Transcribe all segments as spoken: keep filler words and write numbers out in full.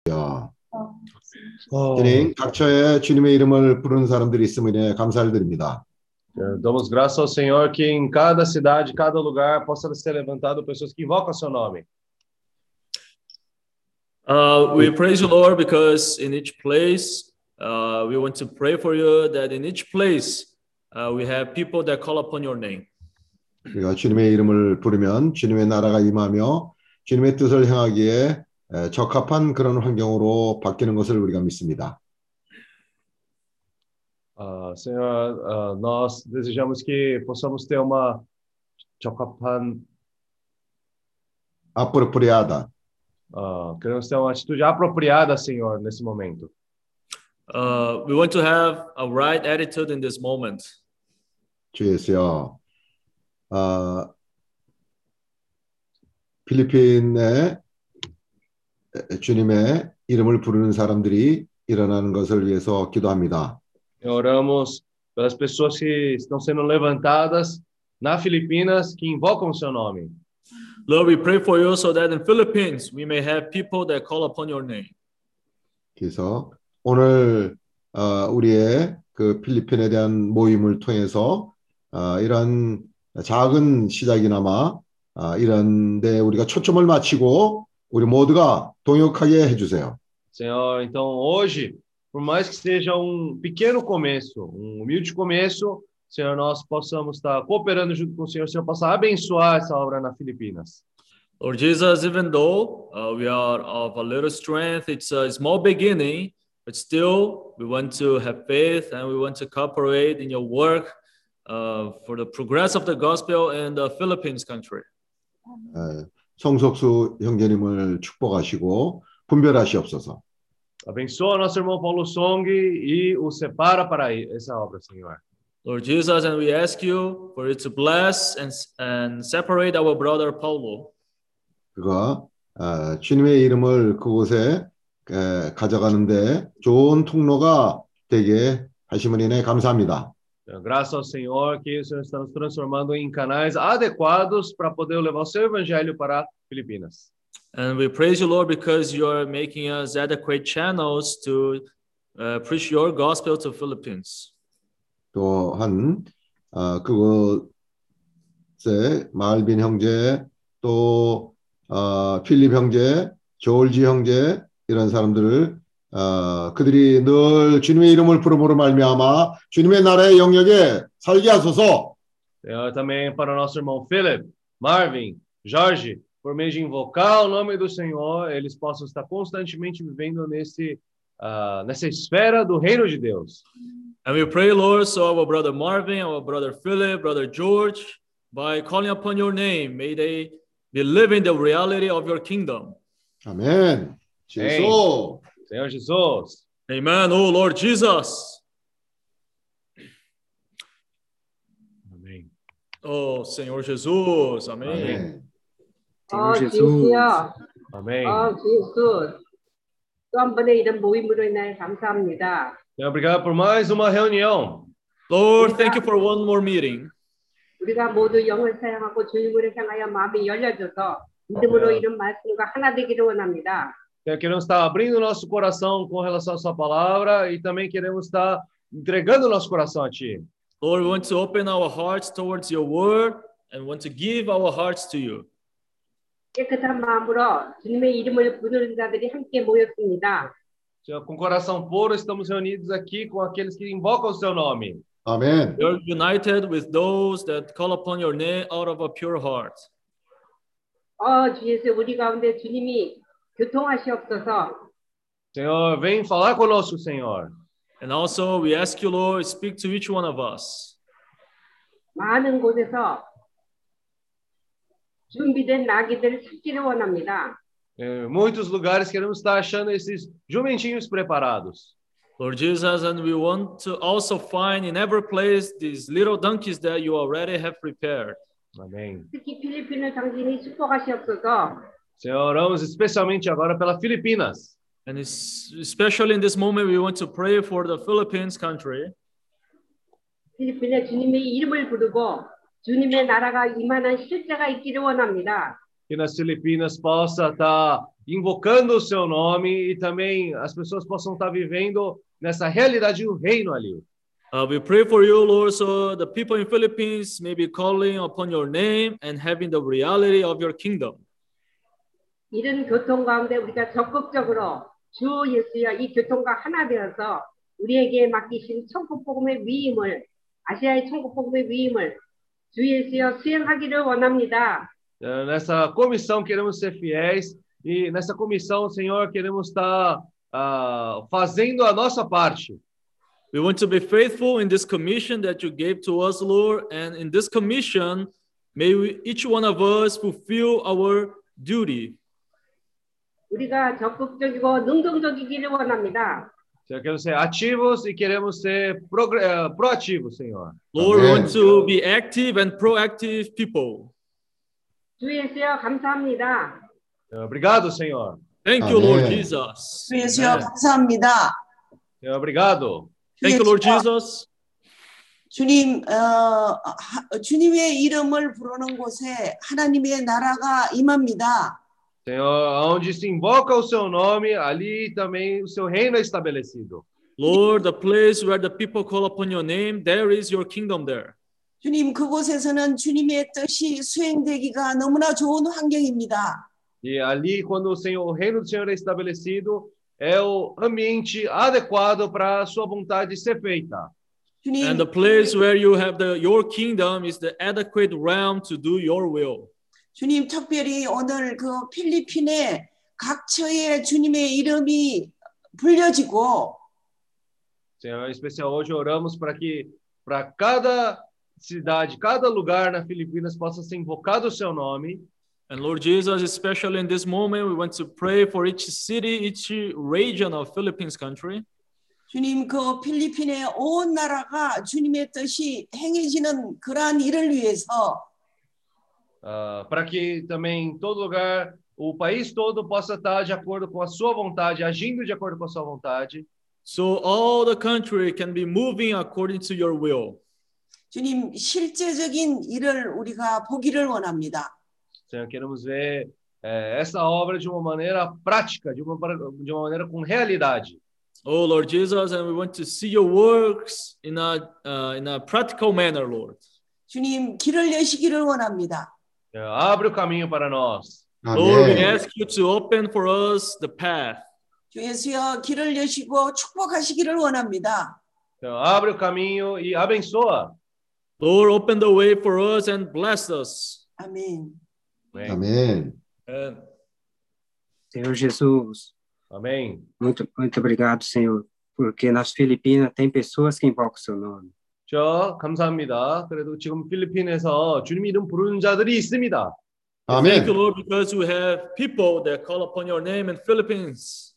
주님, 각처에 주님의 이름을 부르는 사람들이 있음에 감사를 드립니다. Damos graças ao Senhor que em cada cidade, cada lugar possa ser levantado pessoas que invocam seu nome. Uh, we praise you, Lord, because in each place uh, we want to pray for you. That in each place uh, we have people that call upon your name. 우리가 주님의 이름을 부르면 주님의 나라가 임하며 주님의 뜻을 행하기에 적합한 그런 환경으로 바뀌는 것을 우리가 믿습니다. Uh, Senhor, uh, nós desejamos que possamos ter uma 적합한 apropriada. Uh, queremos ter uma atitude apropriada, Senhor, nesse momento. Uh, we want to have a right attitude in this moment. 주 예수여, 어, 필리핀에 주님의 이름을 부르는 사람들이 일어나는 것을 위해서 기도합니다. Oramos pelas pessoas que estão sendo levantadas na Filipinas que invocam o seu nome. Lord, we pray for you so that in Philippines we may have people that call upon your name. 그래서 오늘 어, 우리의 그 필리핀에 대한 모임을 통해서 어, 이런 작은 시작이나마 어, 이런 데 우리가 초점을 맞추고 우리 모두가 동역하게 해주세요. Senhor, então hoje, por mais que seja um pequeno começo, um humilde começo, Senhor, nós possamos estar cooperando junto com o Senhor, o Senhor possa abençoar essa obra na Filipinas. Lord Jesus, even though uh, we are of a little strength, it's a small beginning, but still we want to have faith and we want to cooperate in your work uh, for the progress of the gospel in the Philippines country. 에, 성석수 형제님을 축복하시고 분별하시옵소서. Abençoa nosso irmão Paulo Song e o separa para essa obra, Senhor. Lord Jesus, and we ask you for you to bless and, and separate our brother Paulo. 그가 어, 주님의 이름을 그곳에 에, 가져가는데 좋은 통로가 되게 하심을 인해 감사합니다. Graças ao Senhor que o Senhor está nos transformando em canais adequados para poder levar o seu evangelho para Filipinas. And we praise you, Lord, because you are making us adequate channels to uh, preach your gospel to Philippines. 또한 어, 그곳에 말빈 형제 또 어, 필립 형제, 조울지 형제 이런 사람들을 어, 그들이 늘 주님의 이름을 부름으로 말미암아 주님의 나라의 영역에 살게 하소서. Eu também para o nosso irmão Philip, Marvin, Jorge, por meio de invocar o nome do Senhor, eles possam estar constantemente vivendo nesse uh, nessa esfera do reino de Deus. And we pray, Lord, so our brother Marvin, our brother Philip, brother George, by calling upon your name, may they be living the reality of your kingdom. 아멘. 예수. Senhor Jesus. Amen. Oh Lord Jesus. Amém. Oh Senhor Jesus. Amém. 아멘. 어, 주여. Amém. 어, 주여. 또 한 번의 이런 모임으로 인하여 감사합니다. Senhor, obrigado por mais uma reunião. Lord, thank you for one more meeting. 우리가 모두 영을 사용하고 주님을 향하여 마음이 열려져서 믿음으로 이런 말씀과 하나 되기를 원합니다. Queremos estar abrindo nosso coração com relação à sua palavra e também queremos estar entregando nosso coração a ti. Lord, we want to open our hearts towards your word and want to give our hearts to you. 깨끗한 마음으로 주님의 이름을 부르는 자들이 함께 모였습니다. Senhor, com coração puro estamos reunidos aqui com aqueles que invocam o seu nome. 아멘. We are united with those that call upon your name out of a pure heart. 어, 주 예수 우리 가운데 주님이 교통하시옵소서. Senhor, vem falar conosco, Senhor. And also we ask you, Lord, speak to each one of us. 많은 곳에서 준비된 나귀들을 찾기를 원합니다. Em muitos lugares queremos estar achando esses jumentinhos preparados. Lord Jesus, and we want to also find in every place these little donkeys that you already have prepared. Amém. 특히 필리핀을 당신이 축복하시옵소서. Senhor, oramos especialmente agora pela Filipinas. And it's, especially in this moment, we want to pray for the Philippines country. 필리핀에 주님의 이름을 부르고 주님의 나라가 임하는 실제가 있기를 원합니다. Que nas Filipinas possa estar invocando o seu nome e também as pessoas possam estar vivendo nessa realidade do reino ali. Uh, we pray for you, Lord, so the people in Philippines may be calling upon your name and having the reality of your kingdom. 이런 교통 가운데 우리가 적극적으로 주 예수여 이 교통과 하나 되어서 우리에게 맡기신 천국 복음의 위임을 아시아의 천국 복음의 위임을 주 예수여 수행하기를 원합니다. Uh, nessa comissão queremos ser fiéis e nessa comissão, Senhor, queremos estar uh, fazendo a nossa parte. We want to be faithful in this commission that you gave to us, Lord, and in this commission, may we, each one of us fulfill our duty. 우리가 적극적이고 능동적이기를 원합니다. Senhor, queremos ser ativos e queremos ser progr- uh, proativos, Senhor. Lord, we Amen. want to be active and proactive people. 주 예수여 감사합니다. Uh, Obrigado, Senhor. Thank you, Lord Amen. Jesus. 주 예수여 Amen. 감사합니다. Senhor, obrigado. Thank you, Lord Jesus. 주님, 어, 하, 주님의 이름을 부르는 곳에 하나님의 나라가 임합니다. Senhor, onde se invoca o seu nome, ali também o seu reino é estabelecido. Lord, the place where the people call upon your name, there is your kingdom there. 주님, 그곳에서는 주님의 뜻이 수행되기가 너무나 좋은 환경입니다. E ali, quando o Senhor, o reino do Senhor é estabelecido, é o ambiente adequado para a sua vontade ser feita. 주님, And the place where you have the your kingdom is the adequate realm to do your will. 주님 특별히 오늘 그 필리핀의 각 처에 주님의 이름이 불려지고 Senhor, em especial hoje oramos para que para cada cidade, cada lugar na Filipinas possa ser invocado o seu nome. And Lord Jesus, especially in this moment, we want to pray for each city, each region of Philippines country. 주님 그 필리핀의 온 나라가 주님의 뜻이 행해지는 그러한 일을 위해서 Uh, para que também em todo lugar, o país todo possa estar de acordo com a sua vontade, agindo de acordo com a sua vontade. So all the country can be moving according to your will. 주님 실제적인 일을 우리가 보기를 원합니다. Senhor, queremos ver eh, essa obra de uma maneira prática, de uma, de uma maneira com realidade. Oh Lord Jesus, and we want to see your works in a uh, in a practical manner, Lord. 주님 길을 여시기를 원합니다. Senhor, abre o caminho para nós. Lord, we 아멘. ask you to open for us the path. 주 예수여 길을 여시고 축복하시기를 원합니다. Senhor, abre o caminho e abençoa. Lord, open the way for us and bless us. 아멘. Amém. 아멘. And Senhor Jesus, Amém. muito, muito obrigado, Senhor, porque nas Filipinas tem pessoas que invocam o seu nome. 저 감사합니다. 그래도 지금 필리핀에서 주님 이름 부르는 자들이 있습니다. thank you, 아멘. Lord, because we have people that call upon your name in Philippines.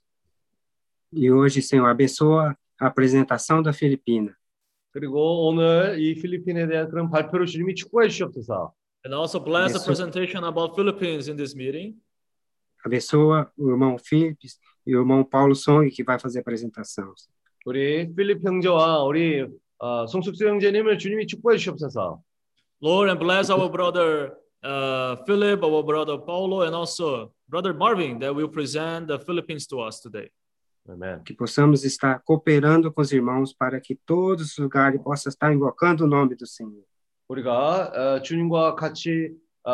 E hoje, Senhor, abençoa a apresentação da Filipina. 그리고 오늘 이 필리핀에 대한 그런 발표를 주님이 축복해 주시옵소서. And also bless the Yes, sir. presentation about Philippines in this meeting. Abençoa o irmão Filipe e o irmão Paulo Song, que vai fazer a apresentação. 우리 필립 형제와 우리 어, 송숙수 형제님을 주님이 축복해 주시옵소서. Lord, and bless our brother uh, Philip, our brother Paulo, and also brother Marvin that will present the Philippines to us today. 아멘. Que possamos estar cooperando com os irmãos para que todos os lugares possam estar invocando o nome do Senhor. 우리가 어, 주님과 같이 어,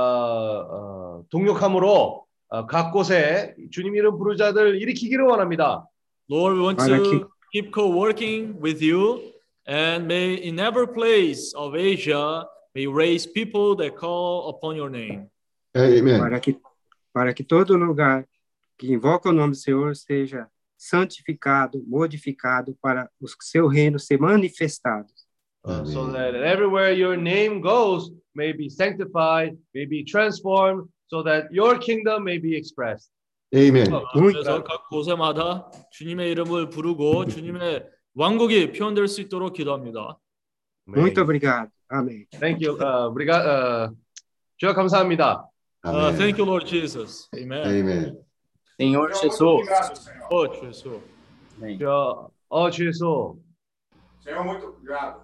어, 동력함으로 어, 각 곳에 주님 이름 부르는 자들 일으키기를 원합니다. Lord, we want Para to que- keep co-working with you, and may in every place of Asia, may raise people that call upon your name. 아멘. Para que, para que todo lugar que invoca o nome do Senhor seja santificado, modificado para o seu reino ser manifestado. Uh, so Amen. that everywhere your name goes may be sanctified, may be transformed, so that your kingdom may be expressed. 아멘. 그래서 각 곳에마다 주님의 이름을 부르고 주님의 왕국이 표현될 수 있도록 기도합니다. Amém. Muito obrigado. Amém. Thank you. Uh, 오brigado. Uh, 주여 감사합니다. Uh, thank 아멘. you, Lord Jesus. Amen. 아멘. Senhor Jesus. Oh, Jesus. Amém. 주여, 어, 주 예수. Senhor, muito obrigado.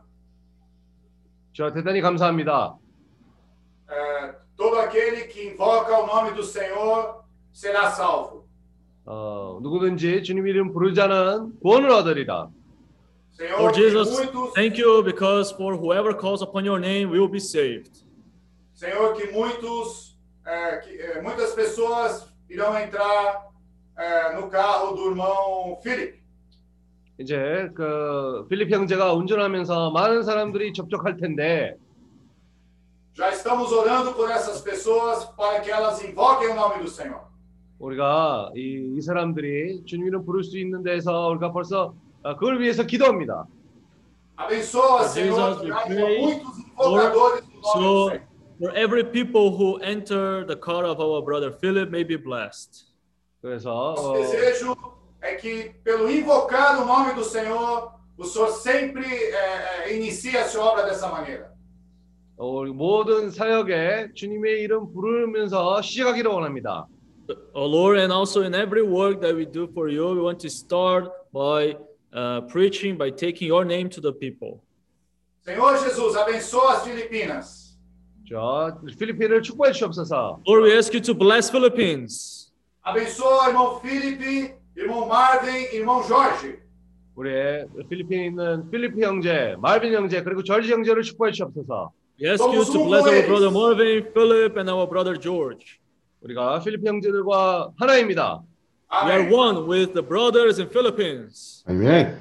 주여 대단히 감사합니다. É, todo aquele que invoca o nome do Senhor será salvo. 어, 누구든지 주님 이름 부르자는 구원을 얻으리라. Senhor, Lord que Jesus, muitos, thank you because for whoever calls upon your name will be saved. Senhor, que muitos, é, que, é, muitas pessoas irão entrar é, no carro do irmão Philip. 이제 그 필립 형제가 운전하면서 많은 사람들이 접촉할 텐데 Já estamos orando por essas pessoas para que elas invoquem o nome do Senhor. 우리가 이, 이 사람들이 주님 이름 부를 수 있는 데서 우리가 벌써 어, 그걸 위해서 기도합니다. Abençoa, Lord Senhor, Jesus, que we haja pray, muitos invocadores do nome do So Senhor. for every people who enter the car of our brother Philip may be blessed. 그래서 Nosso 어, desejo é que, pelo invocar o nome do Senhor, o Senhor sempre é, é, inicie a sua obra dessa maneira. 어, 우리 모든 사역에 주님의 이름 부르면서 시작하기를 원합니다. Oh Lord, and also in every work that we do for you, we want to start by uh, preaching, by taking your name to the people. Senhor Jesus, abençoa as Filipinas. 자, 필리핀을 축복해 주옵소서. Lord, we ask you to bless Philippines. Abençoa irmão Felipe, irmão Marvin, irmão Jorge. 우리 필리핀에 있는 필리핀 형제, 말빈 형제, 그리고 절지 형제를 축복해 주옵소서. We ask you to bless our brother Marvin, Philip, and our brother George. 우리가 필리핀 형제들과 하나입니다. We are Amém. one with the brothers in Philippines. 아멘.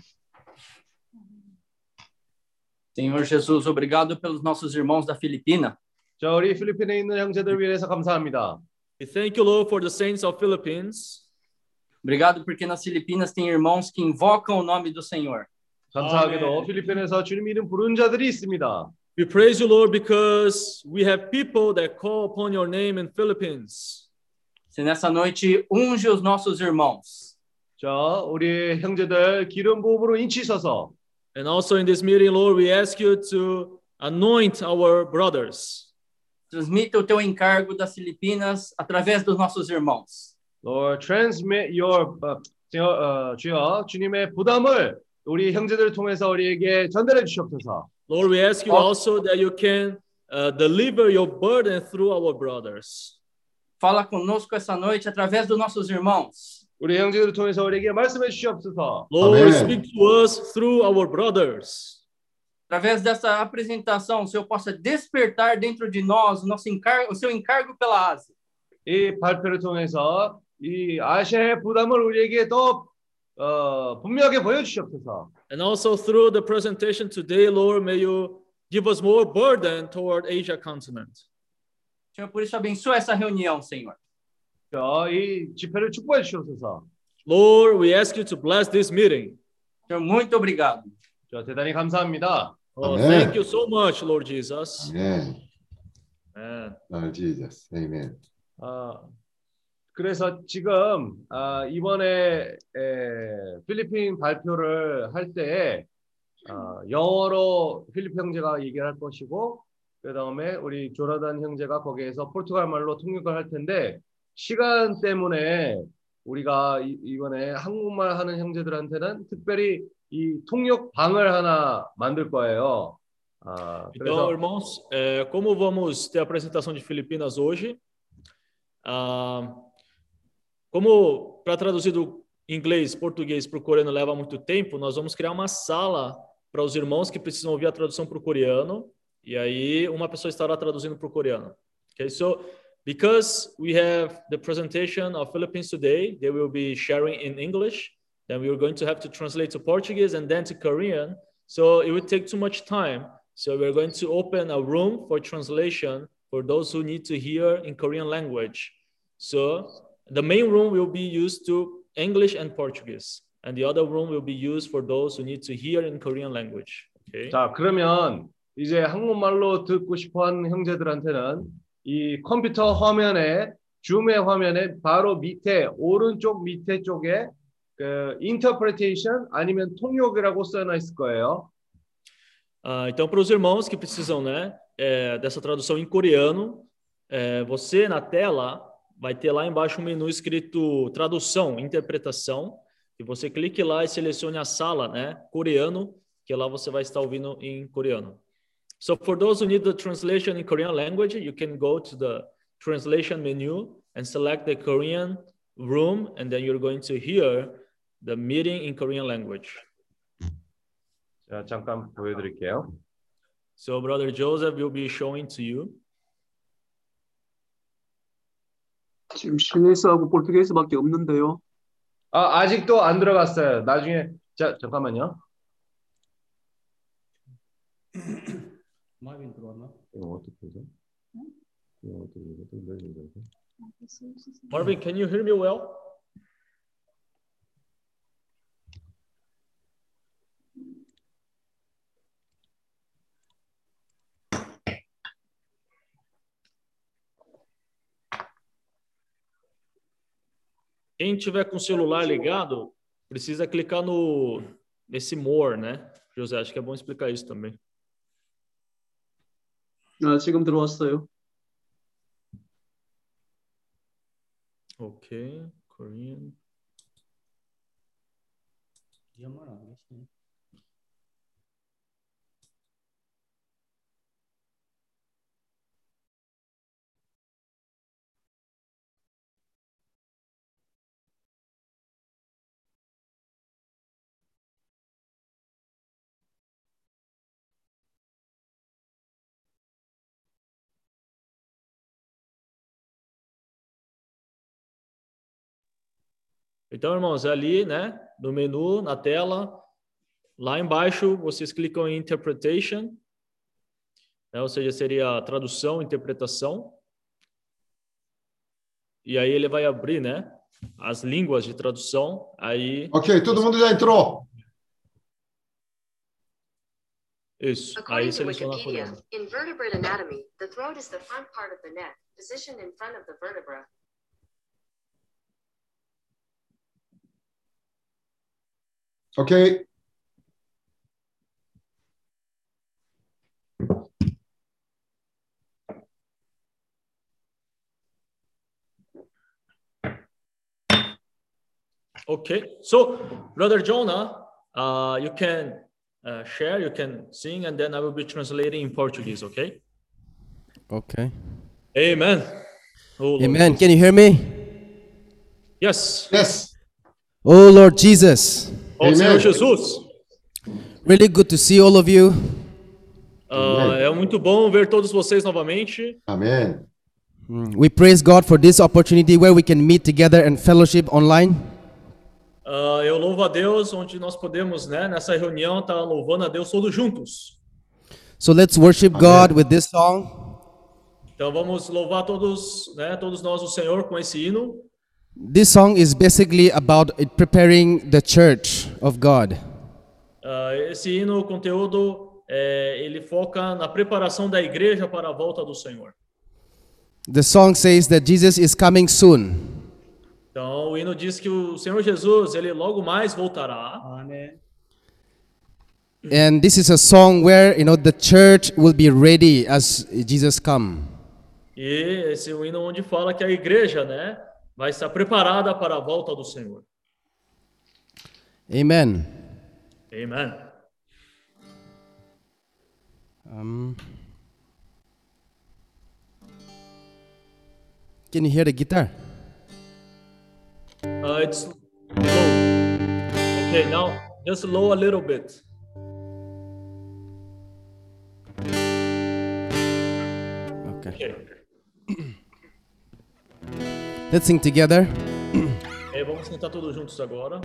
Senhor Jesus, obrigado pelos nossos irmãos da Filipina. 자, 우리 필리핀에 있는 형제들 위해서 감사합니다. We thank you, Lord, for the saints of Philippines. Obrigado porque nas Filipinas tem irmãos que invocam o nome do Senhor. 감사하게도 아멘. 필리핀에서 주님 이름 부르는 자들이 있습니다. We praise you, Lord, because we have people that call upon your name in Philippines. Se nessa noite unge os nossos irmãos. 자, 우리 형제들 기름 부음으로 인치셔서 And also in this meeting, Lord, we ask you to anoint our brothers. Transmita o teu encargo das Filipinas através dos nossos irmãos. Lord, transmit your 어, 주여, 어, 주여 주님의 부담을 우리 형제들을 통해서 우리에게 전달해 주시옵소서. Lord, we ask you also that you can uh, deliver your burden through our brothers. Fala conosco essa noite através dos nossos irmãos. 우리 형제들을 통해서 우리에게 말씀해 주시옵소서. Lord, Amen. speak to us through our brothers. Através dessa apresentação, o Senhor possa despertar dentro de nós o, nosso encargo, o seu encargo pela Ásia. 이 발표를 통해서 이 아시아의 부담을 우리에게 더 어, 분명하게 보여주시옵소서. And also through the presentation today, Lord, may you give us more burden toward Asia continent. Senhor, por isso abençoa essa reunião, Senhor. 자, 이 집회를 축복해 주시옵소서. Lord, we ask you to bless this meeting. Senhor, muito obrigado. 자, 대단히 감사합니다. Oh, Amen. thank you so much, Lord Jesus. 아멘. Amen. Lord Jesus. 아멘. 아, 그래서 지금 아, 이번에 에, 필리핀 발표를 할 때에 아, 영어로 필리핀 형제가 얘기를 할 것이고 그 다음에 우리 조나단 형제가 거기에서 포르투갈 말로 통역을 할 텐데 시간 때문에 우리가 이, 이번에 한국말 하는 형제들한테는 특별히 이 통역 방을 하나 만들 거예요. 아, Então, 그래서 irmãos, é, como vamos ter a apresentação de Filipinas hoje, ah, como para traduzir do inglês, português para o coreano leva muito tempo, nós vamos criar uma sala para os irmãos que precisam ouvir a tradução para o coreano, e aí uma pessoa estará traduzindo para o coreano. Okay, so because we have the presentation of Philippines today, they will be sharing in English, then we are going to have to translate to Portuguese and then to Korean, so it would take too much time. So we're going to open a room for translation for those who need to hear in Korean language. So the main room will be used to English and Portuguese, and the other room will be used for those who need to hear in Korean language. Okay. 자, 그러면 이제 한국말로 듣고 싶어하는 형제들한테는 이 컴퓨터 화면에 줌의 화면에 바로 밑에 오른쪽 밑에 쪽에 그 interpretation 아니면 통역이라고 써져 있을 거예요. Uh, então, para os irmãos que precisam, né, é, dessa tradução em coreano, é, você na tela vai ter lá embaixo um menu escrito tradução, interpretação, e você clique lá e selecione a sala, né, coreano, que lá você vai estar ouvindo em coreano. So for those who need the translation in Korean language, you can go to the translation menu and select the Korean room, and then you're going to hear the meeting in Korean language. 자, 잠깐 보여드릴게요. So Brother Joseph will be showing to you. 지금 시내스하고 포르투게이스밖에 없는데요. 아, 아직도 안 들어갔어요. 나중에 자, 잠깐만요. 마빈 들어왔나? 이거 어떻게 해서? 이거 어떻게 해서? Marvin, can you hear me well? Quem tiver com o celular ligado, precisa clicar no nesse more, né? José, acho que é bom explicar isso também. 아, 지금 들어왔어요. Ok, Korean. 이현만 안 계시네. Então, irmãos, ali, né, no menu, na tela, lá embaixo, vocês clicam em Interpretation, né, ou seja, seria tradução, interpretação. E aí ele vai abrir, né, as línguas de tradução. Aí. Ok, todo mundo já entrou. Isso. According Aí to seleciona a Wikipedia, coreana. in vertebrate anatomy, the throat is the front part of the neck, positioned in front of the vertebra. Ok. Okay, so Brother Jonah, uh, you can uh, share, you can sing, and then I will be translating in Portuguese, okay? Okay. Amen. Oh, Lord. Amen. Can you hear me? Yes. Yes. Oh, Lord Jesus. Oh, Senhor Jesus. Really good to see all of you. Uh, é muito bom ver todos vocês novamente. Amém. Mm, We praise God for this opportunity where we can meet together and fellowship online. Uh, eu louvo a Deus, onde nós podemos, né, nessa reunião, estar tá louvando a Deus todos juntos. So let's worship God with this song. Então vamos louvar todos, né, todos nós o Senhor com esse hino. This song is basically about it preparing the church of God. Uh, esse hino, o conteúdo, é, ele foca na preparação da igreja para a volta do Senhor. The song says that Jesus is coming soon. Então o hino diz que o Senhor Jesus, ele logo mais voltará. Amém. And this is a song where, you know, the church will be ready as Jesus come. E esse é o hino onde fala que a igreja, né, vai estar preparada para a volta do Senhor. Amen. Amen. Um, can you hear the guitar? Uh, it's low. Okay, now just low a little bit. Okay. Okay. Let's sing together. É, vamos cantar todos juntos agora.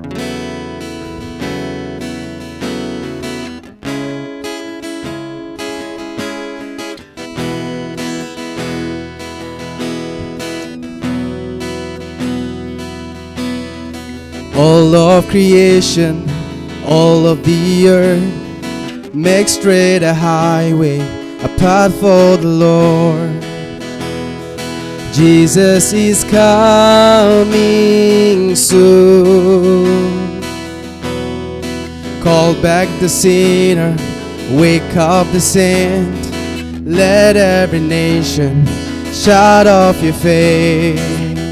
All of creation, all of the earth, make straight a highway, a path for the Lord. Jesus is coming soon. Call back the sinner, wake up the saint. Let every nation shout off your faith.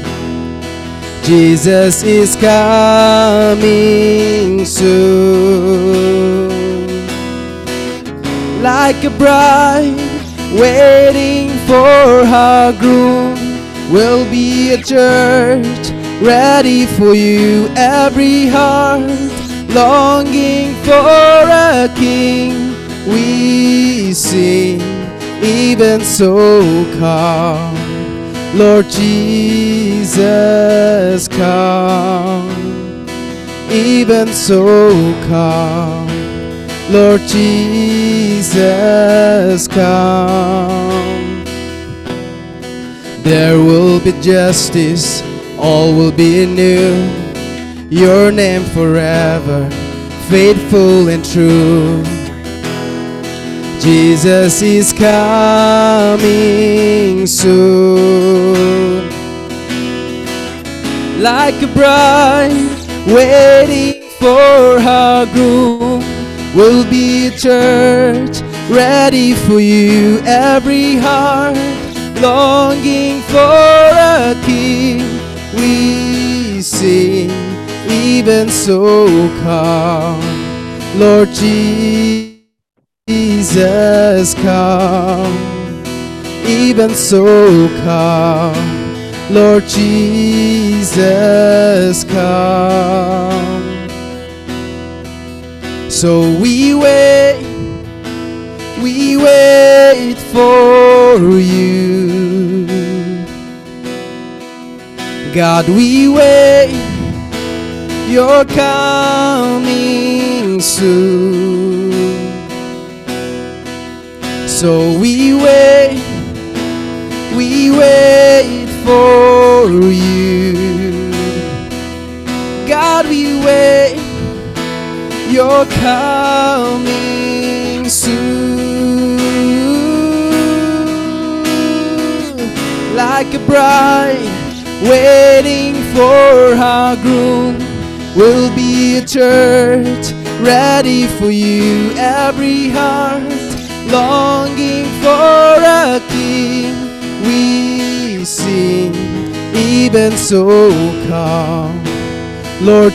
Jesus is coming soon. Like a bride waiting for her groom, will be a church ready for you. Every heart longing for a king. We sing, even so come, Lord Jesus, come. Even so come, Lord Jesus, come. There will be justice, all will be new. Your name forever, faithful and true. Jesus is coming soon. Like a bride waiting for her groom, will be a church ready for you. Every heart longing for a king. We sing, even so come, Lord Jesus, come. Even so come, Lord Jesus, come. So we wait, we wait for you. God, we wait, you're coming soon. So we wait, we wait for you. God, we wait, you're coming soon. Like a bride waiting for her groom, will be a church ready for you. Every heart longing for a king. We sing, even so come, Lord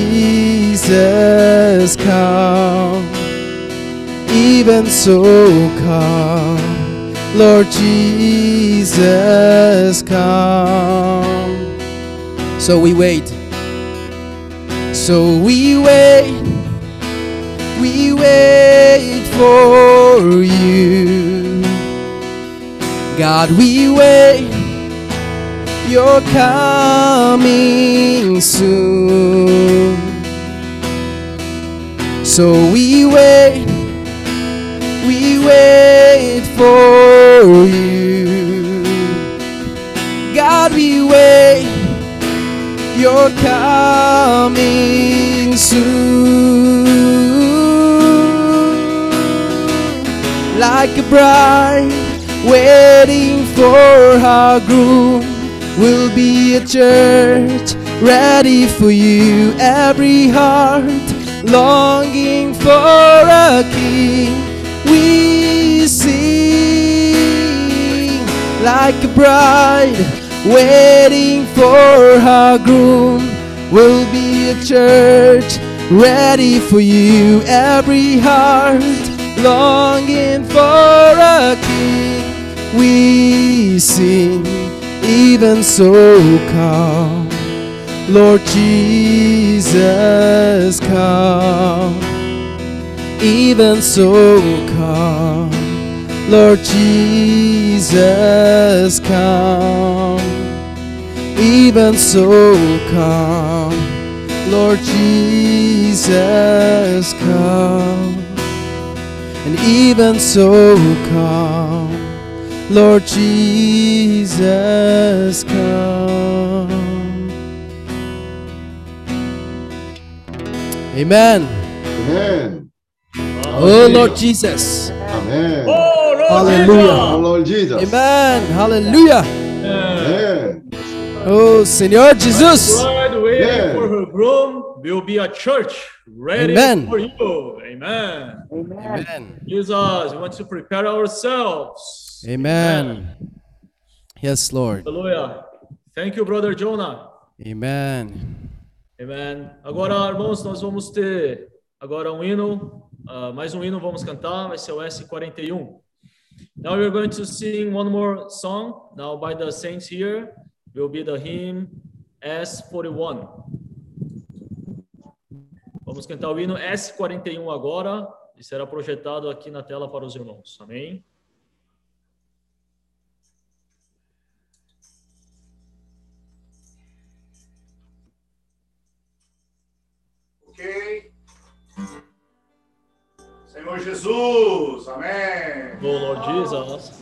Jesus, come. Even so come, Lord Jesus, come. So we wait, so we wait, we wait for you. God, we wait, you're coming soon. So we wait, we wait for you. God, we wait, you're coming soon. Like a bride waiting for her groom, will be a church ready for you. Every heart longing for a king. We sing, like a bride waiting for her groom, will be a church ready for you. Every heart longing for a king. We sing, even so come, Lord Jesus, come. Even so come, Lord Jesus, come. Even so come, Lord Jesus, come. And even so come, Lord Jesus, come. Amen. Amen. Oh Lord Jesus. Amen. Oh, Lord Hallelujah. Oh Lord Jesus. Amen. Hallelujah. Amen. Oh Senhor Jesus. Bride waiting Amen. for her groom will be a church ready Amen. for you. Amen. Amen. Jesus, we want to prepare ourselves. Amen. Yes, Lord. Hallelujah. Thank you, brother Jonah. Amen. Amen. Agora, irmãos, nós vamos ter agora um hino, uh, mais um hino vamos cantar, vai ser o S quarenta e um. Now we're going to sing one more song, now by the saints here, will be the hymn S quarenta e um. Vamos cantar o hino S quarenta e um agora, e será projetado aqui na tela para os irmãos. Amém? Ok. Senhor Jesus, amém. Oh, Lord Jesus.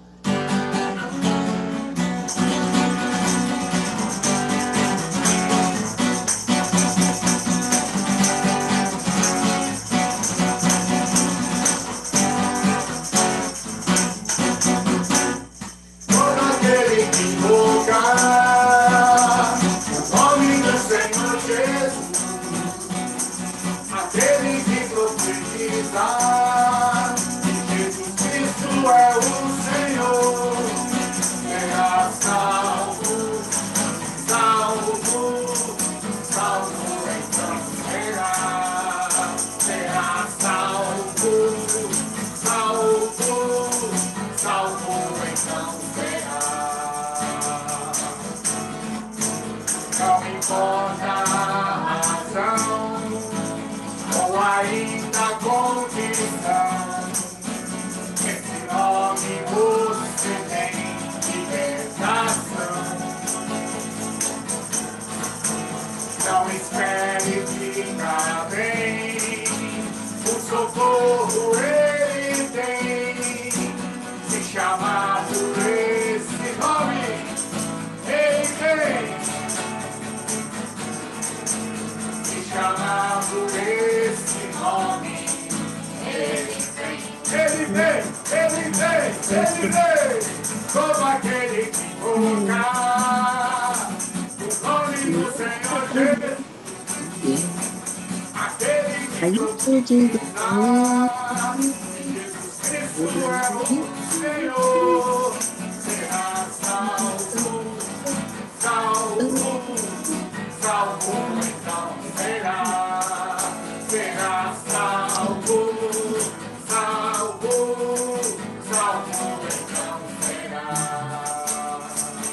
Ele vem, como aquele que invoca o nome do Senhor Jesus, aquele que profetiza, Jesus Cristo é o Senhor, será salvo, salvo, salvo, então será, será salvo, salvo, salvo, então será.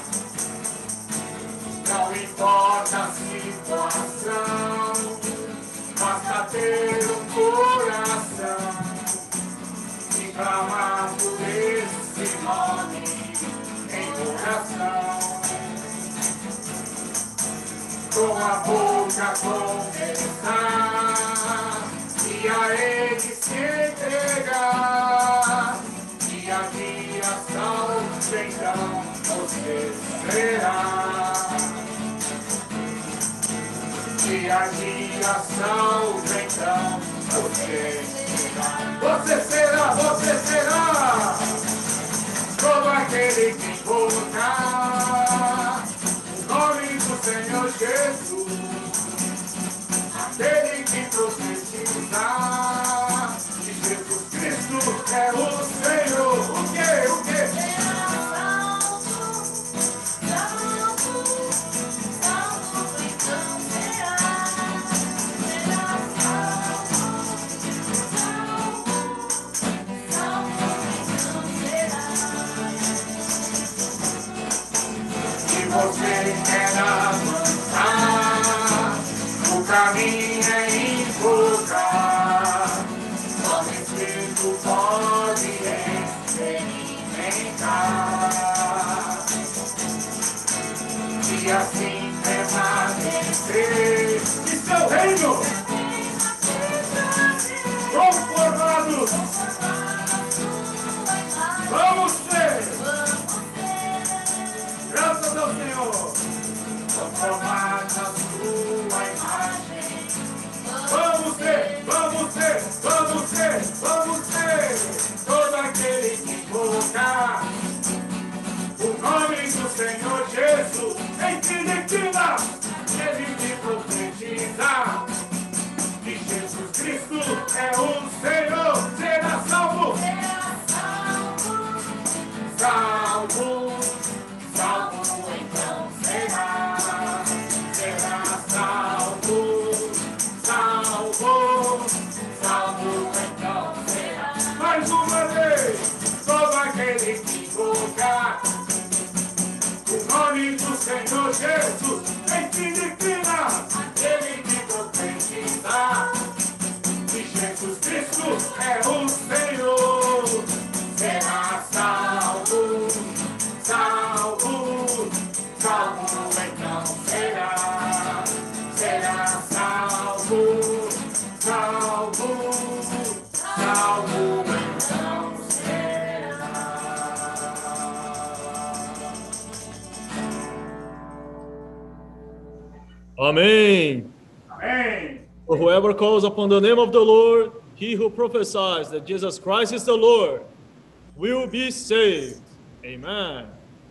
Não importa a situação, basta ter um coração e clamar por esse nome em oração. Com a boca confessar e a Ele se entregar, dia a dia salvo, então você será. Dia a dia salvo, então você será. Você será, você será como aquele que invocar o nome do Senhor Jesus, aquele que profetiza que Jesus Cristo é o Senhor. O que? O que? Você quer avançar, o caminho é invocar, só o Espírito pode experimentar, e assim permanecer em seu reino, conformados, vamos ser. Graças ao Senhor, conformar na sua imagem. Vamos ser, vamos ser, vamos ser, vamos ser. Todo aquele que invocar o nome do Senhor Jesus, em Filipina, ele que profetiza que Jesus Cristo é o Senhor, será salvo, salvo. Salvo, então será, será salvo, salvo, salvo, então será. Mais uma vez, todo aquele que invocar o nome do Senhor Jesus, em Filipinas, aquele que profetizar que Jesus Cristo é o Senhor, será salvo, salvo, salvo então será, será salvo, salvo, salvo então será. Amen. Amém. For whoever calls upon the name of the Lord, he who prophesies that Jesus Christ is the Lord, will be saved. Amen.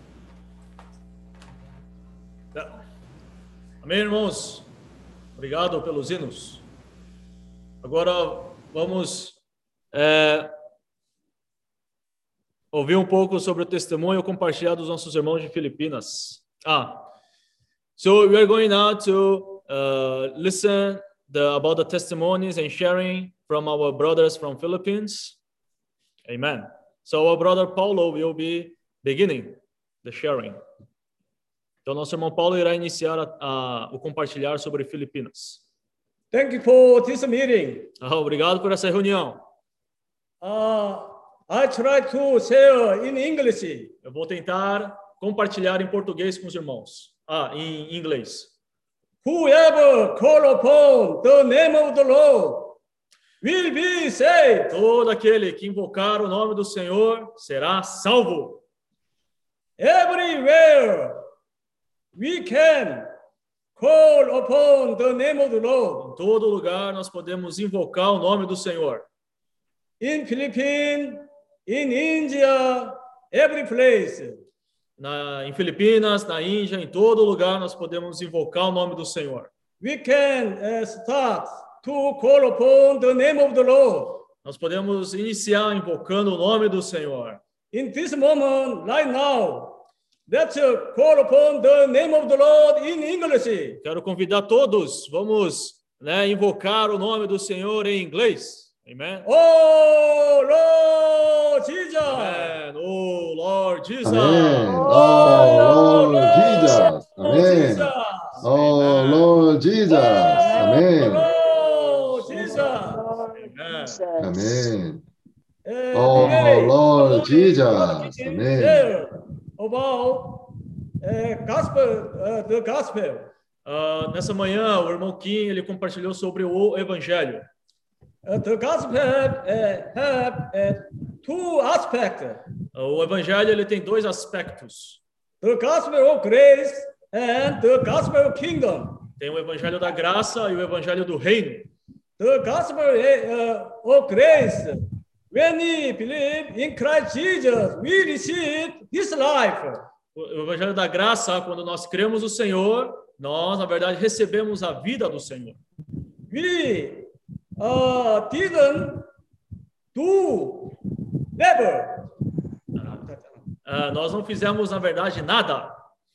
Amém, irmãos? Obrigado pelos hinos. Agora vamos é, ouvir um pouco sobre o testemunho compartilhado dos nossos irmãos de Filipinas. Ah, so we are going now to uh, listen the, about the testimonies and sharing from our brothers from Philippines. Amen. So our brother Paulo will be beginning the sharing. Então nosso irmão Paulo irá iniciar a, a, o compartilhar sobre Filipinas. Thank you for this meeting. Ah, obrigado por essa reunião. Uh, I try to share in English. Eu vou tentar compartilhar em português com os irmãos. Ah, em inglês. Whoever call upon the name of the Lord will be saved. Todo aquele que invocar o nome do Senhor será salvo. Everywhere we can call upon the name of the Lord. Em todo lugar nós podemos invocar o nome do Senhor. In Philippines, in India, every place. Na, em Filipinas, na Índia, em todo lugar nós podemos invocar o nome do Senhor. We can uh, start to call upon the name of the Lord. Nós podemos iniciar invocando o nome do Senhor. In this moment, right now, let's uh, call upon the name of the Lord in English. Quero convidar todos, vamos, né, invocar o nome do Senhor em inglês. Amen. Oh Lord Jesus. Amen. Oh Lord Jesus. Amen. Oh Lord Jesus. Amen. Oh Lord Jesus. Amen. Oh Jesus. Amen. Oh Lord Jesus. Amen. About uh, gospel, uh, the gospel. Uh, nessa manhã, o irmão Kim ele compartilhou sobre o Evangelho. Uh, the gospel have, uh, have uh, two aspects. O Evangelho ele tem dois aspectos. The gospel of grace and the gospel of kingdom. Tem o Evangelho da graça e o Evangelho do reino. The gospel uh, of grace, when we believe in Christ Jesus, we receive His life. O Evangelho da graça, quando nós cremos no Senhor, nós, na verdade, recebemos a vida do Senhor. We uh, didn't do never. Uh, nós não fizemos, na verdade, nada.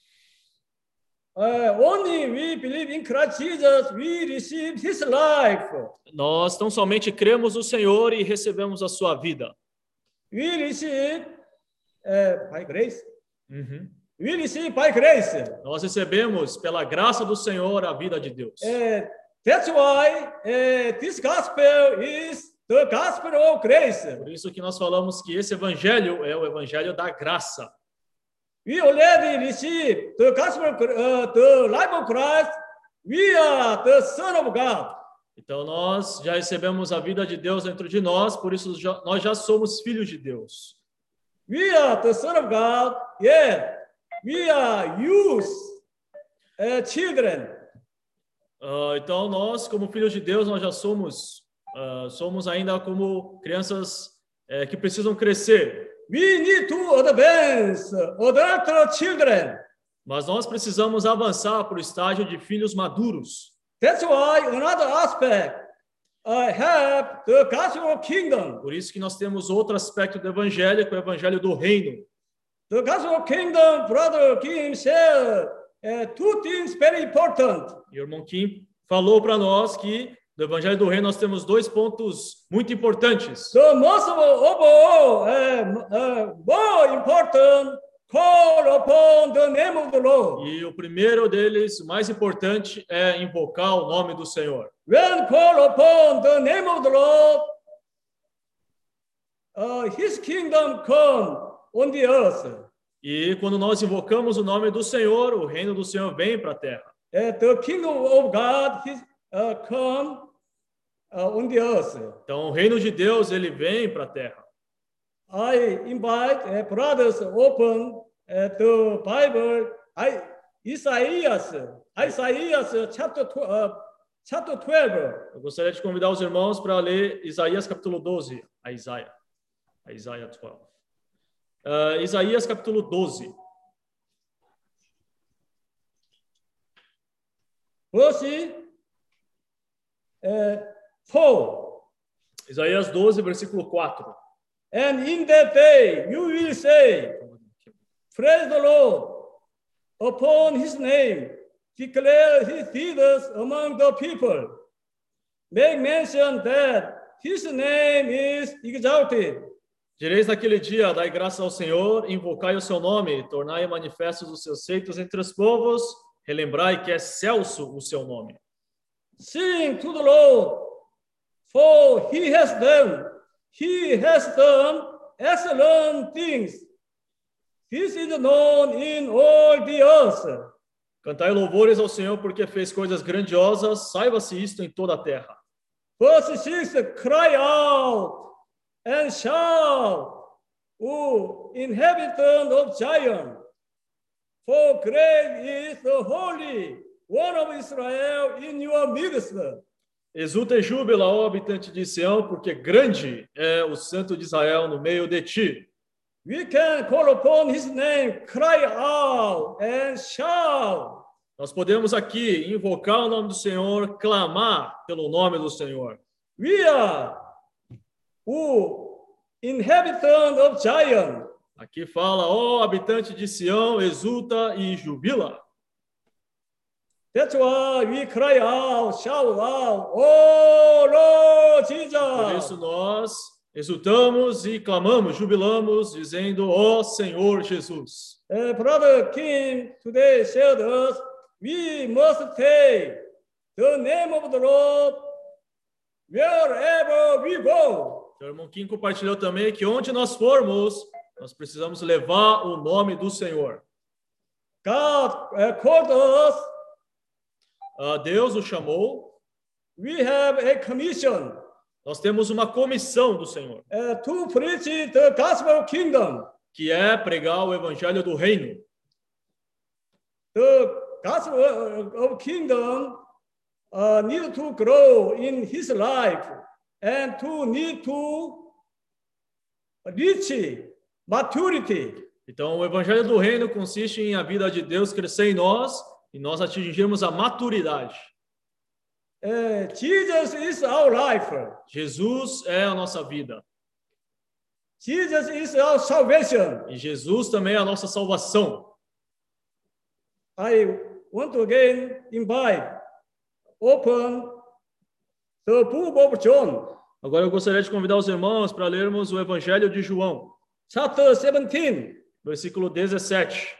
Uh, only we believe in Christ Jesus, we receive His life. Nós tão somente cremos no Senhor e recebemos a sua vida. We receive uh, by grace. Uhum. We receive by grace. Nós recebemos pela graça do Senhor a vida de Deus. Uh, that's why uh, this gospel is the gospel of grace. Por isso que nós falamos que esse evangelho é o evangelho da graça. We already received the gospel, uh, the life of Christ. We are the Son of God. Então nós já recebemos a vida de Deus dentro de nós, por isso já, nós já somos filhos de Deus. We are the Son of God. Yeah, we are youth, uh, children. Uh, então nós, como filhos de Deus, nós já somos, uh, somos ainda como crianças uh, que precisam crescer. We need to advance adult children. Mas nós precisamos avançar para o estágio de filhos maduros. That's why another aspect I have the gospel of kingdom. Por isso que nós temos outro aspecto do evangelho, que é o evangelho do reino. The gospel of kingdom, brother Kim said, uh, two things very important. E o irmão Kim falou para nós que do evangelho do reino nós temos dois pontos muito importantes. The most of all, uh, uh, more important call upon the name of the Lord. E o primeiro deles, o mais importante, é invocar o nome do Senhor. When call upon the name of the Lord, uh, His kingdom come on the earth. E quando nós invocamos o nome do Senhor, o reino do Senhor vem para a terra. Uh, the kingdom of God his, uh, come uh, on the earth. Então, o reino de Deus, ele vem para a terra. I invite uh, brothers open uh, the Bible. I Isaiah, Isaiah chapter uh, chapter twelve. Eu gostaria de convidar os irmãos para ler Isaías capítulo doze. A Isaías, a Isaías doze. Uh, Isaías capítulo doze. Verse uh, four. Isaías doze, versículo quatro. And in that day you will say, praise the Lord, upon his name, declare his deeds among the people. Make mention that his name is exalted. Direis naquele dia, dai graça ao Senhor, invocai o seu nome, tornai manifestos os seus feitos entre os povos, relembrai que é excelso o seu nome. Sing to the Lord, for he has done He has done excellent things. This is known in all the earth. Cantai louvores ao Senhor porque fez coisas grandiosas, saiba-se isto em toda a terra. Verse six, cry out and shout, O inhabitant of Zion, for great is the Holy One of Israel in your midst. Exulta e júbila, ó habitante de Sião, porque grande é o Santo de Israel no meio de ti. We can call upon his name, cry out and shout. Nós podemos aqui invocar o nome do Senhor, clamar pelo nome do Senhor. We are o inhabitant of Zion. Aqui fala, ó habitante de Sião, exulta e jubila. That's why we cry out, shout out, oh Lord Jesus. Por isso nós exultamos e clamamos, jubilamos, dizendo, ó Senhor Jesus. Uh, Brother Kim today shared us, we must take the name of the Lord wherever we go. O irmão Kim compartilhou também que onde nós formos, nós precisamos levar o nome do Senhor. God uh, called us. Uh, Deus o chamou. We have a commission. Nós temos uma comissão do Senhor. Uh, to preach the gospel kingdom. Que é pregar o evangelho do reino. The gospel of kingdom uh, need to grow in his life and to need to reach maturity. Então, o evangelho do reino consiste em a vida de Deus crescer em nós e nós atingirmos a maturidade. Uh, Jesus is our life. Jesus é a nossa vida. Jesus is our salvation. E Jesus também é a nossa salvação. I want to again invite, open the book of John. Agora eu gostaria de convidar os irmãos para lermos o Evangelho de João. Chapter seventeen. Versículo dezessete.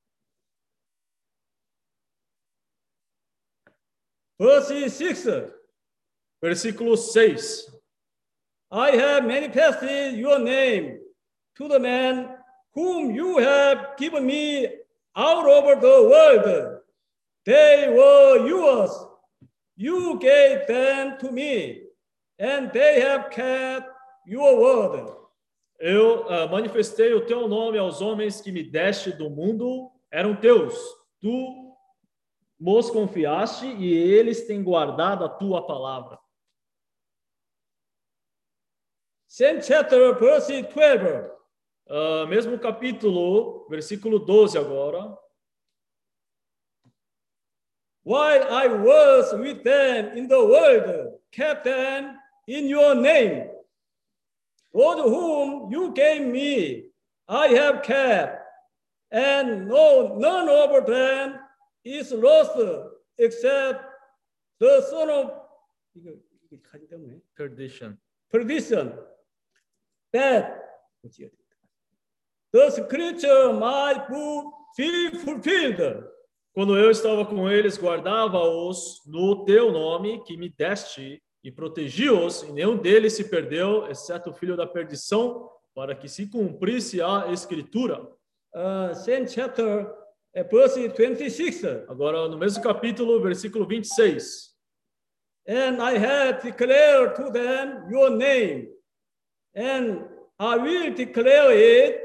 Verse six. Versículo seis. I have manifested your name to the men whom you have given me out over the world. They were yours. You gave them to me, and they have kept your word. Eu uh, manifestei o teu nome aos homens que me deste do mundo, eram teus. Tu nos confiaste e eles têm guardado a tua palavra. Same chapter, verse twelve. Uh, mesmo capítulo, versículo doze agora. While I was with them in the world, kept them in your name. Those whom you gave me, I have kept, and no, none of them is lost except the son of perdition. Perdition. That the scripture might be fulfilled. Quando eu estava com eles, guardava-os no teu nome que me deste e protegi-os, e nenhum deles se perdeu, exceto o filho da perdição, para que se cumprisse a escritura. Uh, same chapter, uh, verse twenty-six. Agora, no mesmo capítulo, versículo vinte e seis. And I have declared to them your name, and I will declare it.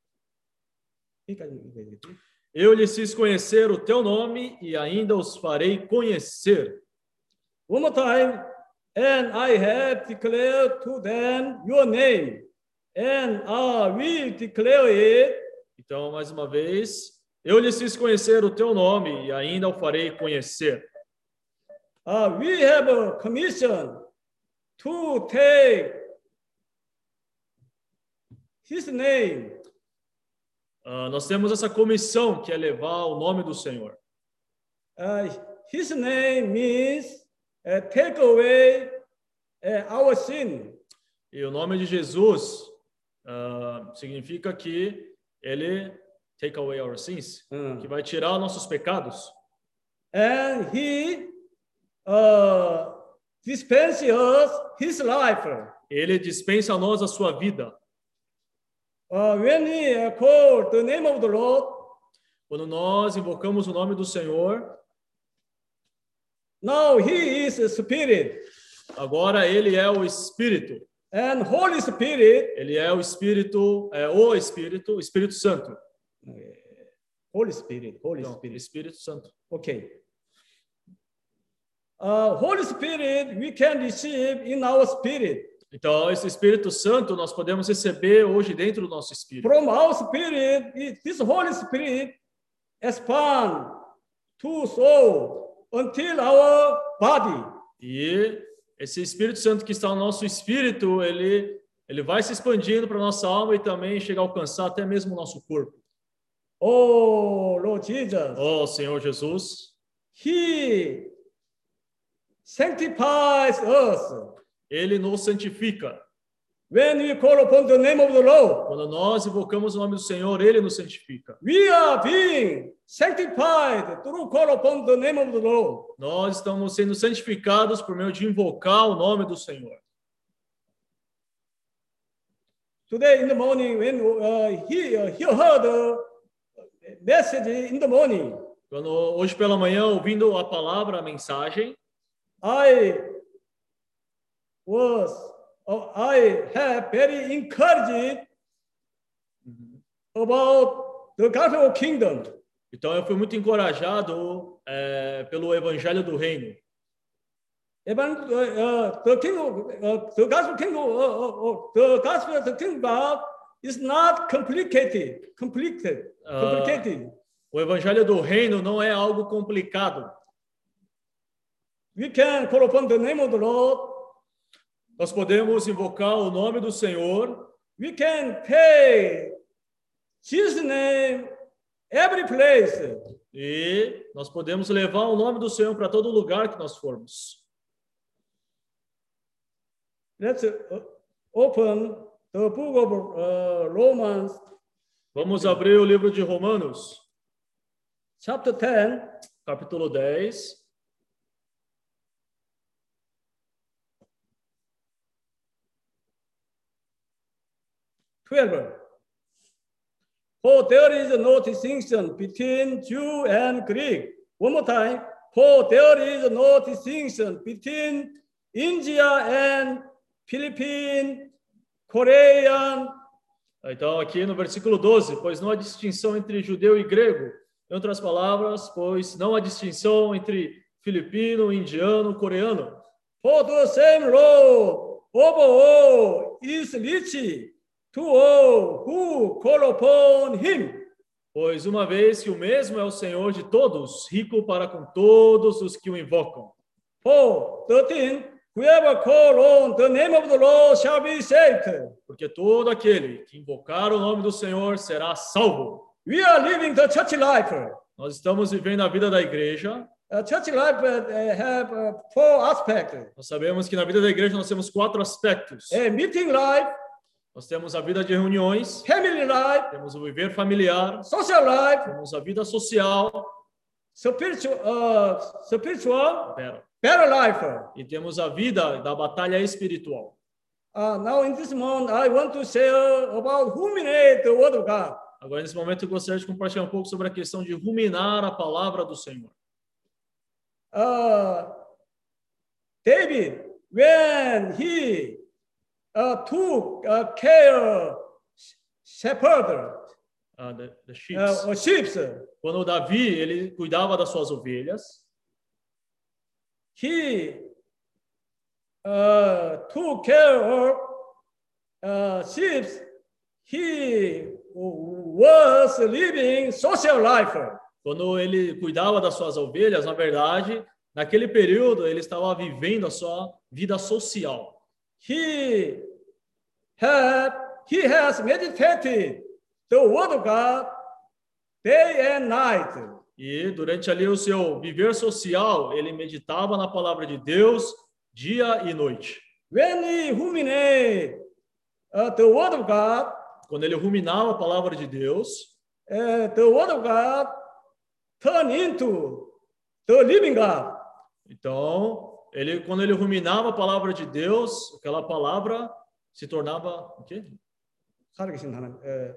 Eu lhes fiz conhecer o teu nome e ainda os farei conhecer. One more time. And I have declared to them your name, and I will declare it. Então, mais uma vez, eu lhes fiz conhecer o teu nome e ainda o farei conhecer. Uh, we have a commission to take his name. Uh, nós temos essa comissão que é levar o nome do Senhor. Uh, his name means Uh, take away uh, our sin. E o nome de Jesus uh, significa que ele take away our sins, uh. que vai tirar nossos pecados. And he uh, dispenses us his life. Ele dispensa a nós a sua vida. Uh, when we uh, call the name of the Lord, quando nós invocamos o nome do Senhor, now he is a spirit. Agora ele é o Espírito. And Holy Spirit. Ele é o Espírito, é o Espírito, o Espírito Santo. Holy Spirit, Holy Não, Spirit. Espírito Santo. Okay. Uh, Holy Spirit we can receive in our spirit. Então esse Espírito Santo nós podemos receber hoje dentro do nosso espírito. From our spirit, this Holy Spirit expand to soul. Until our body. E esse Espírito Santo que está no nosso espírito, ele ele vai se expandindo para nossa alma e também chega a alcançar até mesmo o nosso corpo. Oh, Lord Jesus. Oh, Senhor Jesus. He sanctifies us. Ele nos santifica. When we call upon the name of the Lord, quando nós invocamos o nome do Senhor, ele nos santifica. We are being sanctified through call upon the name of the Lord. Nós estamos sendo santificados por meio de invocar o nome do Senhor. Today in the morning, when uh, he uh, he heard a message in the morning, quando hoje pela manhã ouvindo a palavra, a mensagem, I was Oh, I have very encouraged about the gospel kingdom. Então eu fui muito encorajado é, pelo evangelho do reino. Even uh, uh, the kingdom, uh, the gospel kingdom, uh, uh, the gospel of the kingdom is not complicated. Complicated. Complicated. Uh, o evangelho do reino não é algo complicado. We can call upon the name of the Lord. Nós podemos invocar o nome do Senhor. We can pay Jesus' name every place. E nós podemos levar o nome do Senhor para todo lugar que nós formos. Let's open the book of uh, Romans. Vamos abrir o livro de Romanos. Chapter ten, capítulo dez. twelve. For there is no distinction between Jew and Greek. One more time. For there is no distinction between India and Philippine, Korean. Então, aqui no versículo doze, pois não há distinção entre judeu e grego. Em outras palavras, pois não há distinção entre filipino, indiano, coreano. For the same Lord over all is rich to all who call upon him. Pois uma vez que o mesmo é o Senhor de todos, rico para com todos os que o invocam. For thirteen, whoever call on the name of the Lord shall be saved. Porque todo aquele que invocar o nome do Senhor será salvo. We are living the church life. Nós estamos vivendo a vida da igreja. A church life uh, have uh, four aspects. Nós sabemos que na vida da igreja nós temos quatro aspectos. A meeting life, Nós temos a vida de reuniões, family life, temos o viver familiar, social life, temos a vida social, spiritual, uh, spiritual, pera, better life. e temos a vida da batalha espiritual. Uh, now in this moment, I want to share about ruminate the word of God. Agora, nesse momento, eu gostaria de compartilhar um pouco sobre a questão de ruminar a palavra do Senhor. Uh, David, when he uh, took uh, care shepherd, uh, the, the sheep, uh, sheep, quando Davi ele cuidava das suas ovelhas, he uh, took care of uh, sheep. He was living social life. Quando ele cuidava das suas ovelhas, na verdade, naquele período ele estava vivendo a sua vida social. He had he has meditated the word of God day and night. E durante ali o seu viver social, ele meditava na palavra de Deus dia e noite. When he ruminated uh, the word of God, quando ele ruminava a palavra de Deus, uh, the word of God turned into the living God. Então, ele, quando ele ruminava a palavra de Deus, aquela palavra se tornava o quê? 살아계신 하나님. 에,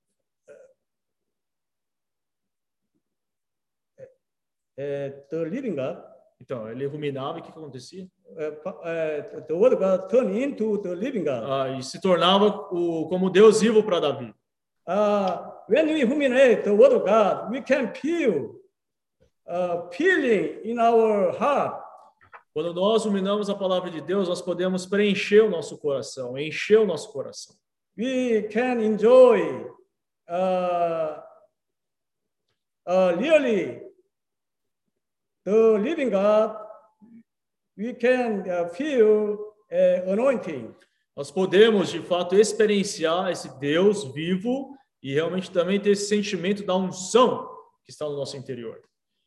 에, the living God. Então, ele ruminava e o que, que acontecia? Uh, the word of God turned into the living God. Ah, e se tornava o, como Deus vivo para Davi. Uh, when we ruminate the word of God, we can feel uh, feeling in our heart. Quando nós ruminamos a palavra de Deus, nós podemos preencher o nosso coração, encher o nosso coração. We can enjoy uh, uh, really the living God. We can uh, feel uh, anointing. Nós podemos, de fato, experienciar esse Deus vivo e realmente também ter esse sentimento da unção que está no nosso interior.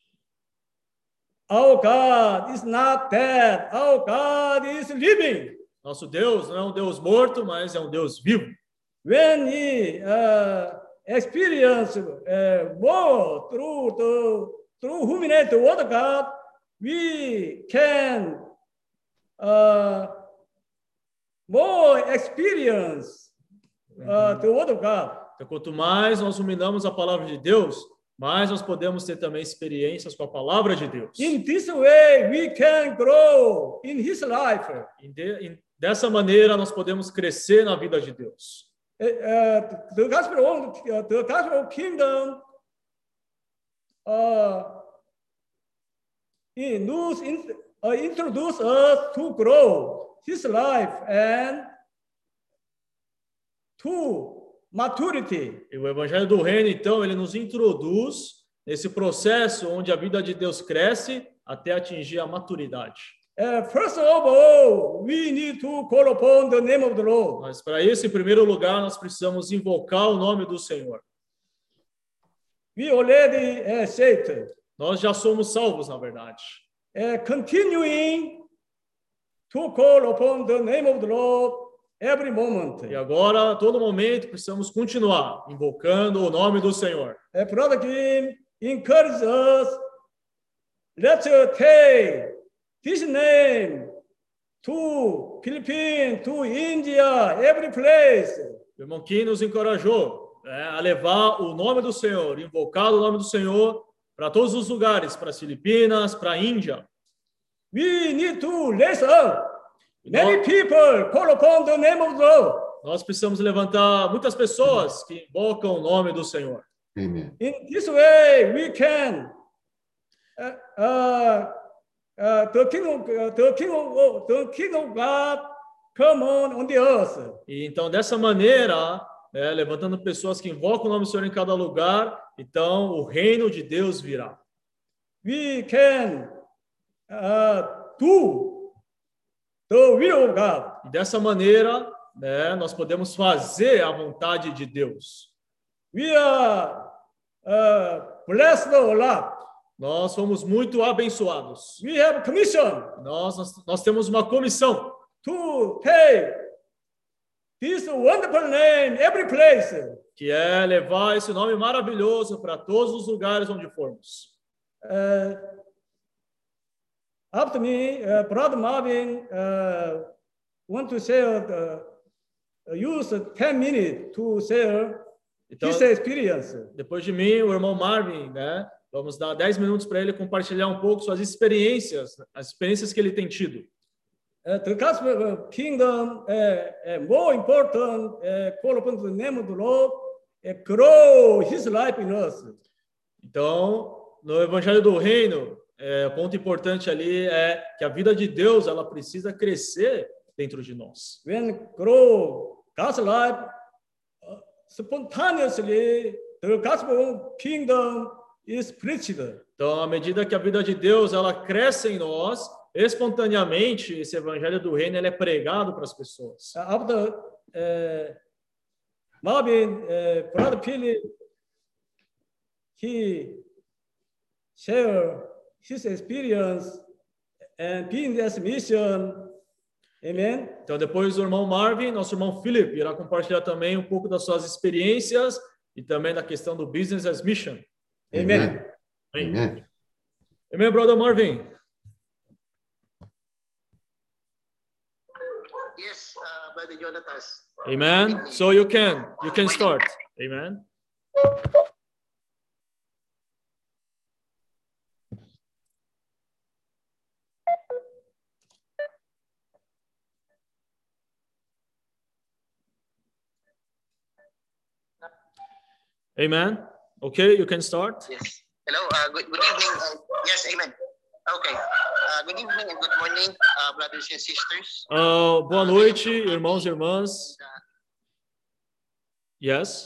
Our God is not dead. Our God is living. Nosso Deus não é um Deus morto, mas é um Deus vivo. When we uh, experience uh, more through the through ruminate the word of God, we can uh, more experience uh, the word of God. Então, quanto mais nós ruminamos a palavra de Deus, mais nós podemos ter também experiências com a palavra de Deus. In this way, we can grow in His life. Dessa maneira, nós podemos crescer na vida de Deus. Uh, uh, the gospel of uh, the gospel of kingdom uh, in, in, uh, introduce us to grow His life and to maturity. E o Evangelho do Reino, então, ele nos introduz nesse processo onde a vida de Deus cresce até atingir a maturidade. Uh, first of all, we need to call upon the name of the Lord. Mas para isso, em primeiro lugar, nós precisamos invocar o nome do Senhor. We already uh, saved. Nós já somos salvos, na verdade. Uh, continuing to call upon the name of the Lord every moment. E agora, a todo momento, precisamos continuar invocando o nome do Senhor. Uh, Brother Kim encourages us. Let's uh, take this name to Philippines, to India, every place. O irmão Kim nos encorajou, né, a levar o nome do Senhor, invocar o nome do Senhor para todos os lugares, para as Filipinas, para a Índia. We need to raise up. Many people call upon the name of the Lord. Nós precisamos levantar muitas pessoas que invocam o nome do Senhor. Amen. In this way, we can uh, uh, uh, the kingdom, uh, the kingdom, of, the kingdom of God come on on the earth. E então dessa maneira, né, levantando pessoas que invocam o nome do Senhor em cada lugar, então o reino de Deus virá. We can uh, do the will of God. E dessa maneira, né, nós podemos fazer a vontade de Deus. We are uh, blessed a lot. Nós fomos muito abençoados. We have commission. Nós, nós, nós temos uma comissão. To take this wonderful name every place. Que é levar esse nome maravilhoso para todos os lugares onde formos. Uh, after me, uh, Brother Marvin uh, want to share, uh, use ten minutes to share então, his experience. Depois de mim, o irmão Marvin, né? Vamos dar dez minutos para ele compartilhar um pouco suas experiências, as experiências que ele tem tido. Uh, the gospel kingdom uh, uh, more important, uh, call upon the name of the Lord, uh, grow his life in us. Então, no Evangelho do Reino, é, o ponto importante ali é que a vida de Deus ela precisa crescer dentro de nós. When grow God's life uh, spontaneously, the gospel kingdom is preached. Então, à medida que a vida de Deus ela cresce em nós, espontaneamente esse Evangelho do Reino ele é pregado para as pessoas. After uh, Marvin, uh, Brother Philip, he share his experience and being this mission. Amen. Então, depois do irmão Marvin, nosso irmão Philip irá compartilhar também um pouco das suas experiências e também da questão do business as mission. Amen. Amen. Amen, Amen Brother Marvin. Yes, uh, Brother Jonathan. Amen. So you can, you can start. Amen. Amen. Okay, you can start. Yes. Hello. Uh, good, good evening. Uh, yes, amen. Okay. Uh, good evening and good morning, uh, brothers and sisters. Uh, boa noite, irmãos e irmãs. Yes.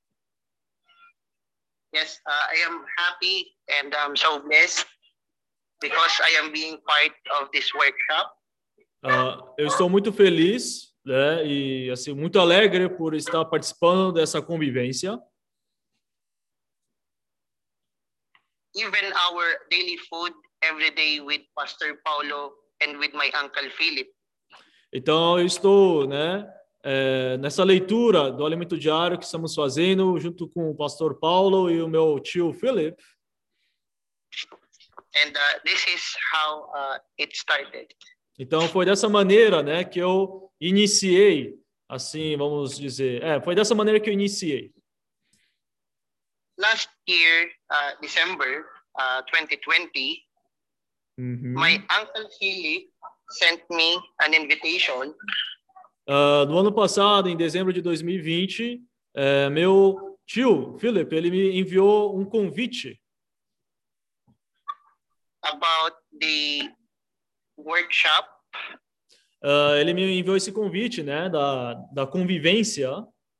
Yes, uh, I am happy and I'm so blessed because I am being part of this workshop. Uh, eu estou muito feliz, né, e assim muito alegre por estar participando dessa convivência. Even our daily food every day with Pastor Paulo and with my uncle Philip. Então eu estou, né, é, nessa leitura do alimento diário que estamos fazendo junto com o pastor Paulo e o meu tio Philip. And uh, this is how uh, it started. Então foi dessa maneira, né, que eu iniciei, assim, vamos dizer, é, foi dessa maneira que eu iniciei. Last year, uh, December uh, twenty twenty, mm-hmm. my uncle Philip sent me an invitation. Uh, no ano passado, em dezembro de dois mil e vinte, uh, meu tio Philip ele me enviou um convite. About the workshop. Uh, ele me enviou esse convite, né, da da convivência.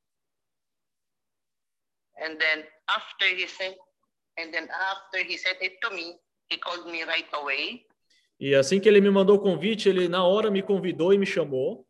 And then after he sent, and then after he sent it to me, he called me right away. E assim que ele me mandou o convite, ele na hora me convidou e me chamou.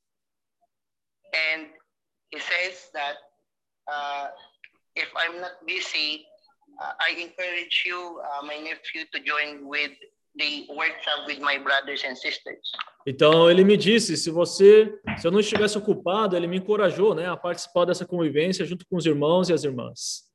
And he says that uh, if I'm not busy, uh, I encourage you, uh, my nephew, to join with the workshop with my brothers and sisters. Então ele me disse, se você, se eu não estivesse ocupado, ele me encorajou, né, a participar dessa convivência junto com os irmãos e as irmãs.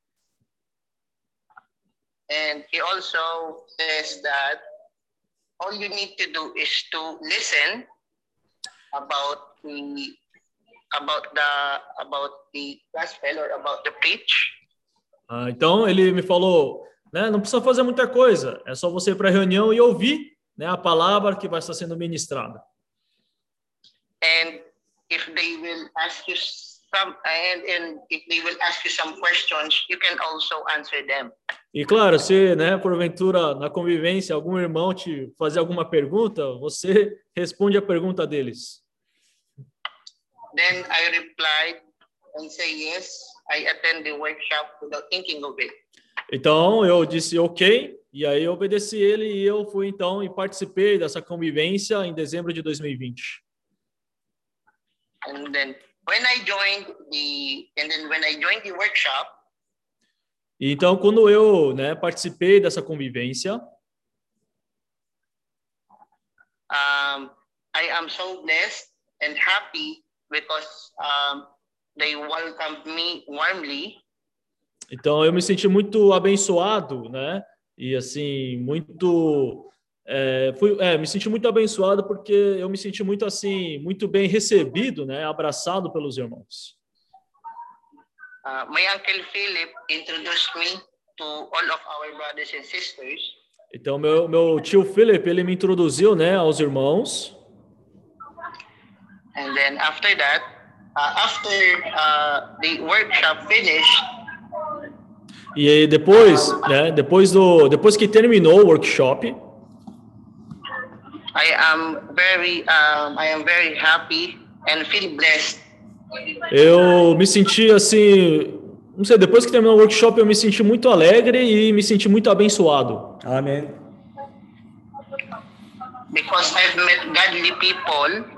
And he also says that all you need to do is to listen about the about the about the gospel or about the preach. Ah, então ele me falou, né, não precisa fazer muita coisa, é só você ir para a reunião e ouvir, né, a palavra que vai estar sendo ministrada. And if they will ask you some and, and if they will ask you some questions, you can also answer them. E claro, se, né, porventura na convivência algum irmão te fazer alguma pergunta, você responde a pergunta deles. Then I replied and say yes, I attend the workshop without thinking of it. Então eu disse ok, e aí eu obedeci ele e eu fui então e participei dessa convivência em dezembro de dois mil e vinte. And then when I joined the and then when I joined the workshop, e então quando eu, né, participei dessa convivência, um, I am so blessed and happy because um, they welcomed me warmly. Então eu me senti muito abençoado, né? E assim, muito é, fui, é, me senti muito abençoado porque eu me senti muito assim, muito bem recebido, né? Abraçado pelos irmãos. Uh, my uncle Philip introduced me to all of our brothers and sisters. Então meu meu tio Philip, ele me introduziu, né, aos irmãos. And then after that, uh, after uh, the workshop finished, e aí depois, né, depois do depois que terminou o workshop, I am very um, I am very happy and feel blessed. Eu me senti assim, não sei, depois que terminou o workshop eu me senti muito alegre e me senti muito abençoado. Amém. Because I've met godly people.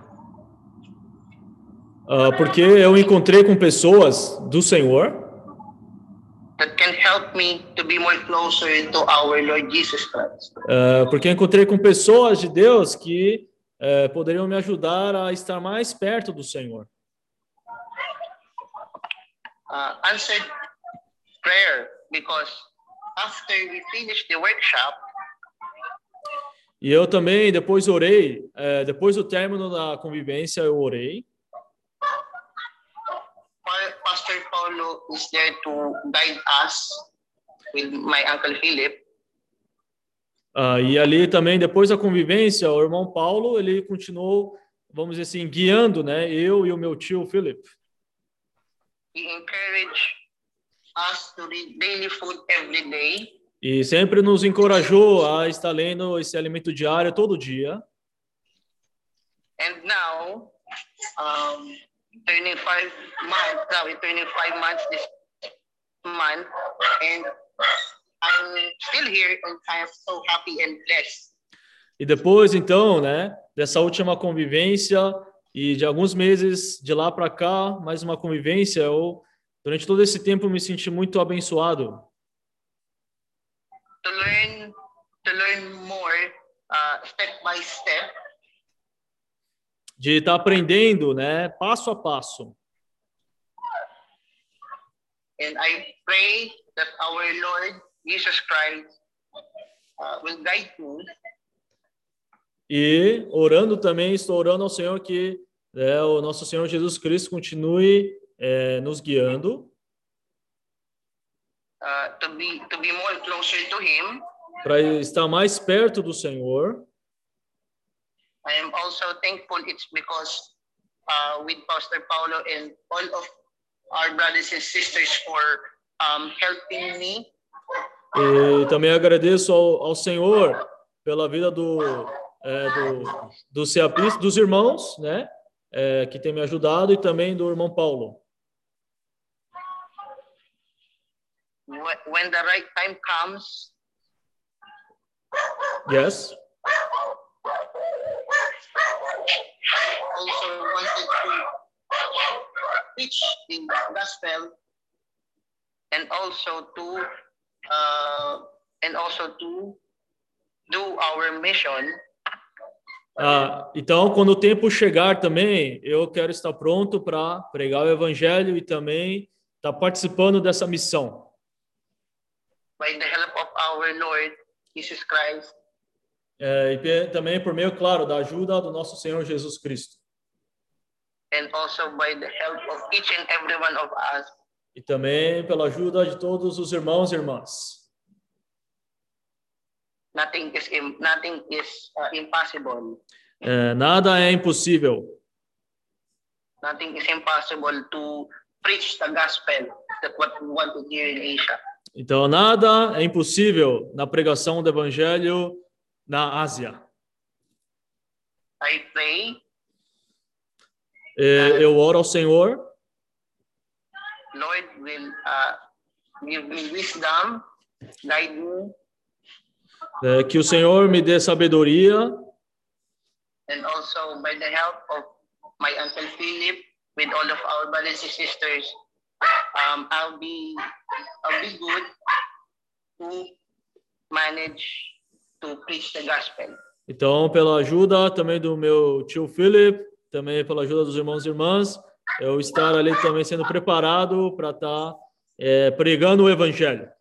Uh, porque eu encontrei com pessoas do Senhor That can help me to be more closer to our Lord Jesus Christ. Uh, porque eu encontrei com pessoas de Deus que uh, poderiam me ajudar a estar mais perto do Senhor. Uh, answered prayer, because after we finished the workshop, e eu também depois orei, uh, depois do término da convivência eu orei. Pastor Paulo is there to guide us with my uncle Philip. Uh, e ali também depois da convivência o irmão Paulo ele continuou, vamos dizer assim, guiando, né, eu e o meu tio Philip. He encouraged us to read daily food every day. E sempre nos encorajou a estar lendo esse alimento diário todo dia. And now, um, turning five months, now we're turning five months this month, and I'm still here and I am so happy and blessed. E depois, então, né, dessa última convivência e de alguns meses de lá para cá, mais uma convivência, eu, durante todo esse tempo, me senti muito abençoado. To learn, to learn more, uh, step by step. De estar aprendendo, né, passo a passo. And I pray that our Lord Jesus Christ uh, will guide me. E orando também, estou orando ao Senhor que é, o nosso Senhor Jesus Cristo continue é, nos guiando. Uh, to be to be more closer to Him. Para estar mais perto do Senhor. I am also thankful it's because uh, with Pastor Paulo and all of our brothers and sisters for um, helping me. E também agradeço ao, ao Senhor pela vida do, é, do, do C A P, dos irmãos, né, é, que tem me ajudado, e também do irmão Paulo. When the right time comes. Yes. Also wanted to preach the gospel and also to uh, and also to do our mission. Ah, então, quando o tempo chegar também, eu quero estar pronto para pregar o evangelho e também estar participando dessa missão. By the help of our Lord Jesus Christ. É, e também por meio, claro, da ajuda do nosso Senhor Jesus Cristo. And also by the help of each and every one of us. E também pela ajuda de todos os irmãos e irmãs. Nothing is nothing is uh, impossible. É, nada é impossível. Nothing is impossible to preach the gospel that what we want to hear in Asia. Então nada é impossível na pregação do evangelho na Ásia. I pray. É, eu oro ao Senhor. Lord will uh, give me wisdom, guide me. É, que o Senhor me dê sabedoria. And also by the help of my uncle Philip, with all of our brothers and sisters, um, I'll be I'll be good to manage to preach the gospel. Então, pela ajuda também do meu tio Philip também pela ajuda dos irmãos e irmãs, eu estar ali também sendo preparado para estar é, pregando o evangelho.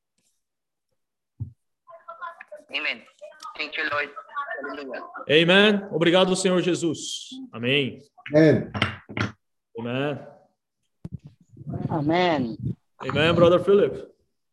Amen. Thank you, Lord. Hallelujah. Amen. Obrigado, Senhor Jesus. Amém. Amen. Amen. Amen. Amen, Brother Philip.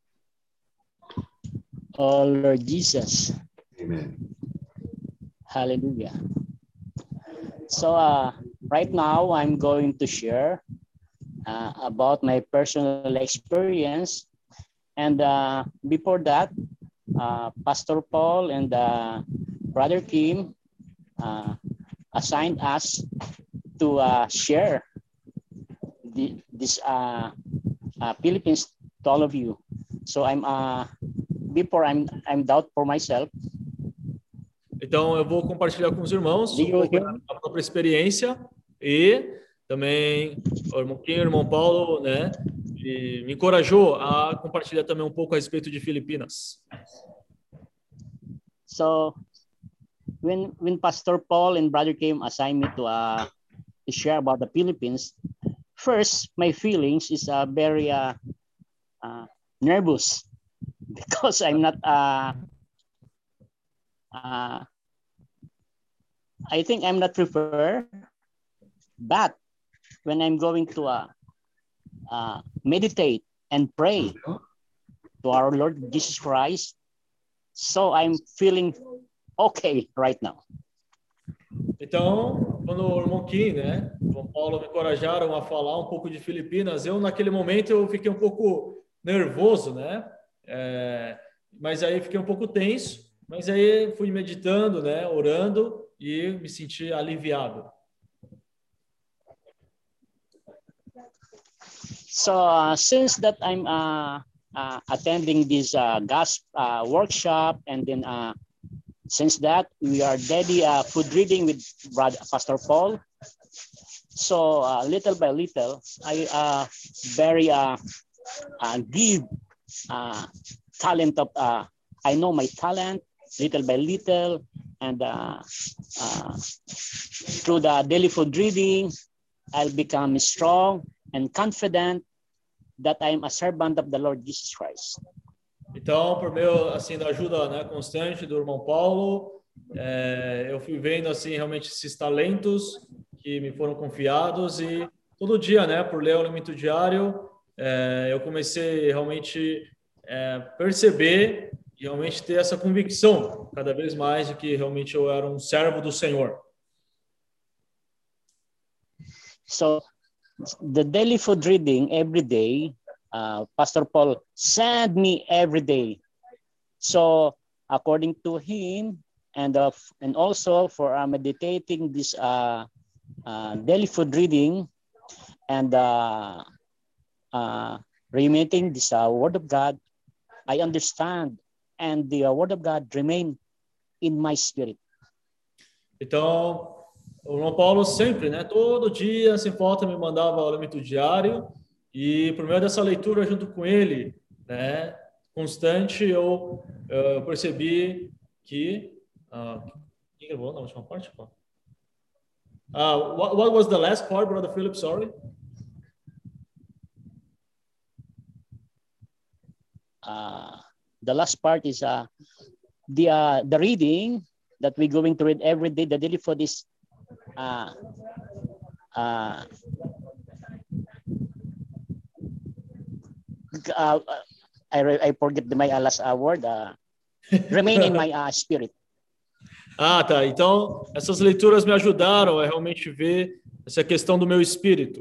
Oh, Lord Jesus. Amen. Hallelujah. So uh, right now I'm going to share uh, about my personal experience. And uh, before that, uh, Pastor Paul and uh, Brother Kim uh, assigned us to uh, share the, this uh, uh, Philippines to all of you. So I'm uh, before I'm I'm doubt for myself. Então eu vou compartilhar com os irmãos um pouco da própria experiência e também o irmão Kim, o irmão Paulo, né, e me encorajou a compartilhar também um pouco a respeito de Filipinas. So when when Pastor Paul and Brother Kim assigned me to uh to share about the Philippines, first my feelings is uh, very uh, uh, nervous because I'm not uh, uh, I think I'm not prepared, but when I'm going to uh, uh, meditate and pray to our Lord Jesus Christ, so I'm feeling okay right now. Então, quando o irmão Kim, né, o irmão Paulo me encorajaram a falar um pouco de Filipinas, eu naquele momento eu fiquei um pouco nervoso, né? É, mas aí fiquei um pouco tenso, mas aí fui meditando, né, orando e me senti aliviado. So uh, since that I'm uh, uh, attending this uh, gospel uh, workshop, and then uh, since that we are daily uh, food reading with Brother Pastor Paul, so uh, little by little I uh, very uh, uh, give uh, talent of uh, I know my talent little by little, and uh, uh, through the daily food reading I'll become strong and confident that I am a servant of the Lord Jesus Christ. Então, por meio assim da ajuda, né, constante do irmão Paulo, é, eu fui vendo assim realmente esses talentos que me foram confiados, e todo dia, né, por ler o alimento diário, é, eu comecei realmente é, perceber e realmente ter essa convicção cada vez mais de que realmente eu era um servo do Senhor. So the daily food reading every day, uh, Pastor Paul sent me every day. So according to him, and uh, and also for uh, meditating this uh, uh, daily food reading, and uh, uh, ruminating this uh, Word of God, I understand, and the uh, Word of God remain in my spirit. Então, o irmão Paulo sempre, né, todo dia, sem falta, me mandava o alimento diário, e por meio dessa leitura junto com ele, né, constante, eu, eu percebi que... Uh, que eu vou na última parte? Uh, what, what was the last part, Brother Philip? Sorry. Uh, the last part is uh, the uh, the reading that we're going to read every day. The daily food is uh, uh, uh, I I forget the, my uh, last uh, word. Uh, remain in my uh, spirit. Ah, tá. Então, essas leituras me ajudaram a realmente ver essa questão do meu espírito.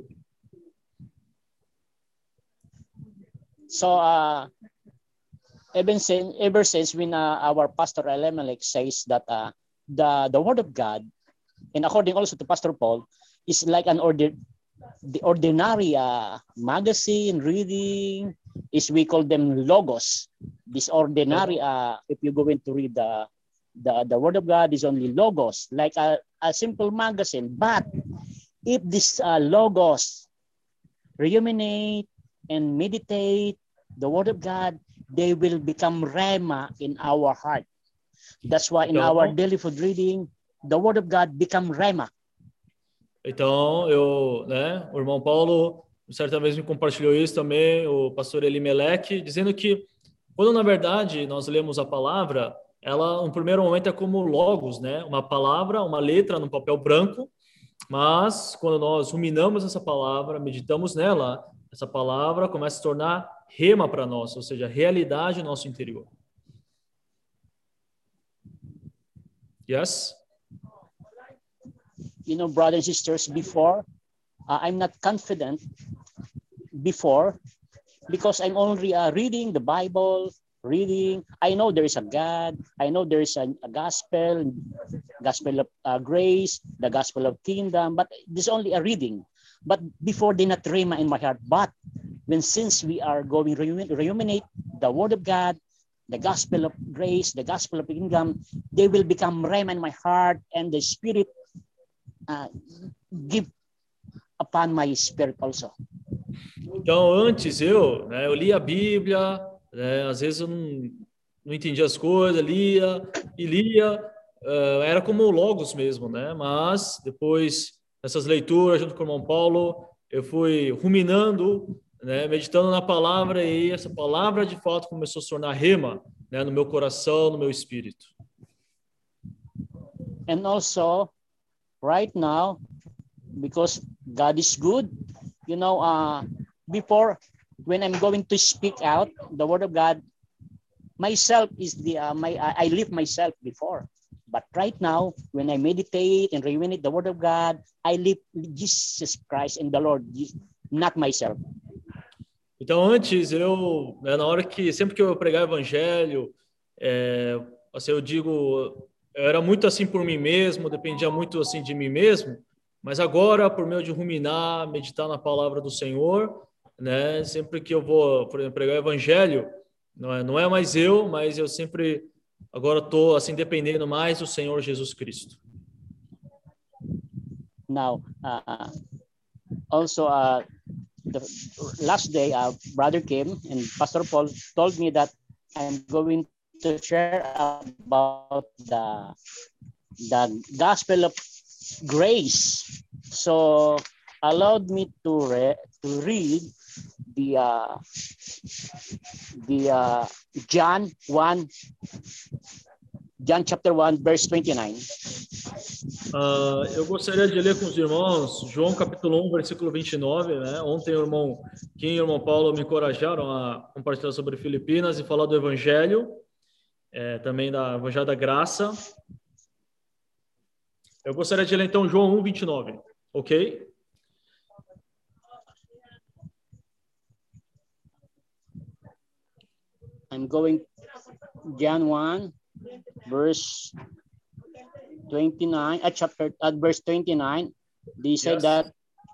So, uh, even since, ever since when uh, our pastor Elimelech says that uh, the the word of God, and according also to Pastor Paul, is like an order, the ordinary uh, magazine reading, is we call them logos. This ordinary, uh, if you're going to read the The, the word of God is only logos, like a, a simple magazine. But if this uh, logos ruminate and meditate the word of God, they will become rhema in our heart. That's why in our daily food reading, the word of God become rhema. Então, eu, né, o irmão Paulo, certa vez me compartilhou isso também, o pastor Elimelec, dizendo que, quando na verdade nós lemos a palavra, ela, no primeiro momento, é como logos, né? Uma palavra, uma letra no papel branco, mas quando nós ruminamos essa palavra, meditamos nela, essa palavra começa a se tornar rema para nós, ou seja, realidade no nosso interior. Yes? You know, brothers and sisters, before, uh, I'm not confident before because I'm only uh, reading the Bible, reading. I know there is a God. I know there is a, a gospel, gospel of uh, grace, the gospel of kingdom, but this is only a reading. But before, they not rhema in my heart. But when since we are going to ruminate the word of God, the gospel of grace, the gospel of kingdom, they will become rhema in my heart, and the Spirit uh, give upon my spirit also. Então, antes eu, né, eu lia a Bíblia, né, às vezes eu não, não entendia as coisas, lia e lia, uh, era como logos mesmo, né? Mas depois dessas leituras, junto com o irmão Paulo, eu fui ruminando, né, meditando na palavra, e essa palavra de fato começou a se tornar rema, né, no meu coração, no meu espírito. And also, right now, because God is good, you know, uh, before, when I'm going to speak out the word of God, myself is the, uh, my, I live myself before. But right now, when I meditate and ruminate the word of God, I live Jesus Christ and the Lord, not myself. Então, antes, eu, né, na hora que, sempre que eu pregar o evangelho, é, assim, eu digo, eu era muito assim por mim mesmo, dependia muito assim de mim mesmo, mas agora, por meio de ruminar, meditar na palavra do Senhor, né, sempre que eu vou, por exemplo, pregar o evangelho, não é, não é mais eu, mas eu sempre, agora estou assim, dependendo mais do Senhor Jesus Cristo. Now, uh, also, uh, the last day, uh, brother came and Pastor Paul told me that I'm going to share about the the gospel of grace. So allowed me to re to read the uh, the uh, John one, John chapter one, verse twenty-nine. Uh, eu gostaria de ler com os irmãos João capítulo um, versículo vinte e nove, né? Ontem o irmão Kim e o irmão Paulo me encorajaram a compartilhar sobre Filipinas e falar do Evangelho, é, também da Evangelho da Graça. Eu gostaria de ler então João um, vinte e nove, ok? I'm going John one, verse twenty-nine, at chapter at verse twenty-nine. They said yes. that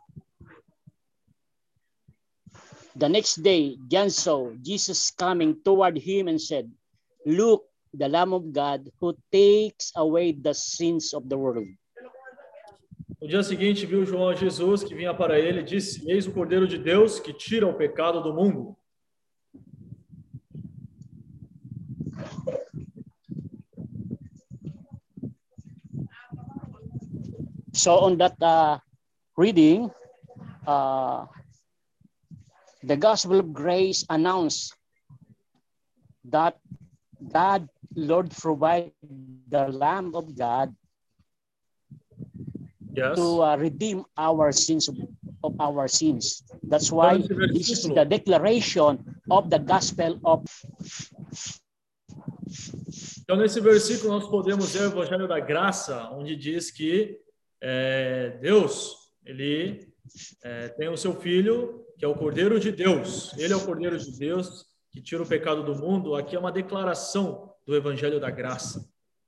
the next day John saw Jesus coming toward him and said, "Look, the Lamb of God who takes away the sins of the world." No dia seguinte viu João Jesus que vinha para ele e disse: "Eis o Cordeiro de Deus que tira o pecado do mundo." So on that uh, reading, uh, the gospel of grace announced that God, Lord, provide the Lamb of God yes. to uh, redeem our sins of, of our sins. That's why this is the declaration of the gospel of. Então, nesse versículo, nós podemos ver o Evangelho da Graça, onde diz que É, Deus, ele é, tem o seu Filho, que é o Cordeiro de Deus. Ele é o Cordeiro de Deus que tira o pecado do mundo. Aqui é uma declaração do Evangelho da Graça.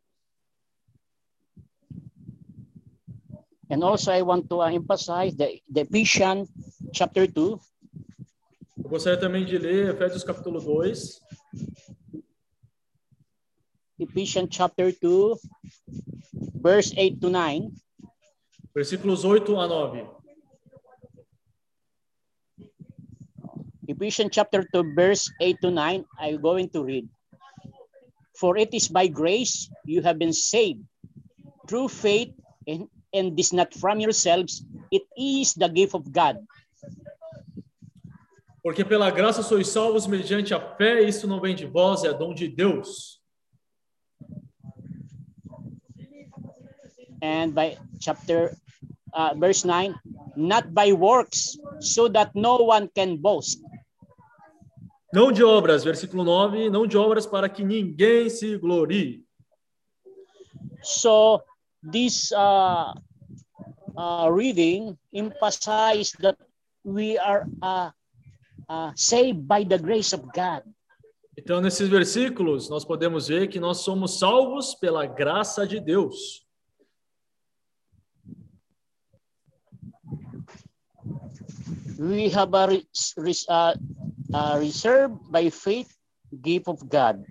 And also I want to emphasize the, the Ephesians chapter two. Eu gostaria também de ler Efésios capítulo dois. Ephesians chapter two, verse eight to nine. Versículos oito a nove. Ephesians chapter two, verse eight to nine, I'm going to read. For it is by grace you have been saved, through faith, and, and this not from yourselves, it is the gift of God. Porque pela graça sois salvos mediante a fé, isso não vem de vós, é dom de Deus. And by chapter uh, verse nine, not by works, so that no one can boast. Não de obras, versículo nove, não de obras para que ninguém se glorie. So this uh, uh, reading emphasizes that we are uh, uh, saved by the grace of God. Então, nesses versículos, nós podemos ver que nós somos salvos pela graça de Deus. We have a re re uh, uh, reserved by faith gift of God.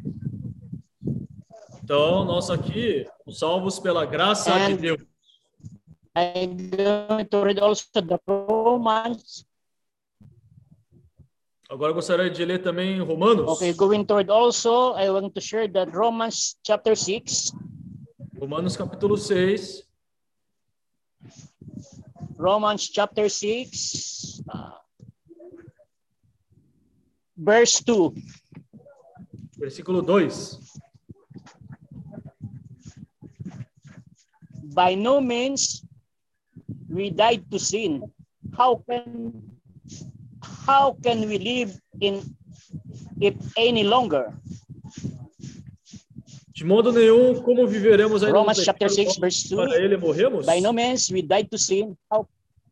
Então, nós aqui, salvos pela graça And de Deus. I'm going to read also the Romans. Agora eu gostaria de ler também Romanos. Okay, going to read also, I want to share that Romans chapter six. Romanos capítulo seis. Romans chapter six, uh, verse two. Versículo dois. By no means we died to sin. How can how can we live in it any longer? De modo nenhum, como viveremos ainda Romans no chapter pecado, six, verse two. para ele morremos? By no means we died to sin. How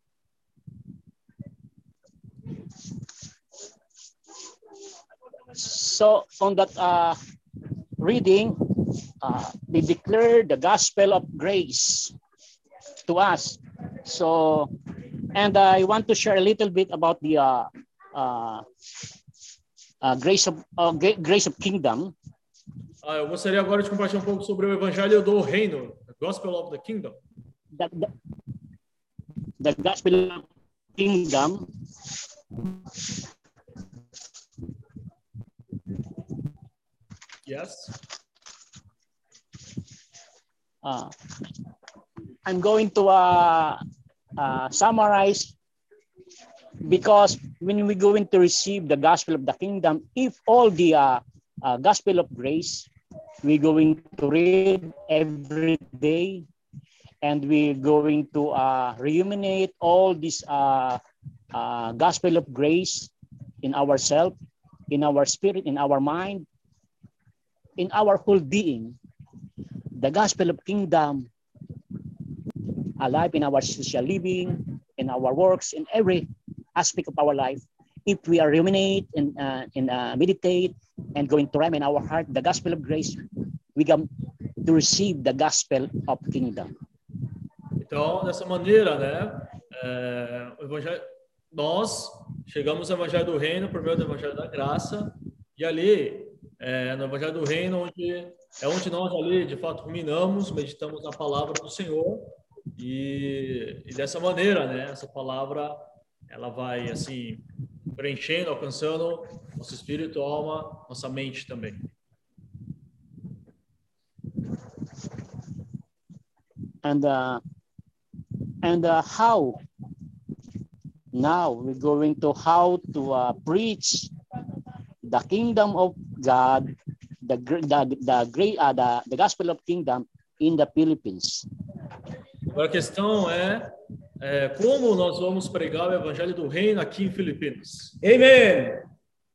So on that uh, reading, uh, they declare the gospel of grace to us. So, and I want to share a little bit about the uh, uh, uh, grace of uh, grace of kingdom. Ah, eu gostaria agora de compartilhar um pouco sobre o evangelho do reino, the gospel of the kingdom. The, the, the gospel of kingdom. Yes. Uh, I'm going to uh, uh, summarize, because when we're going to receive the gospel of the kingdom, if all the uh, uh, gospel of grace, we're going to read every day, and we're going to uh, ruminate all this uh, uh, gospel of grace in ourselves, in our spirit, in our mind, in our whole being. The gospel of kingdom alive in our social living, in our works, in every aspect of our life. If we are ruminate and, uh, and uh, meditate and going to rhyme in our heart the gospel of grace, we come to receive the gospel of kingdom. Então, dessa maneira, né, é, o evangelho, nós chegamos ao evangelho do reino por meio do evangelho da graça, e ali, é, no evangelho do reino, onde é onde nós ali, de fato, ruminamos, meditamos na palavra do Senhor, e, e dessa maneira, né, essa palavra, ela vai, assim, preenchendo, alcançando nosso espírito, alma, nossa mente também. And uh, and uh, how now we're going to how to uh, preach the kingdom of God, the the the great uh, the the gospel of kingdom in the Philippines. Agora a questão é, é como nós vamos pregar o evangelho do reino aqui em Filipinas. Amen.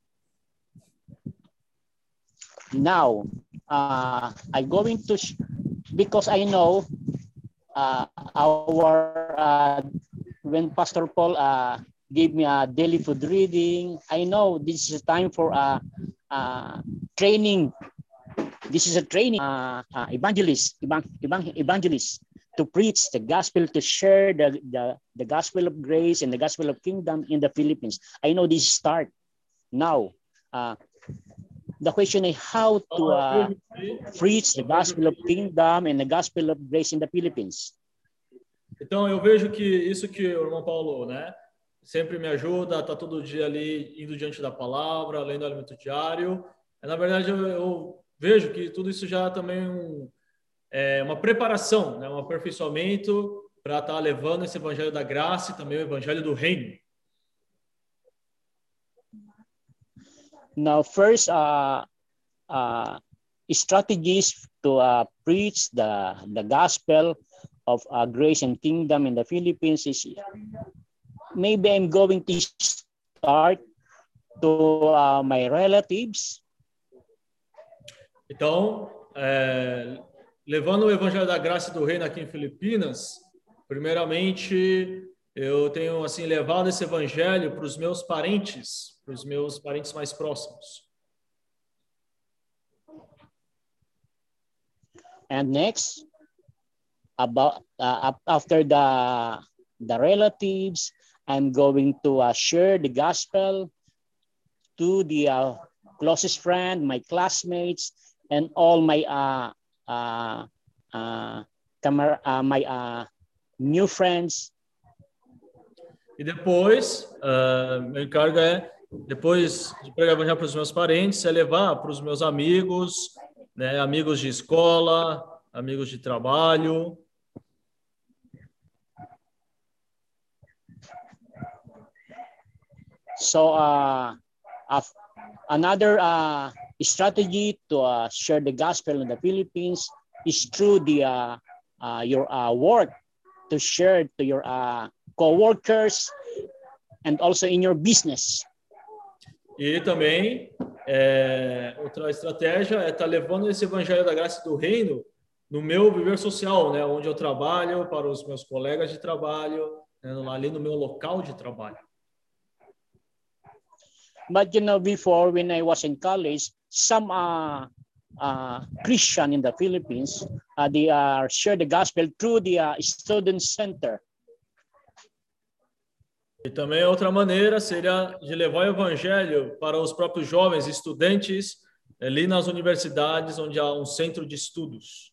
Now, uh, I'm going to because I know uh, our uh, when Pastor Paul uh, gave me a daily food reading, I know this is a time for a uh, uh, training. This is a training uh, uh, evangelist, evang evangelist to preach the gospel, to share the, the the gospel of grace and the gospel of kingdom in the Philippines. I know this start now. Uh, the question is how to uh, preach the gospel of kingdom and the gospel of grace in the Philippines. Então eu vejo que isso que o irmão Paulo, né, sempre me ajuda, tá todo dia ali indo diante da palavra, lendo o alimento diário. Na verdade eu, eu vejo que tudo isso já também é um, é uma preparação, né, um aperfeiçoamento para estar levando esse evangelho da graça e também o evangelho do reino. Now, first, uh, uh, strategies to uh, preach the, the gospel of uh, grace and kingdom in the Philippines is maybe I'm going to start to uh, my relatives. Então, é, levando o evangelho da graça e do reino aqui em Filipinas, primeiramente eu tenho assim levado esse evangelho para os meus parentes, para os meus parentes mais próximos. And next, about uh, after the the relatives, I'm going to uh, share the gospel to the uh, closest friend, my classmates, and all my uh uh uh, camar uh my uh new friends. E depois, uh, meu encargo é, depois de pregar o evangelho para os meus parentes, é levar para os meus amigos, né, amigos de escola, amigos de trabalho. So, uh, uh, another uh, strategy to uh, share the gospel in the Philippines is through the uh, uh, your uh, work, to share to your uh, co-workers and also in your business. E também, é, outra estratégia é estar levando esse evangelho da graça e do reino no meu viver social, né, onde eu trabalho, para os meus colegas de trabalho, né, ali no meu local de trabalho. But you know, before when I was in college, some uh, uh, Christian in the Philippines, uh, they uh, share the gospel through the uh, student center. E também outra maneira seria de levar o evangelho para os próprios jovens estudantes ali nas universidades, onde há um centro de estudos.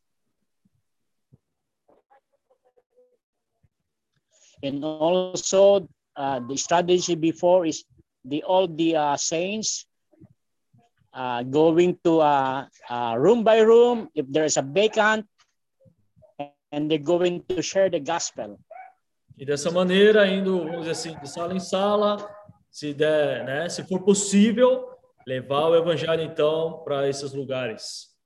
And also, uh, the strategy before is the all the uh, saints uh, going to uh, uh, room by room if there is a vacant, and they're going to share the gospel. E dessa maneira, indo, vamos dizer assim, de sala em sala, se der, né, se for possível, levar o evangelho então para esses lugares.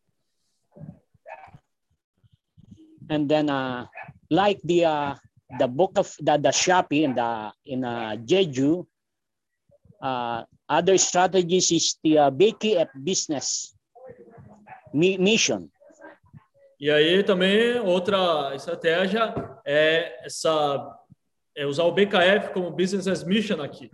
And then, uh, like the uh, the book of the, the Shopee in the in uh, Jeju, uh, other strategies is the uh, B K F business mission. E aí também outra estratégia é essa é usar o B K F como business as mission aqui.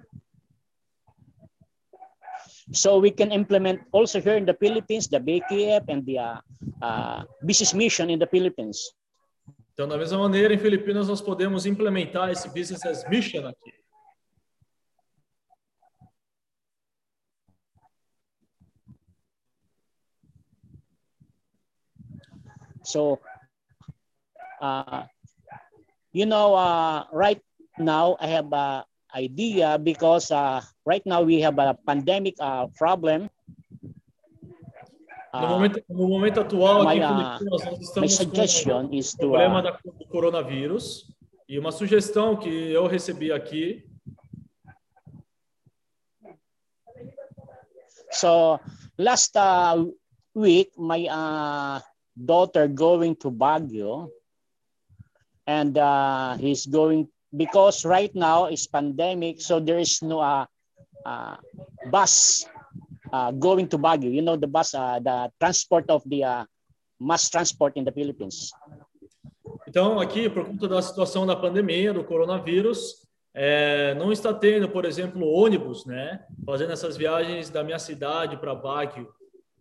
So we can implement also here in the Philippines the B K F and the uh, uh, business mission in the Philippines. Então, da mesma maneira, em Filipinas nós podemos implementar esse business as mission aqui. So, uh, you know, uh, right now I have an idea because uh, right now we have a pandemic uh, problem. No momento, no momento atual, aqui my, em uh, Filipinas, nós my estamos suggestion com is o to problema uh, da- do coronavírus. E uma sugestão que eu recebi aqui so last uh, week my uh, daughter going to Baguio, and uh, he's going because right now it's pandemic, so there is no uh, uh, bus uh, going to Baguio. You know the bus, uh, the transport of the uh, mass transport in the Philippines. Então, aqui, por conta da situação da pandemia, do coronavírus, é, não está tendo, por exemplo, ônibus, né, fazendo essas viagens da minha cidade para Baguio.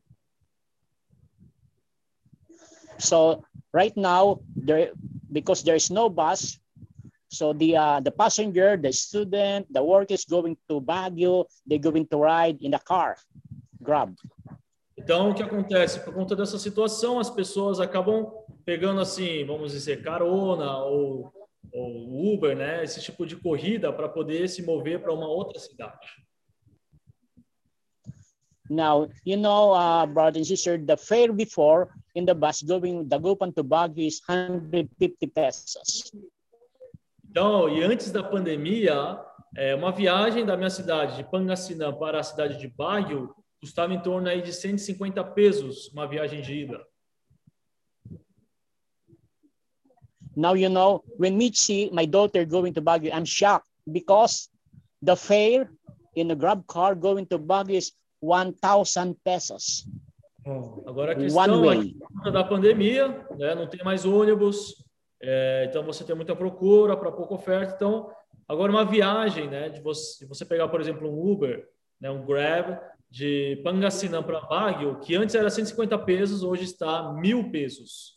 So right now, there because there is no bus, so the uh, the passenger, the student, the worker is going to Baguio. They're going to ride in the car, Grab. Então, o que acontece? Por conta dessa situação, as pessoas acabam pegando, assim, vamos dizer, carona ou, ou Uber, né, esse tipo de corrida para poder se mover para uma outra cidade. Now, you know, uh, brothers and sisters, the fare before in the bus going Dagupan to Baguio is one hundred fifty pesos. Então, e antes da pandemia, é, uma viagem da minha cidade de Pangasinan para a cidade de Baguio custava em torno aí de cento e cinquenta pesos, uma viagem de ida. Now, you know, when me see my daughter going to Baguio, I'm shocked because the fare in the Grab car going to Baguio is one thousand pesos. Agora a questão é que por conta da pandemia, né, não tem mais ônibus, é, então você tem muita procura para pouca oferta. Então, agora uma viagem, né, de você, de você pegar, por exemplo, um Uber, né, um Grab, de Pangasinan para Baguio, que antes era cento e cinquenta pesos, hoje está mil pesos.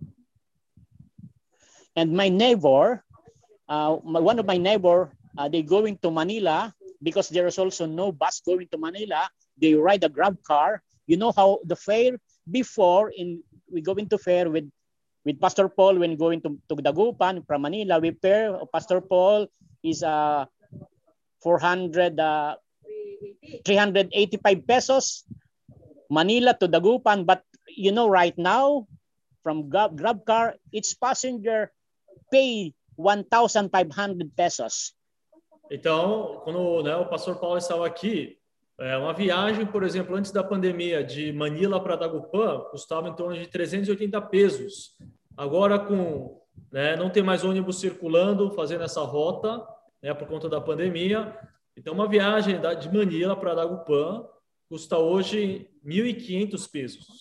And my neighbor, uh, my, one of my neighbor, uh, they going to Manila because there is also no bus going to Manila. They ride a Grab car. You know how the fare before in we go into fare with with Pastor Paul when going to, to Dagupan from Manila. We pair Pastor Paul is uh four hundred uh three hundred eighty-five pesos Manila to Dagupan. But you know right now from Grab, Grab car, each passenger pay one thousand five hundred pesos. Então, quando, né, o pastor Paulo estava aqui, é, uma viagem, por exemplo, antes da pandemia de Manila para Dagupan custava em torno de trezentos e oitenta pesos. Agora, com, né, não tem mais ônibus circulando, fazendo essa rota, né, por conta da pandemia. Então, uma viagem da, de Manila para Dagupan custa hoje mil e quinhentos pesos.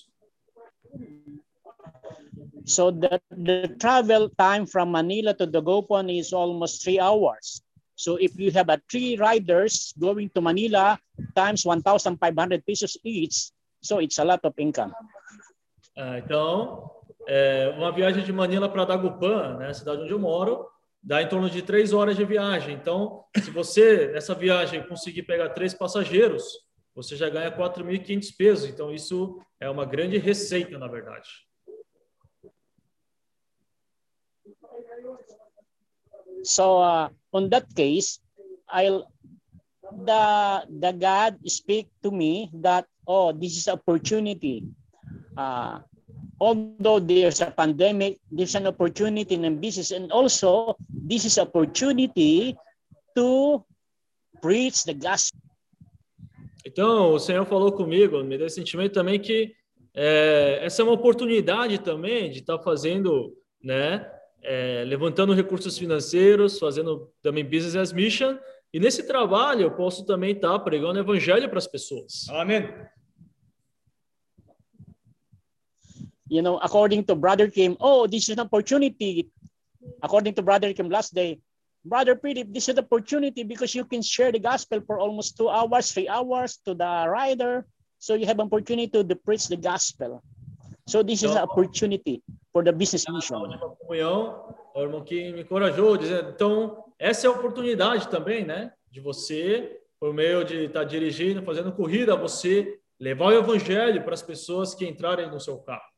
So the, the travel time from Manila to Dagupan is almost three hours. So if you have a three riders going to Manila times one thousand five hundred pesos each, so it's a lot of income. Ah, então, é, uma viagem de Manila para Dagupan, né, cidade onde eu moro, dá em torno de três horas de viagem. Então, se você, nessa viagem, conseguir pegar três passageiros, você já ganha quatro mil e quinhentos pesos. Então, isso é uma grande receita, na verdade. So uh, on that case, I'll the the God speak to me that, oh, this is opportunity. Uh, although there's a pandemic, there's an opportunity in business, and also this is opportunity to preach the gospel. Então, o Senhor falou comigo, me deu esse sentimento também que é, essa é uma oportunidade também de estar fazendo, né? É, levantando recursos financeiros, fazendo também business as mission, e nesse trabalho eu posso também estar pregando o evangelho para as pessoas. Amém. You know, according to Brother Kim, oh, this is an opportunity. According to Brother Kim last day, Brother Philip, this is an opportunity because you can share the gospel for almost two hours, three hours to the rider. So you have an opportunity to, to preach the gospel. So this is an opportunity for the business mission. Comunhão, o irmão que me encorajou, dizendo, então, essa é a oportunidade também, né? De você, por meio de estar dirigindo, fazendo corrida, você levar o evangelho para as pessoas que entrarem no seu carro.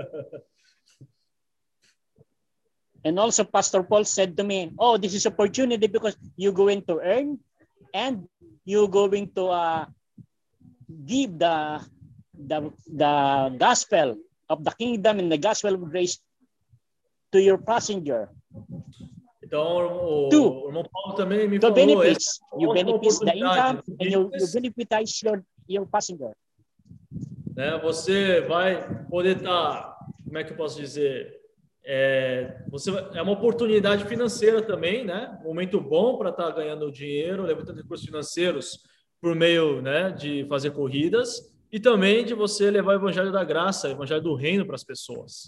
And also Pastor Paul said to me, oh, this is opportunity because you're going to earn and you're going to uh, give the, the, the gospel of the kingdom and the gospel of grace to your passenger. Então, o, Two, o irmão Paulo também me the falou, benefits, essa é you uma benefit the income oportunidade. and you, you benefitize your, your passenger. Né, você vai poder estar, como é que eu posso dizer, é, você, é uma oportunidade financeira também, né? Um momento bom para estar ganhando dinheiro, levantando recursos financeiros por meio, né, de fazer corridas. E também de você levar o evangelho da graça, o evangelho do reino para as pessoas.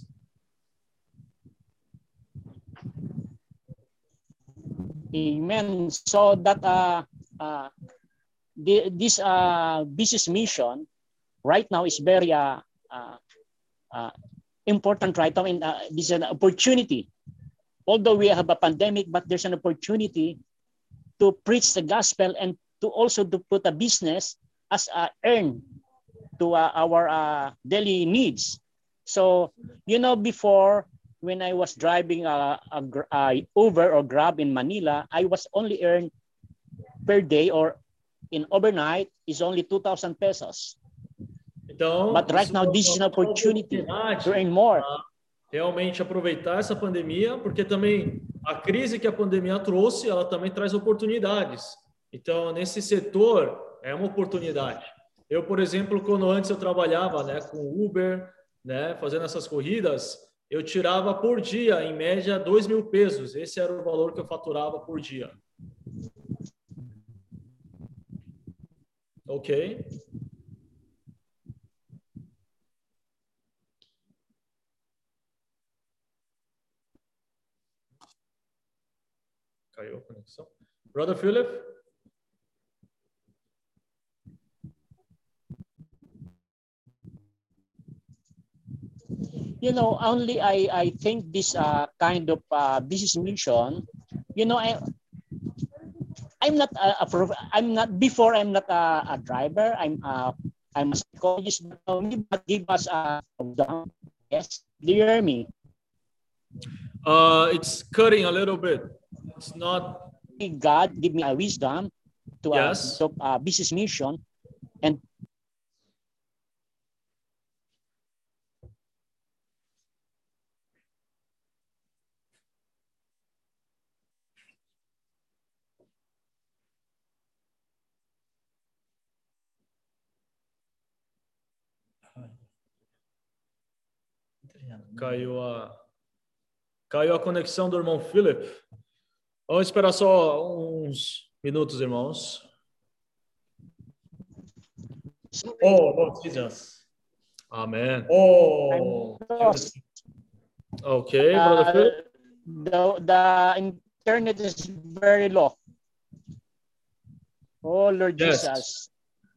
Amen. So that uh, uh, the, this uh, business mission right now is very uh, uh, uh, important right now. And uh, this is an opportunity. Although we have a pandemic, but there's an opportunity to preach the gospel and to also to put a business as a earn to uh, our uh, daily needs. So, you know, before when I was driving a, a, a Uber or Grab in Manila, I was only earned per day or in overnight is only two thousand pesos. Então, But right isso now, this is an é uma opportunity oportunidade to earn more. para realmente aproveitar essa pandemia, porque também a crise que a pandemia trouxe, ela também traz oportunidades. Então, nesse setor, é uma oportunidade. Eu, por exemplo, quando antes eu trabalhava, né, com Uber, né, fazendo essas corridas, eu tirava por dia, em média, dois mil pesos. Esse era o valor que eu faturava por dia. Ok? Caiu a conexão. Brother Philip? You know, only I, I think this uh, kind of uh, business mission, you know, I, I'm not a, a prof- I'm not before I'm not a, a driver. I'm uh, I'm a psychologist. But give us a yes. Do you hear me? Uh, it's cutting a little bit. It's not. God give me a wisdom to Yes. a, to a business mission, and Caiu a, caiu a conexão do irmão Philip. Vamos esperar só uns minutos, irmãos. Oh, Lord Jesus. Amen. Oh. Okay, Brother uh, Philip. the the internet is very low. Oh Lord Yes. Jesus.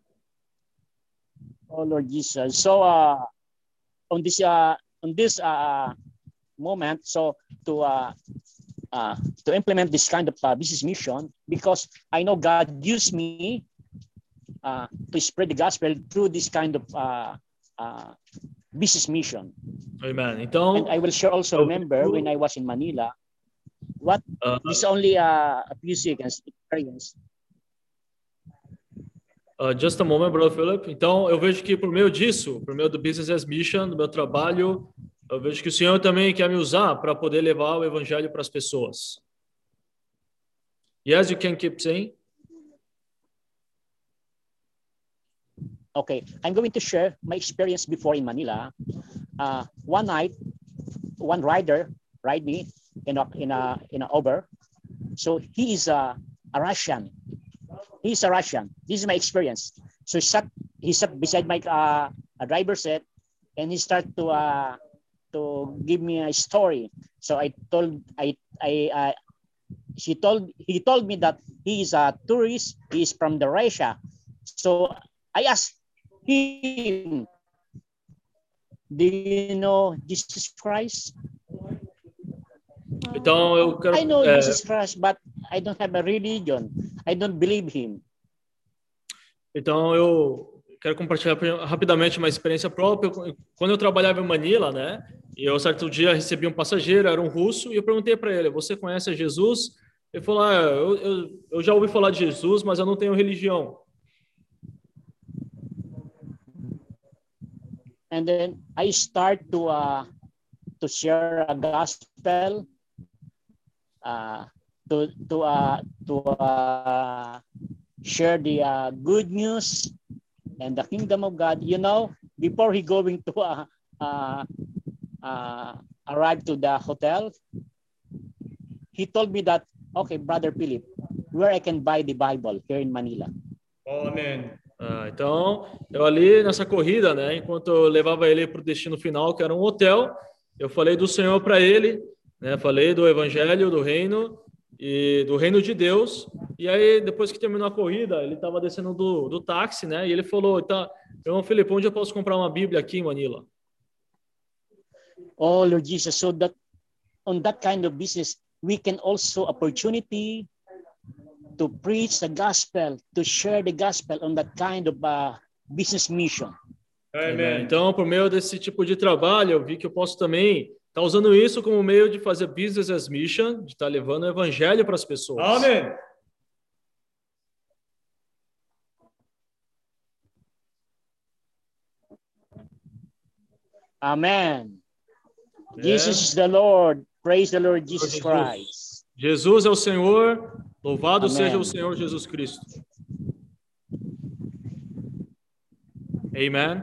Oh Lord Jesus. So uh, on this uh, on this uh, moment, so to uh, uh, to implement this kind of uh, business mission, because I know God used me uh, to spread the gospel through this kind of uh, uh, business mission. Amen. Então, and I will share also remember when I was in Manila, what uh, this only uh, a few seconds experience. Uh, just a moment, Brother Philip. Então, eu vejo que por meio disso, por meio do Business as Mission, do meu trabalho, eu vejo que o Senhor também quer me usar para poder levar o evangelho para as pessoas. Yes, you can keep saying. Okay, I'm going to share my experience before in Manila. Uh, one night, one rider ride me in a in a in a Uber. So he is a, a Russian. He's a Russian. This is my experience. So he sat he sat beside my uh, a driver seat, and he started to uh, to give me a story. So I told I I uh, she told he told me that he is a tourist. He is from the Russia. So I asked him, do you know Jesus Christ? Então eu quero. I know é, Jesus Christ, but I don't have a religion. I don't believe him. Então eu quero compartilhar rapidamente uma experiência própria. Quando eu trabalhava em Manila, né? E eu certo dia recebi um passageiro, era um russo, e eu perguntei para ele: "Você conhece Jesus?" Ele falou: ah, eu, eu, eu já ouvi falar de Jesus, mas eu não tenho religião. And then I start to uh, to share a gospel, uh, to to uh, to uh, share the uh, good news and the kingdom of God. You know, before he going to uh, uh, uh, arrive to the hotel, he told me that, okay, Brother Philip, where I can buy the Bible here in Manila. Amen. Ah, então, eu ali nessa corrida, né, enquanto eu levava ele para o destino final, que era um hotel, eu falei do Senhor para ele, né, falei do Evangelho, do Reino e do Reino de Deus. E aí, depois que terminou a corrida, ele estava descendo do, do táxi, né, e ele falou: "Tá, irmão Felipe, onde eu posso comprar uma Bíblia aqui em Manila?" Oh Lord Jesus, so that on that kind of business, we can also opportunity to preach the gospel, to share the gospel on that kind of uh, business mission. Amen. Então, por meio desse tipo de trabalho, eu vi que eu posso também estar usando isso como meio de fazer business as mission, de estar levando o evangelho para as pessoas. Amém. Amen. É. Jesus is the Lord. Praise the Lord Jesus, Jesus. Christ. Jesus é o Senhor. Louvado Amém. seja o Senhor Jesus Cristo. Amen.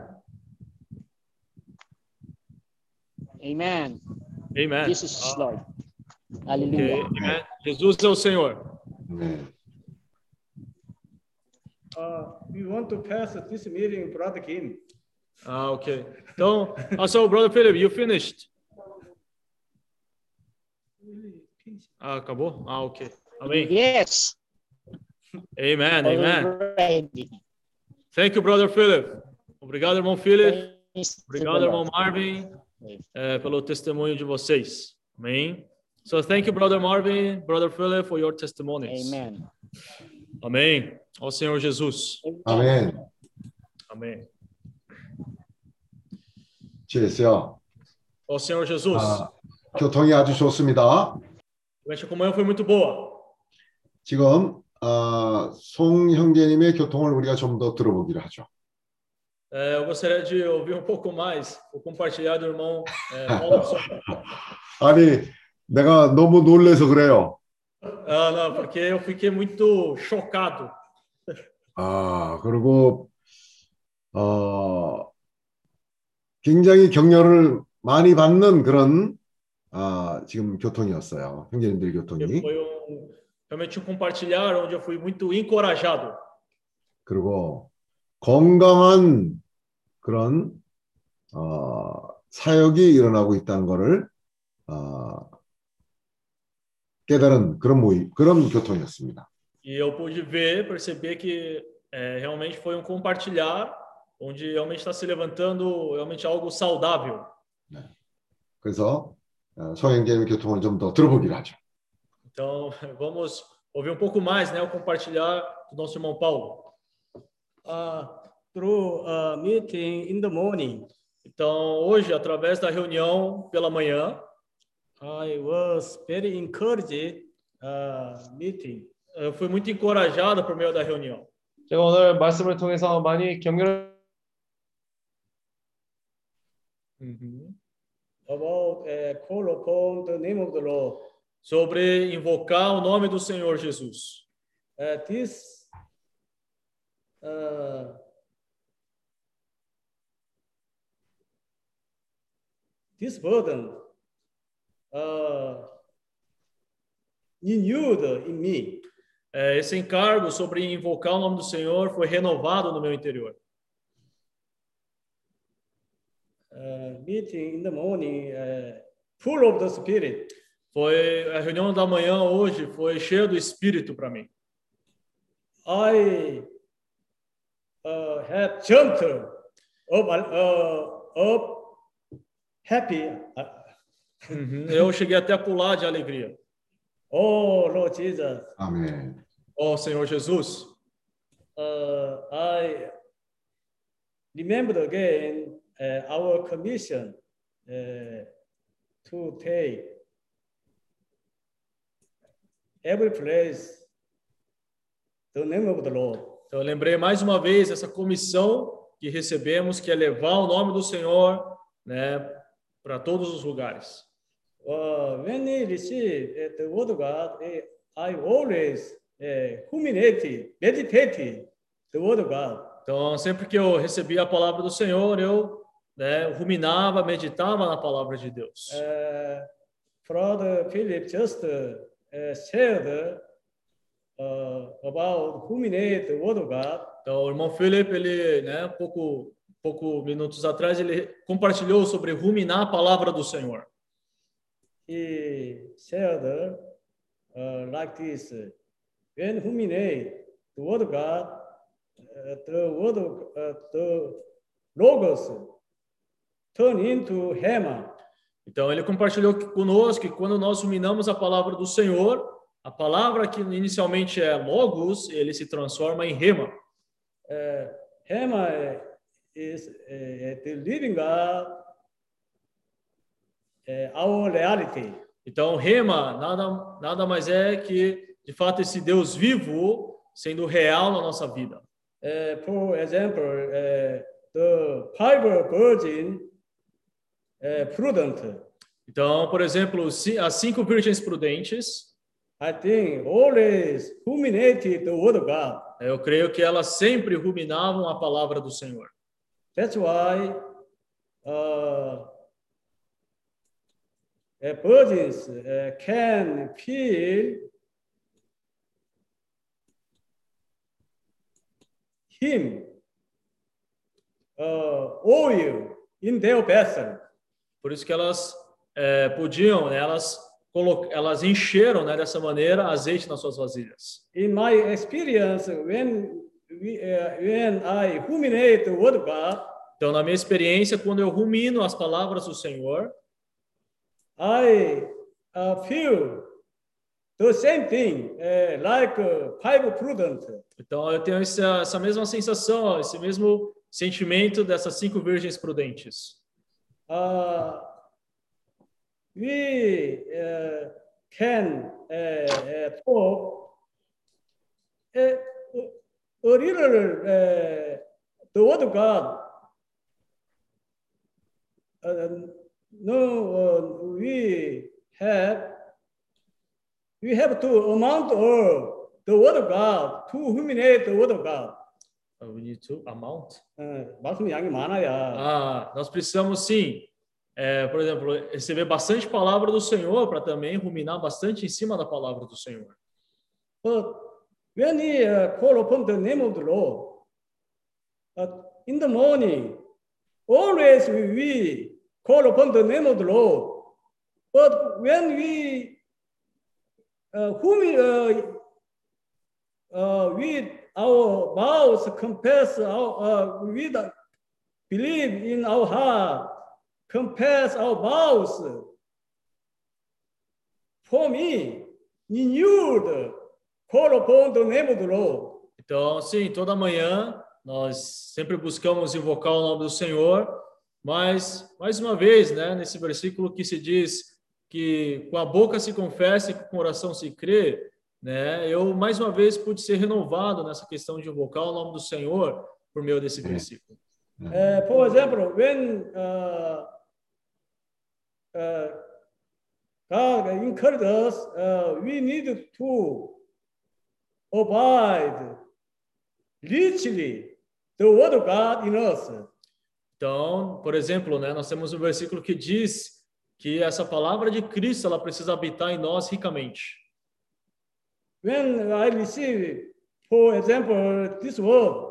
Amen. Amen. Jesus is Ah, Lord. ok. Hallelujah. Amen. Jesus é o Senhor. Amém. Uh, we want to pass this meeting, Brother Kim. Ah, ok. Então, ah, so, Brother Philip, you finished? Ah, acabou? Ah, ok. Amém. Yes. Amen, amen. Already. Thank you, Brother Philip. Obrigado, irmão Philip. Praise to the Obrigado, irmão Lord. Marvin, eh, pelo testemunho de vocês. Amém. So, thank you, Brother Marvin, Brother Philip, for your testimonies. Amen. Amém. Ao Senhor Jesus. 아멘. Amém. 주여. Ao Senhor Jesus. 아, 교통이 아주 좋습니다. Realmente a comunhão foi muito boa. 지금 아, 송 형제님의 교통을 우리가 좀 더 들어보기로 하죠. Eh, eu gostaria de ouvir um pouco mais, vou compartilhar do irmão eh, Paulo de Souza. 아니, 내가 너무 놀래서 그래요. Ah, não, porque eu fiquei muito chocado. 아, 그리고 어, 굉장히 격려를 많이 받는 그런 아, 지금 교통이었어요. 형제님들 교통이. Foi um, realmente um compartilhar onde eu fui muito encorajado. 그리고 건강한 그런 어, 사역이 일어나고 있다는 것을 어, 깨달은 그런 모임, 그런 교통이었습니다. E eu pude ver, perceber que eh, realmente foi um compartilhar onde realmente está se levantando realmente algo saudável. 네. 그래서 어, 송 형제님의 교통을 좀 더 들어보기로 하죠. Então, vamos ouvir um pouco mais, né, o compartilhar do nosso irmão Paulo. Uh, through a meeting in the morning, Então, hoje, através da reunião pela manhã, I was very encouraged uh, meeting. eu fui muito encorajado por meio da reunião. 제가 오늘 말씀을 통해서 많이 격려를 About uh, call upon the name of the Lord. Sobre invocar o nome do Senhor Jesus. Uh, this uh, this burden uh, renewed in me. É, esse encargo sobre invocar o nome do Senhor foi renovado no meu interior. Uh, meeting in the morning, uh, full of the Spirit. Foi a reunião da manhã hoje foi cheia do Espírito para mim. I uh, had jumped up, uh, up happy. Uhum. Eu cheguei até a pular de alegria. Oh, Lord Jesus. 아멘. Oh, Senhor Jesus. Uh, I remembered again uh, our commission uh, to take every place the name of the Lord. Então, eu lembrei mais uma vez essa comissão que recebemos, que é levar o nome do Senhor, né, para todos os lugares. Uh, when I receive uh, the word of God, uh, I always uh, ruminated, meditated the word of God. Então, sempre que eu recebia a palavra do Senhor, eu, né, ruminava, meditava na palavra de Deus. Uh, Brother Philip just uh, uh, shared uh, about ruminate the word of God. Então, o irmão Philip, ele, né, pouco, pouco minutos atrás, ele compartilhou sobre ruminar a palavra do Senhor. He shared uh, like this: when ruminate the word of God, uh, the word of uh, the logos turn into Hema. Então, ele compartilhou conosco que quando nós ruminamos a palavra do Senhor, a palavra que inicialmente é logos, ele se transforma em rema. Uh, Hema is uh, the living God, uh, our reality. Então, rema nada, nada mais é que, de fato, esse Deus vivo sendo real na nossa vida. Uh, for example, uh, the five virgin uh, prudent. Então, por exemplo, ci- as cinco virgens prudentes, I think always ruminated the word of God. eu creio que elas sempre ruminavam a palavra do Senhor. That's why uh, uh, virgins uh, can feel him uh, oil in their vessel. Por isso que elas eh, podiam, né, elas, colo- elas encheram, né, dessa maneira azeite nas suas vasilhas. In my experience, when we, uh, when I ruminate the word of God, Então, na minha experiência, quando eu rumino as palavras do Senhor, I uh, feel the same thing, uh, like uh, five prudent. então eu tenho essa, essa mesma sensação, ó, esse mesmo sentimento dessas cinco virgens prudentes. Uh, we uh, can uh, uh, talk uh, a little uh, the word of God. Uh, no, uh, we have we have to amount of the word of God to ruminate the word of God. Uh, we need to amount. 어, 말씀 양이 많아야. Ah, nós precisamos sim, é, por exemplo, receber bastante palavra do Senhor para também ruminar bastante em cima da palavra do Senhor. But when we uh, call upon the name of the Lord, uh, in the morning, always we, we call upon the name of the Lord. But when we, uh, whom we, uh, uh, with our mouths confess, our, uh, with uh, believe in our heart, confess our mouths, for me, renewed, call upon the name of the Lord. Então, sim, toda manhã nós sempre buscamos invocar o nome do Senhor, mas, mais uma vez, né, nesse versículo que se diz que com a boca se confessa e com o coração se crê, né, eu, mais uma vez, pude ser renovado nessa questão de invocar o nome do Senhor por meio desse versículo. Uh, for example, when uh, uh, God encouraged us, uh, we need to abide richly the word of God in us. Então, por exemplo, né, nós temos um versículo que diz que essa palavra de Cristo ela precisa habitar em nós ricamente. When I receive, for example, this word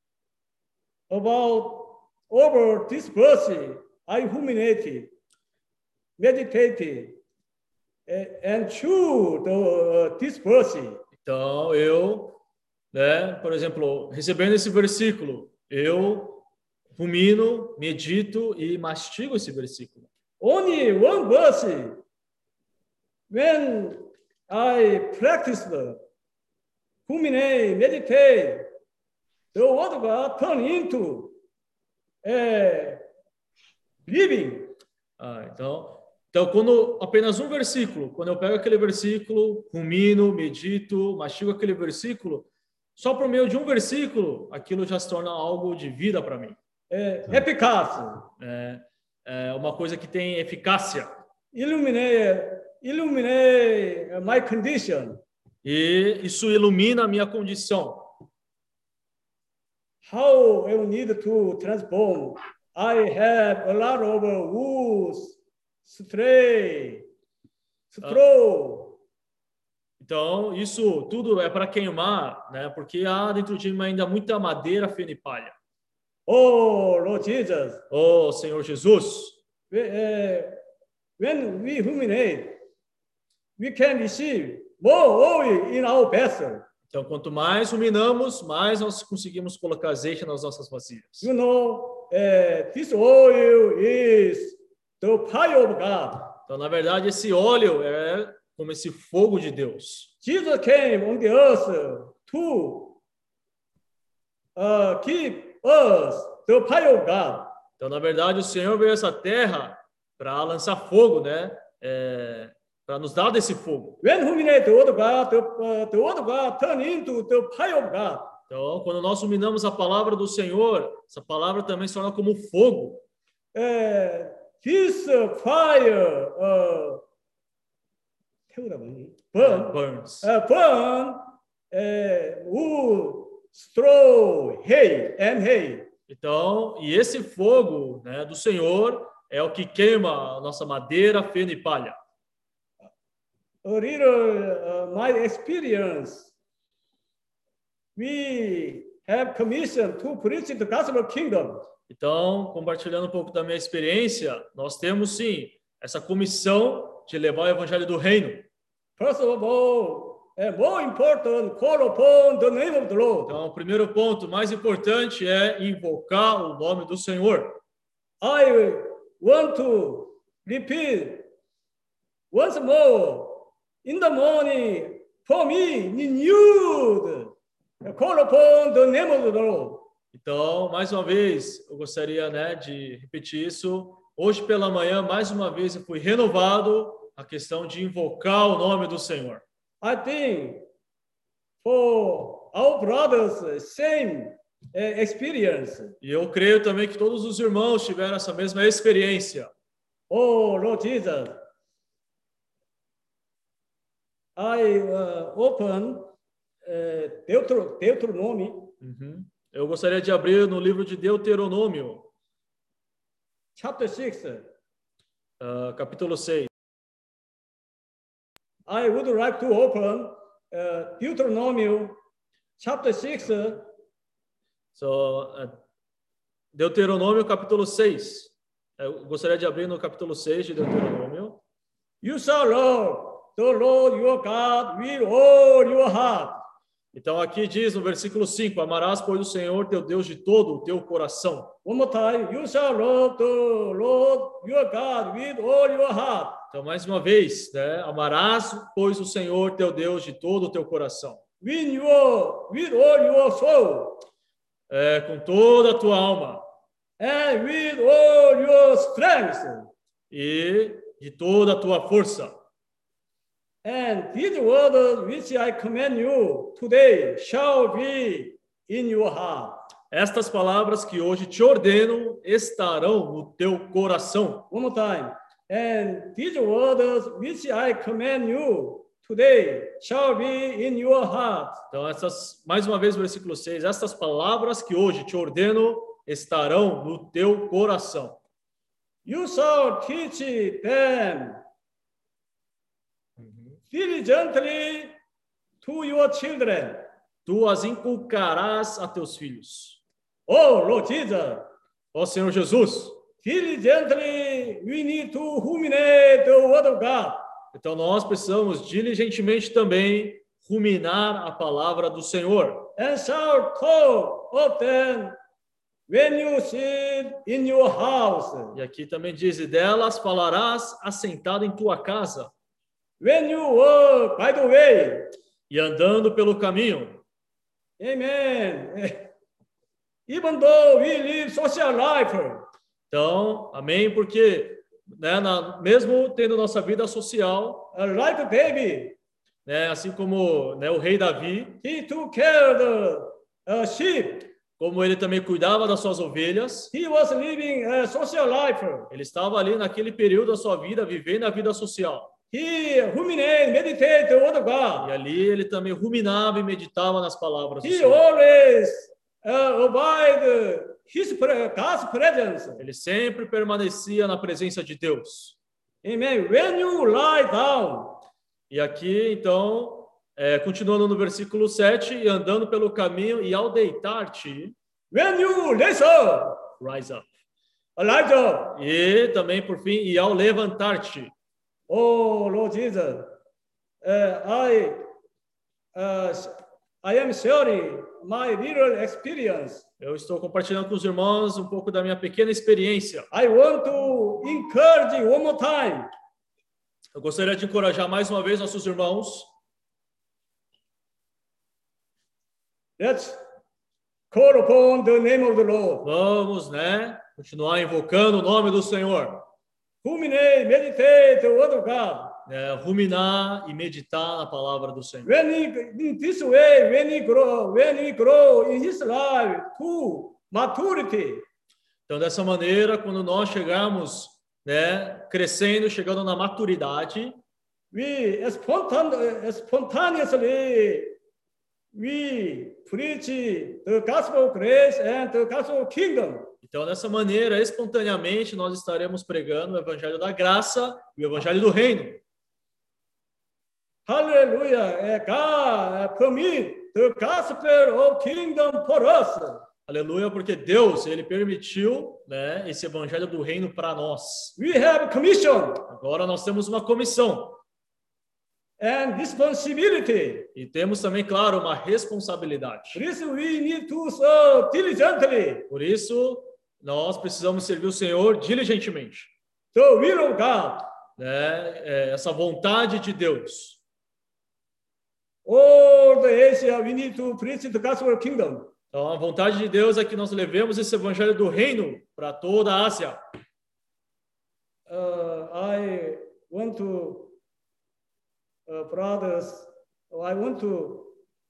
about over this verse, I ruminated, meditated, eh, and chew the, uh, this verse. Então, eu, né, por exemplo, recebendo esse versículo, eu rumino, medito e mastigo esse versículo. Only one verse, when I practiced, ruminate, meditate, the word of God turned into a living. Ah, então, então, quando apenas um versículo, quando eu pego aquele versículo, rumino, medito, mastigo aquele versículo, só por meio de um versículo, aquilo já se torna algo de vida para mim. É, eficaz. É, é uma coisa que tem eficácia. Illuminate, illuminate my condition. E isso ilumina a minha condição. How I need to transform. I have a lot of wounds, stray, straw. Então, isso tudo é para queimar, né? Porque há dentro de mim ainda muita madeira, feno e palha. Oh, Lord Jesus. Oh, Senhor Jesus. When we ruminate, we can receive more oil in our vessel. Então, quanto mais ruminamos, mais nós conseguimos colocar azeite nas nossas vasilhas. You know, uh, this oil is the fire of God. Então, na verdade, esse óleo é como esse fogo de Deus. Jesus came on the earth to uh, give us the fire of God. Então, na verdade, o Senhor veio a essa terra para lançar fogo, né? É, para nos dar desse fogo. When ruminate the word of God, the, uh, the word of God turn into the fire of God. Então, quando nós ruminamos a palavra do Senhor, essa palavra também se torna como fogo. Uh, his uh, fire uh, 태우라고 하니? burn, burns. uh, burn uh, wood, straw, hay, and hay. Então, e esse fogo, né, do Senhor é o que queima a nossa madeira, feno e palha. A little uh, my experience, we have commission to preach the gospel kingdom. Então, compartilhando um pouco da minha experiência, nós temos sim essa comissão de levar o evangelho do reino. First of all, uh, more important, call upon the name of the Lord. Então, o primeiro ponto mais importante é invocar o nome do Senhor. I want to repeat once more. In the morning, for me, renewed, call upon the name of the Lord. Então, mais uma vez, eu gostaria, né, de repetir isso. Hoje pela manhã, mais uma vez, eu fui renovado a questão de invocar o nome do Senhor. I think for our brothers, same uh, experience. E eu creio também que todos os irmãos tiveram essa mesma experiência. Oh, Lord Jesus. I uh, open uh, Deutero, Deuteronomy. Uhum. Eu gostaria de abrir no livro de Deuteronômio. Chapter six. Uh, capítulo seis. I would like to open uh, Deuteronomy chapter six. So, uh, Deuteronômio capítulo seis. Eu gostaria de abrir no capítulo seis de Deuteronômio. You shall love the Lord your God with all your heart. Então aqui diz no versículo cinco, amarás, pois, o Senhor teu Deus de todo o teu coração. One more time, you shall love the Lord your God with all your heart. Então mais uma vez, né? Amarás, pois, o Senhor teu Deus de todo o teu coração. With your, with all your soul. É, com toda a tua alma. And with all your strength. E de toda a tua força. And these words which I command you today shall be in your heart. Estas palavras que hoje te ordeno estarão no teu coração. One more time. And these words which I command you today shall be in your heart. Então, essas, mais uma vez, versículo seis. Estas palavras que hoje te ordeno estarão no teu coração. You shall teach them diligently to your children. Tu as inculcarás a teus filhos. Oh, Lord Jesus. Ó Senhor Jesus. Diligently we need to ruminate the word of God. Então nós precisamos diligentemente também ruminar a palavra do Senhor. And shall talk of them when you sit in your house. E aqui também diz, e delas falarás assentado em tua casa. When you walk by the way. E andando pelo caminho. Amen. Even though we live social life. Então, amém, porque né, na, mesmo tendo nossa vida social, uh, like David, né, assim como né, o rei Davi, he took care of the uh, sheep. Como ele também cuidava das suas ovelhas, he was living a social life. Ele estava ali naquele período da sua vida vivendo a vida social. He ruminated, meditated the word of God. E ali ele também ruminava e meditava nas palavras do he Senhor. Always uh, abide his God's presence. Ele sempre permanecia na presença de Deus. Amen. When you lie down. E aqui, então, é, continuando no versículo sete, e andando pelo caminho, e ao deitar-te, when you rise up, rise up. Rise up. E também, por fim, e ao levantar-te. Oh, Lord Jesus, uh, I, uh, I am sharing my little experience. Eu estou compartilhando com os irmãos um pouco da minha pequena experiência. I want to encourage one more time. Eu gostaria de encorajar mais uma vez nossos irmãos. Let's call upon the name of the Lord. Vamos, né? Continuar invocando o nome do Senhor. Ruminate, meditate the word of God. É, ruminar e meditar na palavra do Senhor. When he, in this way, when he grow, when he grow in his life to maturity. Então, dessa maneira, quando nós chegarmos né, crescendo, chegando na maturidade, we spontan- spontaneously we preach the gospel of grace and the gospel of kingdom. então dessa maneira, espontaneamente, nós estaremos pregando o evangelho da graça e o evangelho do reino. Hallelujah. God permit the gospel of kingdom for us. Aleluia, porque Deus, ele permitiu, né, esse evangelho do reino para nós. We have commission Agora nós temos uma comissão. and responsibility. E temos também, claro, uma responsabilidade. For this we need to serve diligently Por isso, nós precisamos servir o Senhor diligentemente. the will of God. Né? É, essa vontade de Deus. All the Asia we need to preach the gospel of kingdom. Então, a vontade de Deus é que nós levemos esse evangelho do reino para toda a Ásia. Uh, I want to, uh, brothers, I want to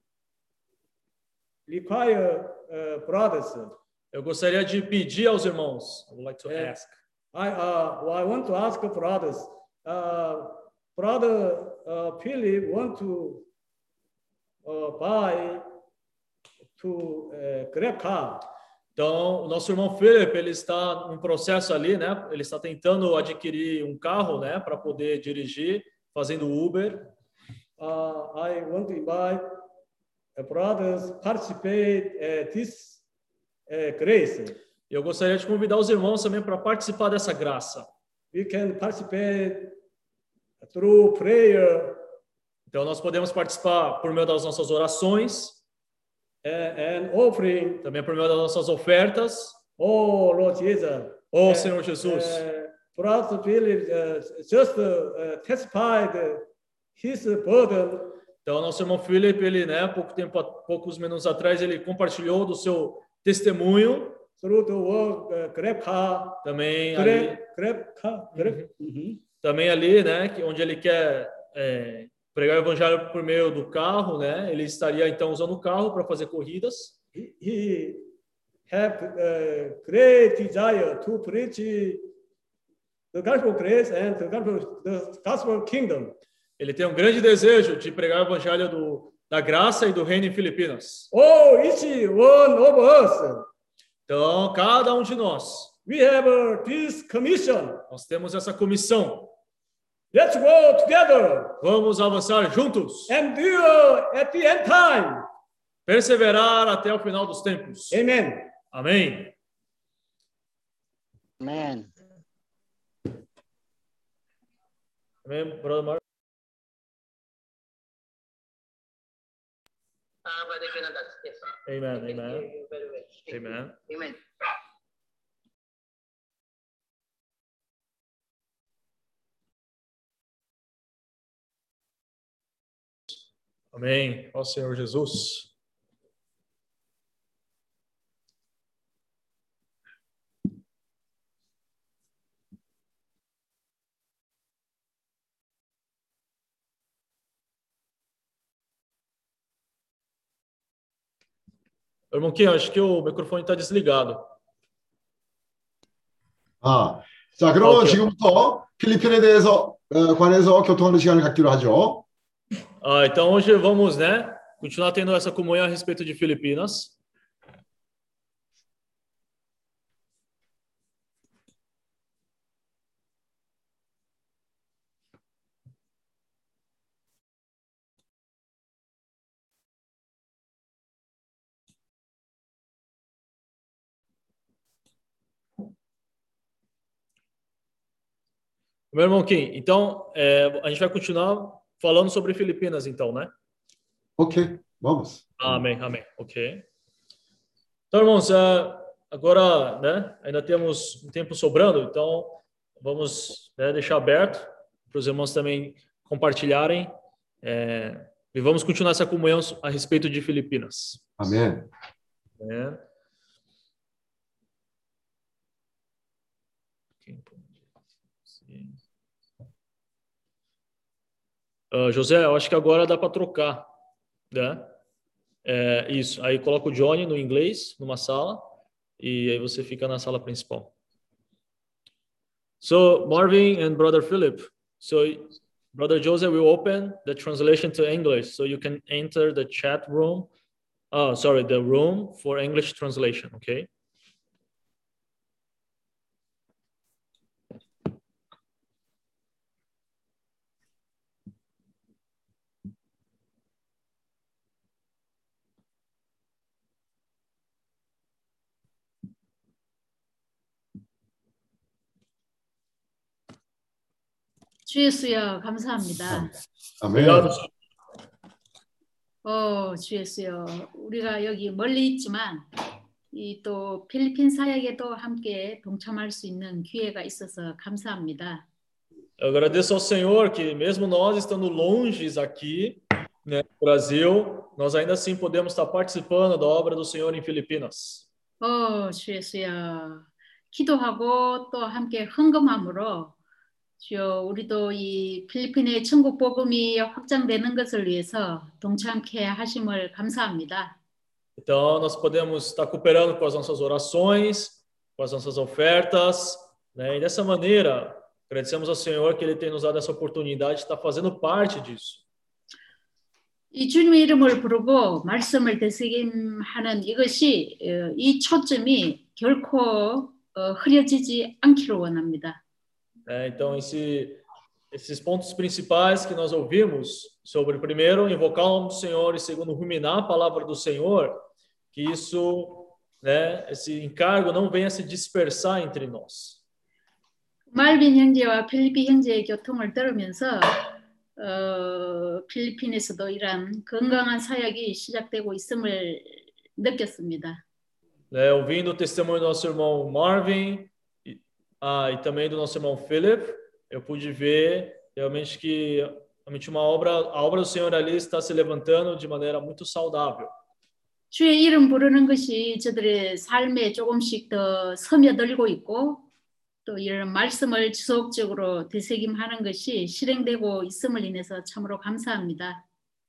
require uh, brothers. Eu gostaria de pedir aos irmãos. I would like to Yeah. ask. I uh, I want to ask brothers. Uh, brother uh, Philip want to uh, buy to uh, grab car. Então, o nosso irmão Philip, ele está num processo ali, né? Ele está tentando adquirir um carro, né, para poder dirigir, fazendo Uber. Uh, I want to invite uh, brothers participate uh, this uh, grace. Eu gostaria de convidar os irmãos também para participar dessa graça. We can participate through prayer. Então, nós podemos participar por meio das nossas orações. And offering. Também por meio das nossas ofertas. Oh, Lord Jesus. Oh, uh, Senhor Jesus. Uh, Brother Philip uh, just uh, testified his burden. Então, nosso irmão Philip, ele, né, pouco tempo, poucos minutos atrás, ele compartilhou do seu testemunho. Through the work, uh, grab car. Também grab, ali, grab car. Grab. Uhum. Também ali, né, que onde ele quer é, pregar o evangelho por meio do carro, né? Ele estaria então usando o carro para fazer corridas. He, he have a great desire to preach the gospel of grace and the gospel, the gospel kingdom. Ele tem um grande desejo de pregar o evangelho do, da graça e do reino em Filipinas. Oh, each one of us. Então, cada um de nós. We have this commission. Nós temos essa comissão. Let's go together. Vamos avançar juntos. Endure at the end time. Perseverar até o final dos tempos. Amen. Amém. Amen. Amém, brother Mark. Uh, Brother Jonathan, yes. Amen. Thank Amen. you very much. Thank Amen. you. Amen. Amém. Ó Senhor Jesus. Irmão Kim, acho que o microfone está desligado. 아, 자, 그러면 오케이. 지금부터 필리핀에 대해서 어, 관해서 교통하는 시간을 갖기로 하죠. Ah, então hoje vamos, né, continuar tendo essa comunhão a respeito de Filipinas. Meu irmão Kim, então é, a gente vai continuar falando sobre Filipinas, então, né? Ok, vamos. Amém, amém. Ok. Então, irmãos, uh, agora, né, ainda temos um tempo sobrando, então vamos, né, deixar aberto para os irmãos também compartilharem é, e vamos continuar essa comunhão a respeito de Filipinas. Amém. É. Uh, José, eu acho que agora dá para trocar, né? É, isso, aí coloca o Johnny no inglês, numa sala, e aí você fica na sala principal. So Marvin and Brother Philip, so Brother Joseph will open the translation to English, so you can enter the chat room. Oh, sorry, the room for English translation, okay? 주 예수여 감사합니다. 아멘. 어, 주 예수여 우리가 여기 멀리 있지만 이 또 필리핀 사역에도 함께 동참할 수 있는 기회가 있어서 감사합니다. Eu agradeço ao Senhor que mesmo nós estando longe aqui, né, no Brasil, nós ainda assim podemos estar participando da obra do Senhor em Filipinas. 어, 주 예수여 기도하고 또 함께 헌금함으로 주여 우리도 이 필리핀의 천국 복음이 확장되는 것을 위해서 동참케 하심을 감사합니다. Então, nós podemos estar cooperando com as nossas orações, com as nossas ofertas, né? E dessa maneira, agradecemos ao Senhor que Ele tem nos dado essa oportunidade de estar fazendo parte disso. 이 주님의 이름을 부르고 말씀을 되새김하는 이것이 이 초점이 결코 흐려지지 않기를 원합니다. É, então, esse, esses pontos principais que nós ouvimos sobre, primeiro, invocar o nome do Senhor e, segundo, ruminar a palavra do Senhor, que isso, né, esse encargo não venha se dispersar entre nós. 말빈 형제와 필리핀 형제의 교통을 들으면서 어, 필리핀에서도 이러한 건강한 사역이 시작되고 있음을 느꼈습니다. Né, ouvindo o testemunho do nosso irmão Marvin, Ah, e também do nosso irmão Philip, eu pude ver realmente que realmente uma obra, a obra do Senhor ali está se levantando de maneira muito saudável. 주의 이름 부르는 것이 저들의 삶에 조금씩 더 스며들고 있고 또 이런 말씀을 지속적으로 되새김하는 것이 실행되고 있음을 인해서 참으로 감사합니다.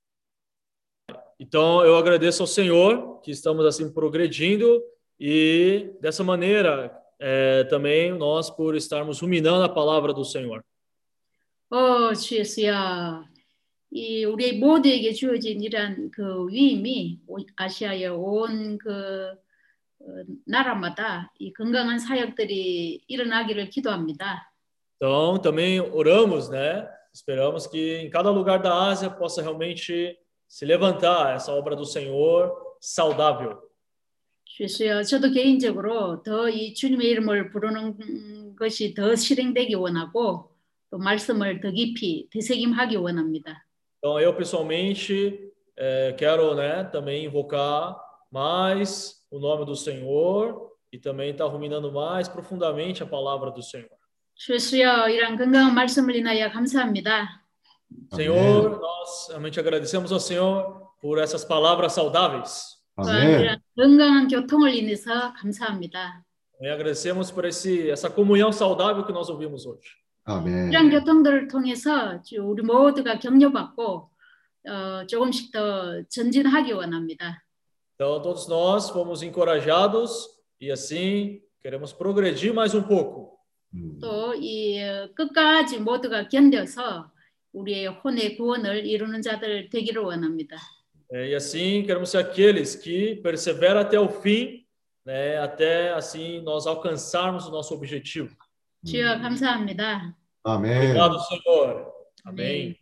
Então eu agradeço ao Senhor que estamos assim progredindo e dessa maneira É, também nós por estarmos ruminando a palavra do Senhor. 어, 주 예수야, 이 우리 모두에게 주어진 이런 그 위임이 아시아의 온 그 나라마다 이 건강한 사역들이 일어나기를 기도합니다. Então também oramos, né? Esperamos que em cada lugar da Ásia possa realmente se levantar essa obra do Senhor saudável. 주여, 저도 개인적으로 더 이 주님의 이름을 부르는 것이 더 실행되기 원하고 또 말씀을 더 깊이 되새김하기 원합니다. Então eu pessoalmente eh, quero, né, também invocar mais o nome do Senhor e também estar ruminando mais profundamente a palavra do Senhor. 주여, 이런 건강한 말씀을 인하여 감사합니다. Senhor, nós realmente agradecemos ao Senhor por essas palavras saudáveis. Amém. 건강한 교통을 인해서 감사합니다. E agradecemos por esse essa comunhão saudável que nós ouvimos hoje. 아멘. 이런 교통들을 통해서 우리 모두가 격려받고 어, 조금씩 더 전진하기 원합니다. Então todos nós fomos encorajados e assim queremos progredir mais um pouco. 또 이 끝까지 모두가 견뎌서 우리의 혼의 구원을 이루는 자들 되기를 원합니다. E assim queremos ser aqueles que perseveram até o fim, né, até assim nós alcançarmos o nosso objetivo. 주여 감사합니다. 아멘. Obrigado, Senhor. Amém.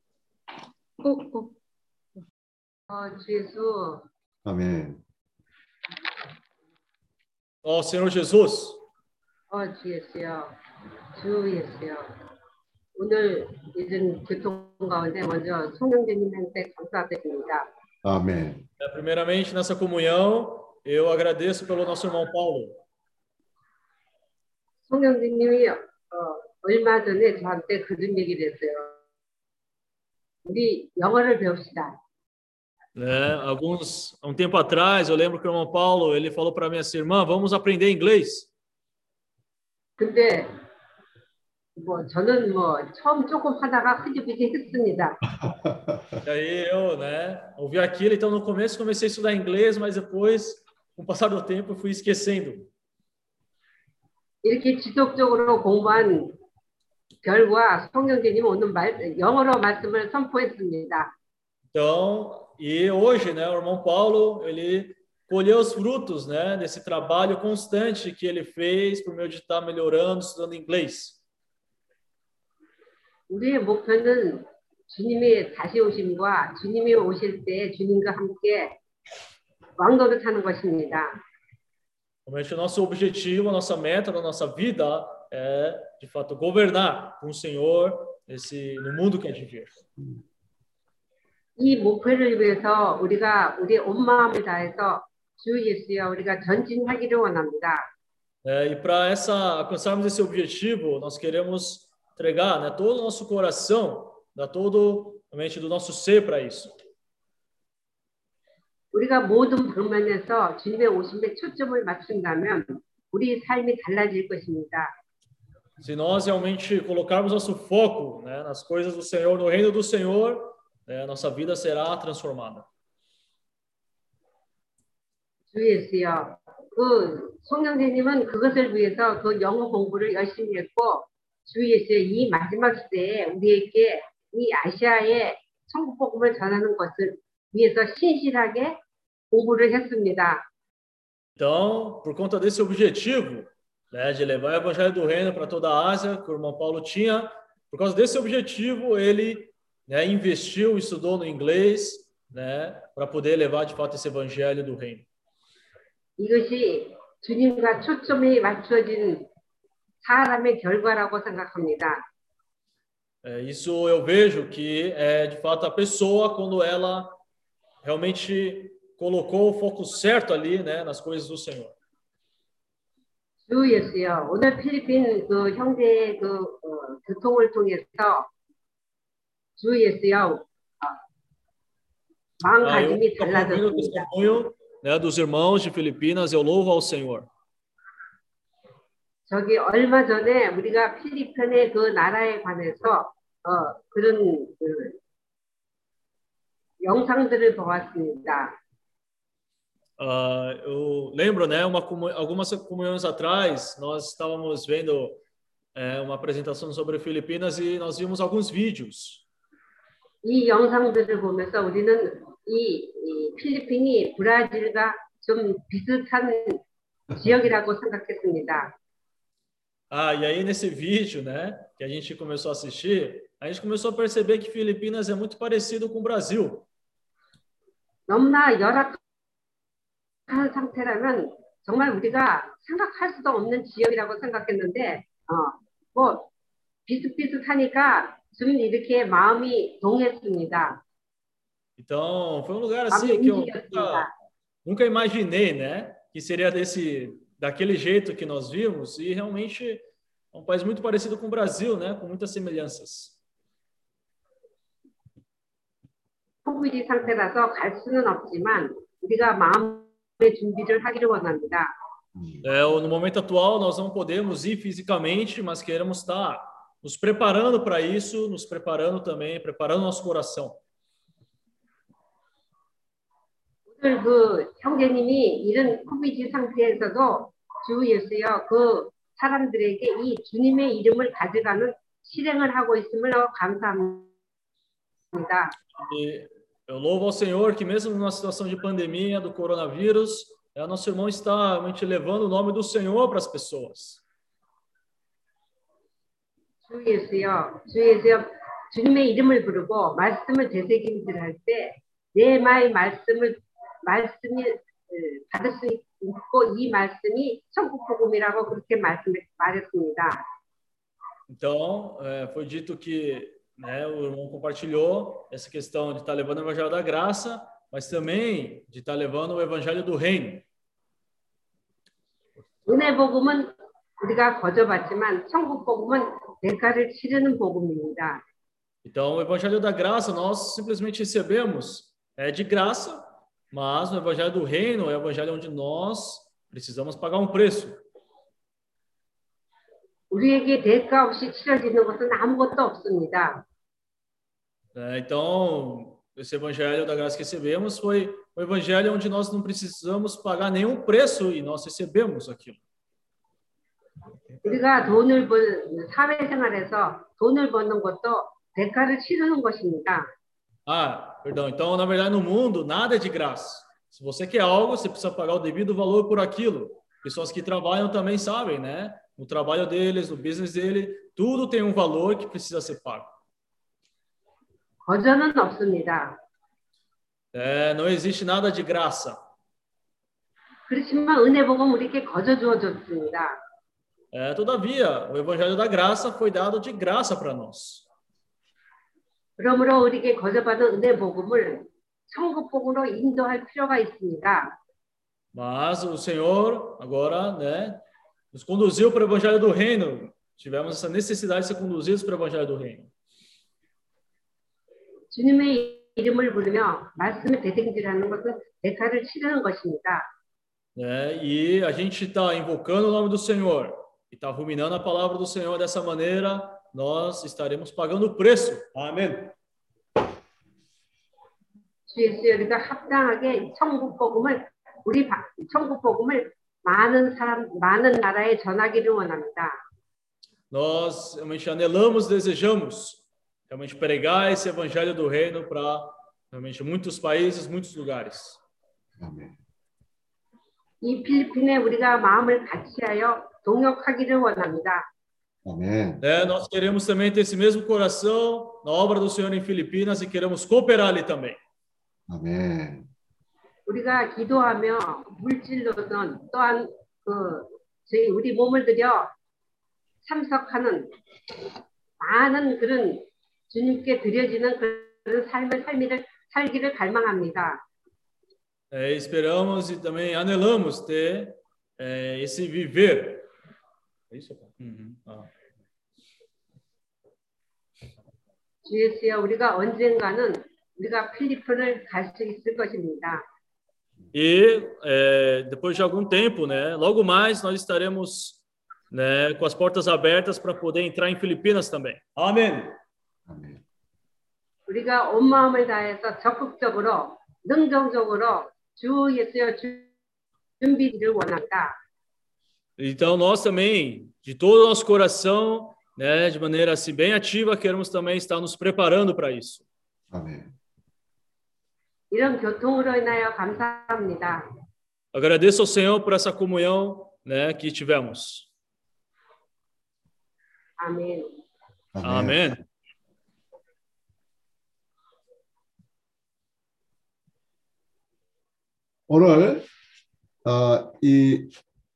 어, 예수. 아멘. Ó Senhor Jesus. 어, 주 예수여. 주 예수여. 오늘 이런 교통 가운데 먼저 송영재님한테 감사드립니다. 아멘. Primeiramente, nessa comunhão, eu agradeço pelo nosso irmão Paulo. 송영재님이 어, 얼마 전에 저한테 그런 얘기를 했어요. 우리 영어를 배웁시다. Né, alguns um tempo atrás, eu lembro que o irmão Paulo ele falou para mim assim, irmã, vamos aprender inglês. 근데 뭐 저는 뭐 처음 조금 하다가 흐지부지 했습니다. E aí eu, né, ouvi aquilo, então no começo comecei a estudar inglês, mas depois, com o passar do tempo, eu fui esquecendo. 이렇게 지속적으로 공부한 결과 성경제님 오늘 말, 영어로 말씀을 선포했습니다. Então, e hoje, né, o irmão Paulo, ele colheu os frutos, né, desse trabalho constante que ele fez por meio de estar melhorando, estudando inglês. 우리의 목표는 주님의 다시 오심과 주님이 오실 때 주님과 함께 왕도를 타는 것입니다. Realmente o nosso objetivo, a nossa meta da nossa vida é, de fato, governar com o Senhor esse, no mundo que há de vir. 이 목표를 위해서 우리가 우리의 온 마음을 다해서 주 예수여 우리가 전진하기를 원합니다. É, e para essa alcançarmos esse objetivo, nós queremos entregar, né, todo o nosso coração, dar todo realmente do nosso ser para isso. 우리가 모든 방면에서 주님의 오심에 초점을 맞춘다면 우리 삶이 달라질 것입니다. Se nós realmente colocarmos nosso foco, né, nas coisas do Senhor, no reino do Senhor, né, nossa vida será transformada. 주 예수여, 그 송영재님은 그것을 위해서 그 영어 공부를 열심히 했고 주 예수의 이 마지막 시대에 우리에게 이 아시아의 천국 복음을 전하는 것을 위해서 신실하게 공부를 했습니다. Então, por conta desse objetivo, né, de levar o evangelho do reino para toda a Ásia, que o irmão Paulo tinha, por causa desse objetivo, ele, né, investiu, estudou no inglês, né, para poder levar de fato esse evangelho do reino. 이것이 주님과 초점이 맞춰진 사람의 결과라고 생각합니다. É, isso eu vejo que é de fato a pessoa quando ela realmente colocou o foco certo ali, né, nas coisas do Senhor. 주 예수여, 오늘 필리핀 그 형제의 그 어, 교통을 통해서 주 예수여 어, 마음가짐이 Ah, eu, eu ouvindo o 달라졌습니다. testemunho, né, dos irmãos de Filipinas, eu louvo ao Senhor. 저기 얼마 전에 우리가 필리핀의 그 나라에 관해서 어, 그런 그 영상들을 보았습니다. Ah, eu lembro, né, uma, comu- algumas comunhões atrás, nós estávamos vendo é, uma apresentação sobre Filipinas e nós vimos alguns vídeos. 이 영상들을 보면서 우리는 이, 이 필리핀이 브라질과 좀 비슷한 지역이라고 생각했습니다. Ah, e aí nesse vídeo, né, que a gente começou a assistir, a gente começou a perceber que Filipinas é muito parecido com o Brasil. 너무나 열악한 상태라면 정말 우리가 생각할 수도 없는 지역이라고 생각했는데 어, 뭐 비슷비슷하니까 좀 이렇게 마음이 동했습니다. Então, foi um lugar 마음이 assim que eu 움직였습니다. nunca, nunca imaginei, né, que seria desse daquele jeito que nós vimos e realmente é um país muito parecido com o Brasil, né, com muitas semelhanças. 코비드 상태라서 갈 수는 없지만 우리가 마음의 준비를 하기를 원합니다. É, no momento atual nós não podemos ir fisicamente, mas queremos estar nos preparando para isso, nos preparando também, preparando nosso coração. 오늘 그 형제님이 이런 코비드 상태에서도 주 예수여 그 사람들에게 이 주님의 이름을 가져가는 실행을 하고 있음을 감사합니다. E eu louvo ao Senhor que mesmo numa situação de pandemia do coronavírus, é, nosso irmão está realmente levando o nome do Senhor para as pessoas. 주 예수여, 주 예수여, 주님의 이름을 부르고 말씀을 되새김질 할 때 내 마의 말씀을 말씀이 에, 받을 수 있고 이 말씀이 천국 복음이라고 그렇게 말씀 말했습니다. Então, é, foi dito que, né, o irmão compartilhou essa questão de estar levando o evangelho da graça, mas também de estar levando o evangelho do reino. 은혜 복음은 우리가 거저받지만 천국 복음은 대가를 치르는 복음입니다. Então, o evangelho da graça nós simplesmente recebemos é de graça, mas no evangelho do reino é o evangelho onde nós precisamos pagar um preço. 우리에게 대가 없이 치러지는 것은 아무것도 없습니다. É, então, esse evangelho da graça que recebemos foi o evangelho onde nós não precisamos pagar nenhum preço e nós recebemos aquilo. 우리가 돈을 번 사회생활에서 돈을 버는 것도 대가를 치르는 것입니다. Ah, perdão. Então, na verdade, no mundo, nada é de graça. Se você quer algo, você precisa pagar o devido valor por aquilo. Pessoas que trabalham também sabem, né? No trabalho deles, no business dele, tudo tem um valor que precisa ser pago. 거저는 없습니다. É, não existe nada de graça. 그렇지만 은혜 복음 우리에게 거저 주어졌습니다. É, todavia, o evangelho da graça foi dado de graça para nós. 그러므로 우리에게 거저 받은 은혜 복음을 천국 복음으로 인도할 필요가 있습니다. Mas o Senhor agora, né, nos conduziu para o evangelho do reino. Tivemos essa necessidade de ser conduzidos para o evangelho do reino. 주님의 이름을 부르며 말씀을 대등질하는 것은 대가를 치르는 것입니다. É, e a gente está invocando o nome do Senhor e está ruminando a palavra do Senhor dessa maneira, nós estaremos pagando o preço. Amém. 주 예수여 우리가 합당하게 천국 복음을 우리 바, 천국 복음을 많은 사람 많은 나라에 전하기를 원합니다. Nós realmente anelamos, desejamos realmente pregar esse evangelho do reino para realmente muitos países, muitos lugares. 아멘. 이 필리핀에 우리가 마음을 같이하여 동역하기를 원합니다. 아멘. É, nós queremos também ter esse mesmo coração na obra do Senhor em Filipinas e queremos cooperar ali também. 아멘. 우리가 기도하며 물질로든 또한 그 저희 우리 몸을 들여 참석하는 많은 그런 주님께 드려지는 그런 삶을 살기를 살기를 갈망합니다. É, esperamos e também anelamos ter é, esse viver. É isso? Uhum. Ah. 주 예수여 우리가 언젠가는 우리가 필리핀을 갈 수 있을 것입니다. E é, depois de algum tempo, né, logo mais nós estaremos, né, com as portas abertas para poder entrar em Filipinas também. Amém. 아멘. 우리가 온 마음을 다해서 적극적으로 능동적으로 주 예수여 준비를 원한다. Então nós também, de todo o nosso coração, né, de maneira assim bem ativa, queremos também estar nos preparando para isso. 아멘. 이런 교통으로 인하여 감사합니다. Agradeço ao Senhor por essa comunhão, né, que tivemos. 아멘. Amém. 오늘 어, 이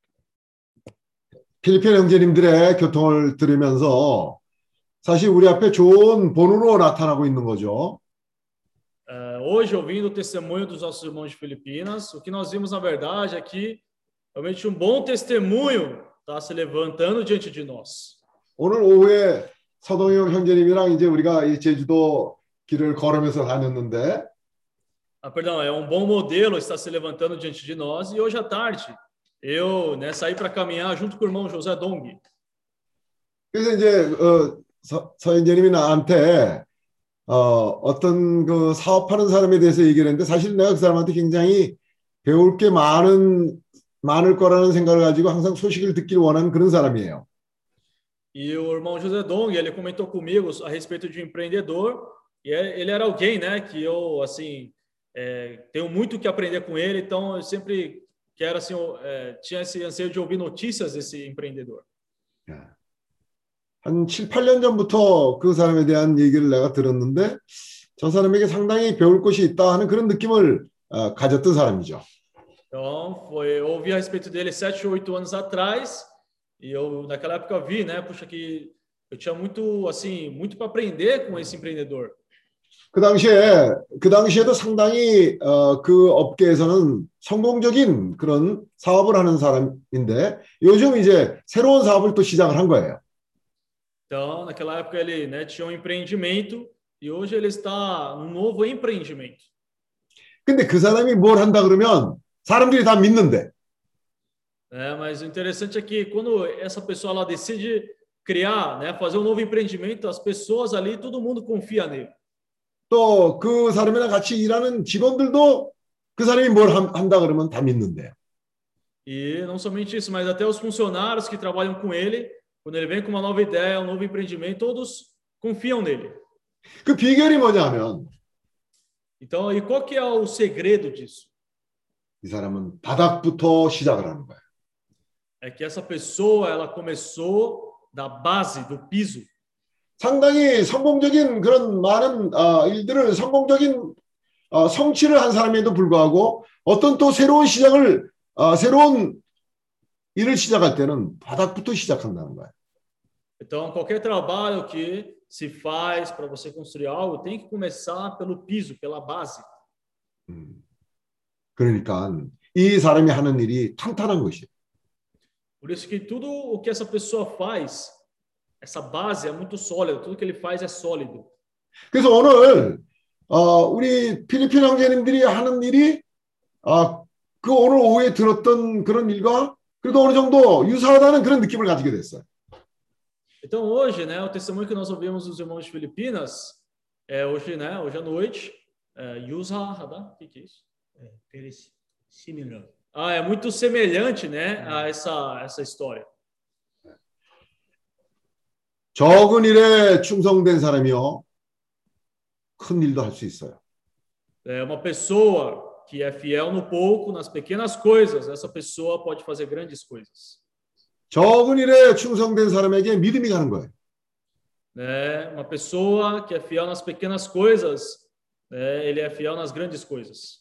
필리핀 형제님들의 교통을 들으면서 사실 우리 앞에 좋은 본으로 나타나고 있는 거죠. Uh, hoje, ouvindo o testemunho dos nossos irmãos de Filipinas, o que nós vimos na verdade é que realmente um bom testemunho está se levantando diante de nós. 오늘 오후에 서동영 형제님이랑 이제 우리가 이 제주도 길을 걸으면서 다녔는데, Ah, perdão, é um bom modelo está se levantando diante de nós. E hoje à tarde eu, né, saí para caminhar junto com o irmão José Dong. 그래서 이제 어, 서, 서 형제님이 나한테 어, 어떤 그 사업하는 사람에 대해서 얘기를 했는데 사실 내가 그 사람한테 굉장히 배울 게 많은 많을 거라는 생각을 가지고 항상 소식을 듣기를 원하는 그런 사람이에요. E o irmão José Dong, ele comentou comigo a respeito de um empreendedor. E ele era alguém, né, que eu assim é, tenho muito que aprender com ele. Então eu sempre quero assim, é, tinha esse anseio de ouvir notícias desse empreendedor. 한 칠, 팔 년 전부터 그 사람에 대한 얘기를 내가 들었는데 저 사람에게 상당히 배울 것이 있다 하는 그런 느낌을 어, 가졌던 사람이죠. Então, foi, eu ouvi a respeito dele sete, oito anos atrás e eu naquela época vi, né, puxa que eu tinha muito assim, muito para aprender com esse empreendedor. 그 당시에 그 당시에도 상당히 어, 그 업계에서는 성공적인 그런 사업을 하는 사람인데 요즘 이제 새로운 사업을 또 시작을 한 거예요. Então, naquela época ele, né, tinha um empreendimento e hoje ele está num novo empreendimento. 근데 그 사람이 뭘 한다 그러면 사람들이 다 믿는데. É, mas o interessante é que quando essa pessoa ela decide criar, né, fazer um novo empreendimento, as pessoas ali, todo mundo confia nele. 또 그 사람이랑 같이 일하는 직원들도 그 사람이 뭘 한다 그러면 다 믿는데요. E não somente isso, mas até os funcionários que trabalham com ele, quando ele vem com uma nova ideia, um novo empreendimento, todos confiam nele. 그 비결이 뭐냐면 Então, e qual que é o segredo disso? 이 사람은 바닥부터 시작을 하는 거예요. É que essa pessoa, ela começou da base, do piso. 상당히 성공적인 그런 많은 어, 일들을 성공적인 어, 성취를 한 사람에도 불구하고 어떤 또 새로운 시작을 어, 새로운 일을 시작할 때는 바닥부터 시작한다는 거예요. Então, qualquer trabalho que se faz para você construir algo tem que começar pelo piso, pela base. 음, 그러니까 이 사람이 하는 일이 탄탄한 것이에요. Por isso que tudo o que essa pessoa faz, essa base é muito sólida, tudo que ele faz é sólido. 그래서 오늘 어, 우리 필리핀 형제님들이 하는 일이 어, 그 오늘 오후에 들었던 그런 일과 그래도 어느 정도 유사하다는 그런 느낌을 가지게 됐어요. Então hoje, né, o testemunho que nós ouvimos dos irmãos de Filipinas, é hoje, né, hoje à noite, é, Yusahada, o que que é isso? É, very similar. Ah, é muito semelhante, né, a essa essa história. 적은 일에 충성된 사람이요 큰 일도 할 수 있어요. É uma pessoa que é fiel no pouco, nas pequenas coisas, essa pessoa pode fazer grandes coisas. 적은 일에 충성된 사람에게 믿음이 가는 거예요. É uma pessoa que é fiel nas pequenas coisas, né, ele é fiel nas grandes coisas.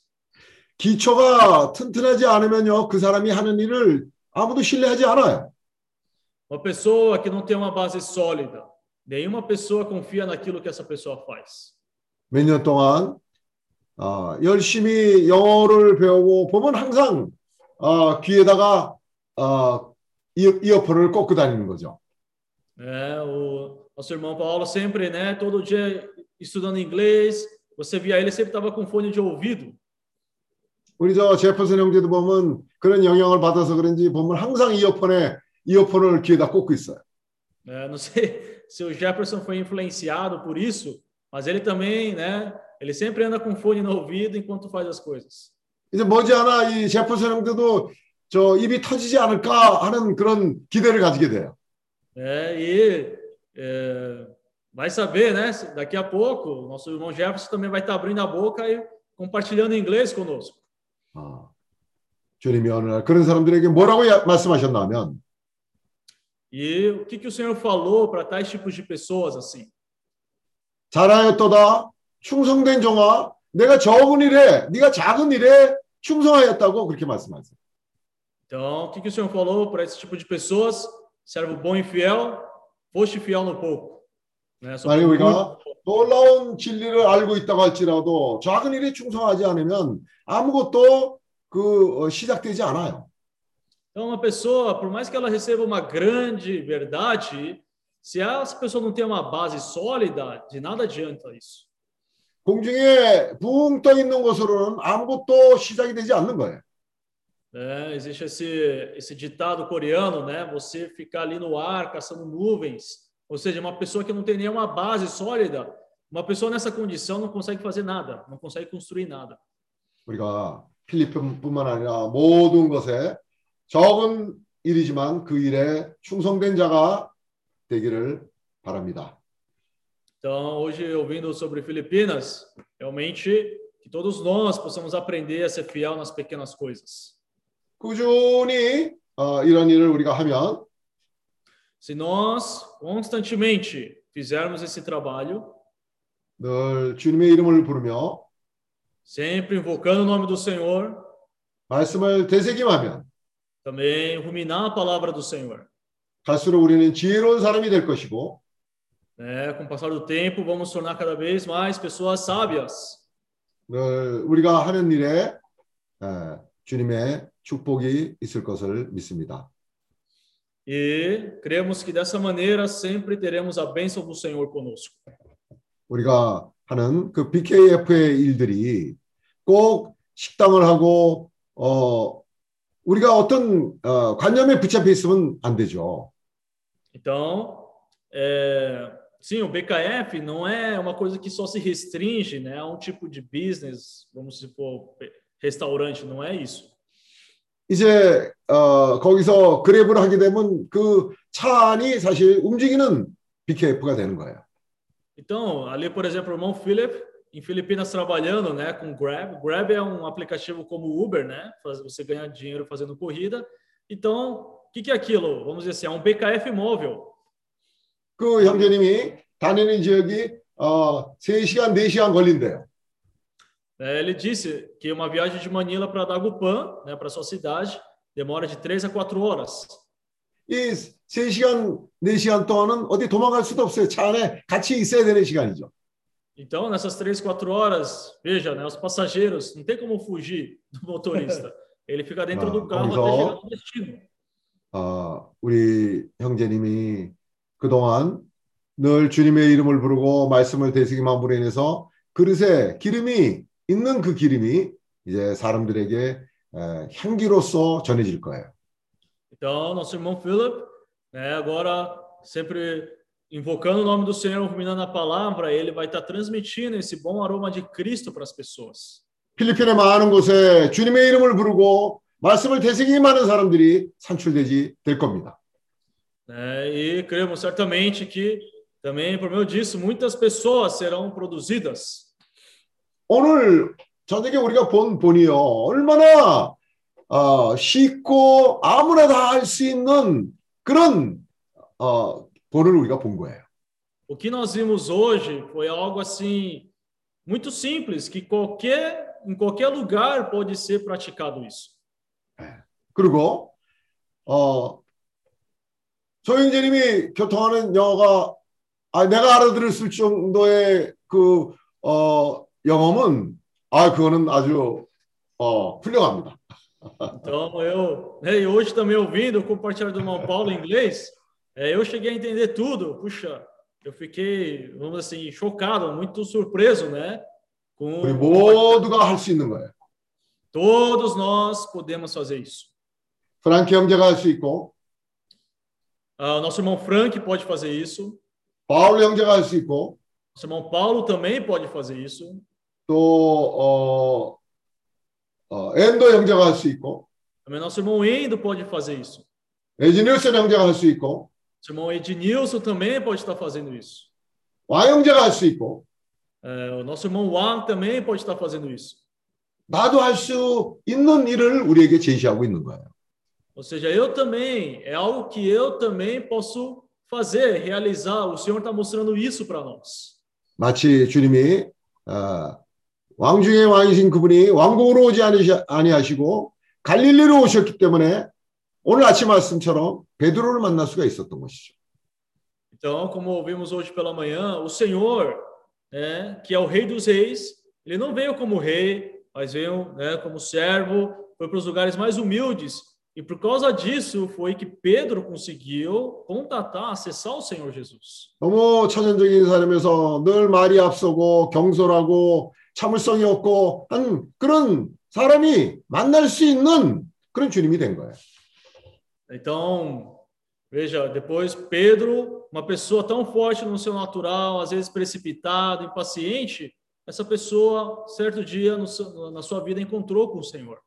기초가 튼튼하지 않으면요 그 사람이 하는 일을 아무도 신뢰하지 않아요. Uma pessoa que não tem uma base sólida, nenhuma pessoa confia naquilo que essa pessoa faz. 몇 년 동안 어, 열심히 영어를 배우고 보면 항상 어, 귀에다가 어, 이어, 이어폰을 꽂고 다니는 거죠. É, o nosso irmão Paulo sempre, né, todo dia estudando inglês, você via ele sempre estava com fone de ouvido. 우리 저 제퍼슨 형제도 보면 그런 영향을 받아서 그런지 보면 항상 이어폰에 이어폰을 귀에다 꽂고 있어요. É, não sei se o Jefferson foi influenciado por isso, mas ele também, né, ele sempre anda com fone no ouvido enquanto faz as coisas. 이제 머지않아 이 제퍼슨 형제도 저 입이 터지지 않을까 하는 그런 기대를 가지게 돼요. É, e é, vai saber, né? Daqui a pouco, nosso irmão Jefferson também vai estar abrindo a boca e compartilhando inglês conosco. 아, 주님이 어느 날 그런 사람들에게 뭐라고 말씀하셨냐면 E o que que o Senhor falou para tais tipos de pessoas assim? 잘하였도다 충성된 종아 내가 적은 일에 네가 작은 일에 충성하였다고 그렇게 말씀하세요. Então, o que que o Senhor falou para esse tipo de pessoas? Servo bom e fiel, foste fiel no pouco. Né? 만약 우리가 놀라운 진리를 알고 있다고 할지라도 작은 일에 충성하지 않으면 아무것도 그 시작되지 않아요. Então, uma pessoa, por mais que ela receba uma grande verdade, se essa pessoa não tem uma base sólida, de nada adianta isso. 공중에 붕 떠 있는 것으로는 아무것도 시작이 되지 않는 거예요. É, existe esse, esse ditado coreano, né? Você ficar ali no ar caçando nuvens, ou seja, uma pessoa que não tem nenhuma base sólida, uma pessoa nessa condição não consegue fazer nada, não consegue construir nada. 우리가 필리핀뿐만 아니라 모든 것에 적은 일이지만 그 일에 충성된 자가 되기를 바랍니다. Então, hoje, ouvindo sobre Filipinas, realmente que todos nós possamos aprender a ser fiel nas pequenas coisas. 꾸준히 어, 이런 일을 우리가 하면 Se nós constantemente fizermos esse trabalho, 늘 주님의 이름을 부르며 sempre invocando o nome do Senhor, 말씀을 되새김하면 também ruminar a palavra do Senhor. 갈수록 우리는 지혜로운 사람이 될 것이고 É, com o passar do tempo, vamos tornar cada vez mais pessoas sábias. 늘 우리가 하는 일에 에, 주님의 축복이 있을 것을 믿습니다. E cremos que dessa maneira sempre teremos a bênção do Senhor conosco. 우리가 하는 그 비케이에프의 일들이 꼭 식당을 하고 어, 우리가 어떤 어, 관념에 붙잡혀 있으면 안 되죠. Então, é, sim, o B K F não é uma coisa que só se restringe, né, a um tipo de business, vamos supor, restaurante, não é isso. 이제 어, 거기서 그랩을 하게 되면 그 차 안이 사실 움직이는 비케이프가 되는 거예요. Então, ali, por exemplo, o irmão Philip, em Filipinas, trabalhando, né, com Grab. Grab é um aplicativo como Uber, né? Você ganha dinheiro fazendo corrida. Então, o que, que é aquilo? Vamos dizer assim, é um B K F móvel. 그 형제님이 다니는 지역이 어, 세 시간, 네 시간 걸린대요. É, ele disse que uma viagem de Manila para Dagupan, né, para sua cidade, demora de três a quatro horas. 이 세 시간, 네 시간 동안은 어디 도망갈 수도 없어요. 차 안에 같이 있어야 되는 시간이죠. Então, nessas três, quatro horas, veja, né, os passageiros, não tem como fugir do motorista. Ele fica dentro 아, do carro 거기서, até chegar no destino. 어, 우리 형제님이 그동안 늘 주님의 이름을 부르고 말씀을 되새김함으로 인해서 그릇에 기름이 있는 그 기름이 이제 사람들에게 에, 향기로서 전해질 거예요. Então, nosso irmão Philip, né, agora sempre invocando o nome do Senhor, ruminando a palavra, ele vai estar transmitindo esse bom aroma de Cristo para as pessoas. 필리핀의 많은 곳에 주님의 이름을 부르고 말씀을 되새김하는 사람들이 산출되지 될 겁니다. É, e cremos certamente que também por meio disso muitas pessoas serão produzidas. 오늘 저녁에 우리가 본 본이요 얼마나 어, 쉽고 아무나 다 할 수 있는 그런 어, 본을 우리가 본 거예요. O que nós vimos hoje foi algo assim muito simples que qualquer em qualquer lugar pode ser praticado isso. 그리고 어, 조영재님이 교통하는 영어가 아, 내가 알아들을 수 있을 정도의 그 어, 영어는 아 그거는 아주 어, 훌륭합니다. Então eu, né, e hoje também ouvindo o compartilhar do irmão Paulo em inglês, é, eu cheguei a entender tudo. Puxa, eu fiquei, vamos assim, chocado, muito surpreso, né? Com 우리 모두가 할 수 있는 거예요. Todos nós podemos fazer isso. 프랑키 형제가 할 수 있고, uh, nosso irmão Frank pode fazer isso. 바울 형제가 할 수 있고, nosso irmão Paulo também pode fazer isso. 또 어, 어, 엔도 형제가 할 수 있고, também nosso irmão Endo pode fazer isso. 에지니우스 형제가 할 수 있고, nosso irmão Ednilson também pode estar fazendo isso. 왕 형제가 할 수 있고, uh, o nosso irmão Wang também pode estar fazendo isso. 나도 할 수 있는 일을 우리에게 제시하고 있는 거예요. Ou seja, eu também, é algo que eu também posso fazer, realizar. O Senhor está mostrando isso para nós. 마치 주님이 어, 왕 중의 왕이신 그분이 왕궁으로 오지 아니하시고 갈릴리로 오셨기 때문에 오늘 아침 말씀처럼 베드로를 만날 수가 있었던 것이죠. Então, como ouvimos hoje pela manhã, o Senhor, né, que é o Rei dos Reis, ele não veio como rei, mas veio, né, como servo, foi para os lugares mais humildes. E por causa disso foi que Pedro conseguiu contatar, acessar o Senhor Jesus. 너무 천연적인 사람에서 늘 말이 앞서고 경솔하고 참을성이 없고 한 그런 사람이 만날 수 있는 그런 주님이 된 거예요. Então, veja, depois Pedro, uma pessoa tão forte no seu natural, às vezes precipitado, impaciente, essa pessoa, certo dia, no seu, na sua vida, encontrou com o Senhor.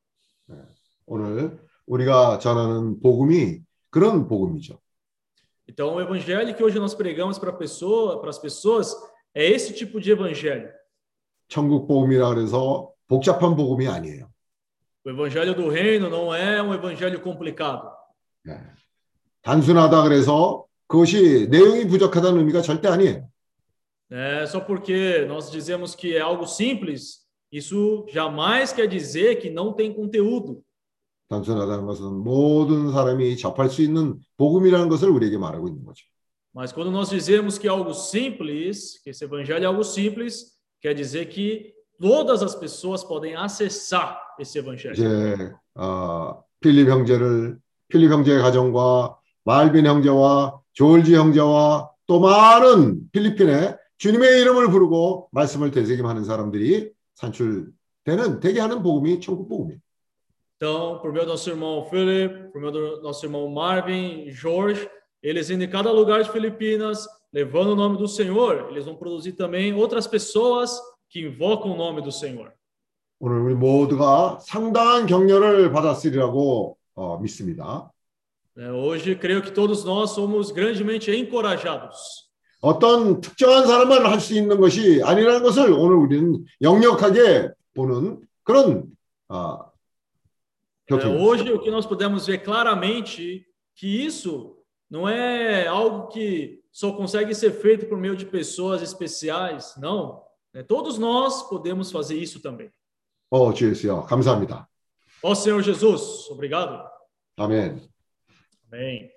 오늘 우리가 전하는 복음이 그런 복음이죠. Então, o evangelho que hoje nós pregamos para pessoa, para as pessoas é esse tipo de evangelho. 천국 복음이라 그래서 복잡한 복음이 아니에요. O evangelho do reino não é um evangelho complicado. 네. 단순하다 그래서 그것이 내용이 부족하다는 의미가 절대 아니에요. É, só porque nós dizemos que é algo simples, isso jamais quer dizer que não tem conteúdo. 단순하다는 것은 모든 사람이 접할 수 있는 복음이라는 것을 우리에게 말하고 있는 거죠. Mas quando nós dizemos que é algo simples, que esse evangelho é algo simples, quer dizer que todas as pessoas podem acessar esse evangelho. 이제 어, 필립 형제를 필립 형제의 가정과 말빈 형제와 조지 형제와 또 많은 필리핀에 주님의 이름을 부르고 말씀을 되새김하는 사람들이 산출되는 되게 하는 복음이 천국 복음이에요. Então, por meio do nosso irmão Philip, por meio do nosso irmão Marvin, Jorge, eles indo em cada lugar de Filipinas, levando o nome do Senhor, eles vão produzir também outras pessoas que invocam o nome do Senhor. 오늘 우리 모두가 상당한 격려를 받았으리라고 어, 믿습니다. É, hoje creio que todos nós somos grandemente encorajados. 어떤 특정한 사람만 할 수 있는 것이 아니라는 것을 오늘 우리는 역력하게 보는 그런 어, É, hoje o que nós podemos ver claramente que isso não é algo que só consegue ser feito por meio de pessoas especiais, não. É, todos nós podemos fazer isso também. 어, 주 예수여, 감사합니다. Ó Senhor Jesus, obrigado. 아멘. Amém.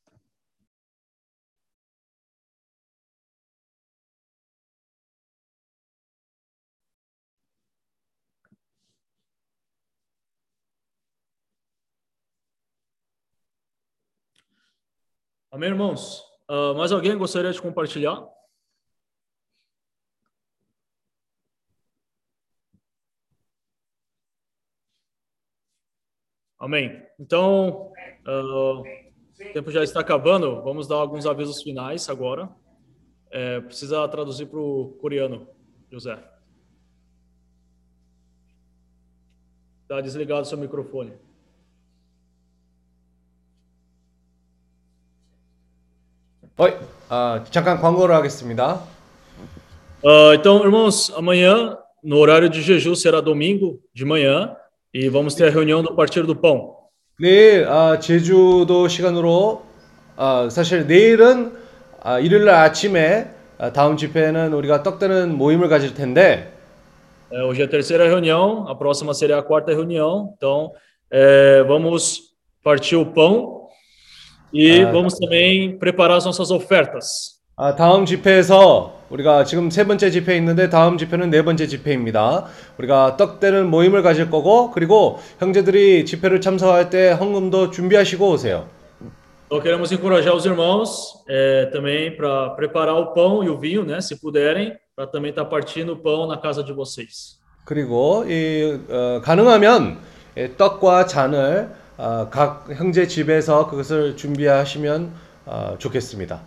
Amém, irmãos? Uh, mais alguém gostaria de compartilhar? Amém. Então, uh, o tempo já está acabando. Vamos dar alguns avisos finais agora. É, precisa traduzir para o coreano, José. Está desligado o seu microfone. Oi, 아, 잠깐 광고를 하겠습니다. Uh, então, irmãos, amanhã, no horário de jejum, será domingo de manhã, e vamos ter a reunião do Partir do Pão. 내일 아, 제주도 시간으로 아, 사실 내일은 아, 일요일 날 아침에 아, 다음 집회는 우리가 떡되는 모임을 가질 텐데 É, hoje é a terceira reunião, a próxima será a quarta reunião. Então, é, vamos partir o pão e Ah. vamos também preparar as nossas ofertas. 아, 다음 집회에서 우리가 지금 세 번째 집회 있는데 다음 집회는 네 번째 집회입니다. 우리가 떡되는 모임을 가질 거고 그리고 형제들이 집회를 참석할 때 헌금도 준비하시고 오세요. Então, queremos encorajar os irmãos é, também para preparar o pão e o vinho, né, se puderem, para também estar partindo o pão na casa de vocês. 그리고 이 어, 가능하면 예, 떡과 잔을 어, 각 형제 집에서 그것을 준비하시면 어, 좋겠습니다.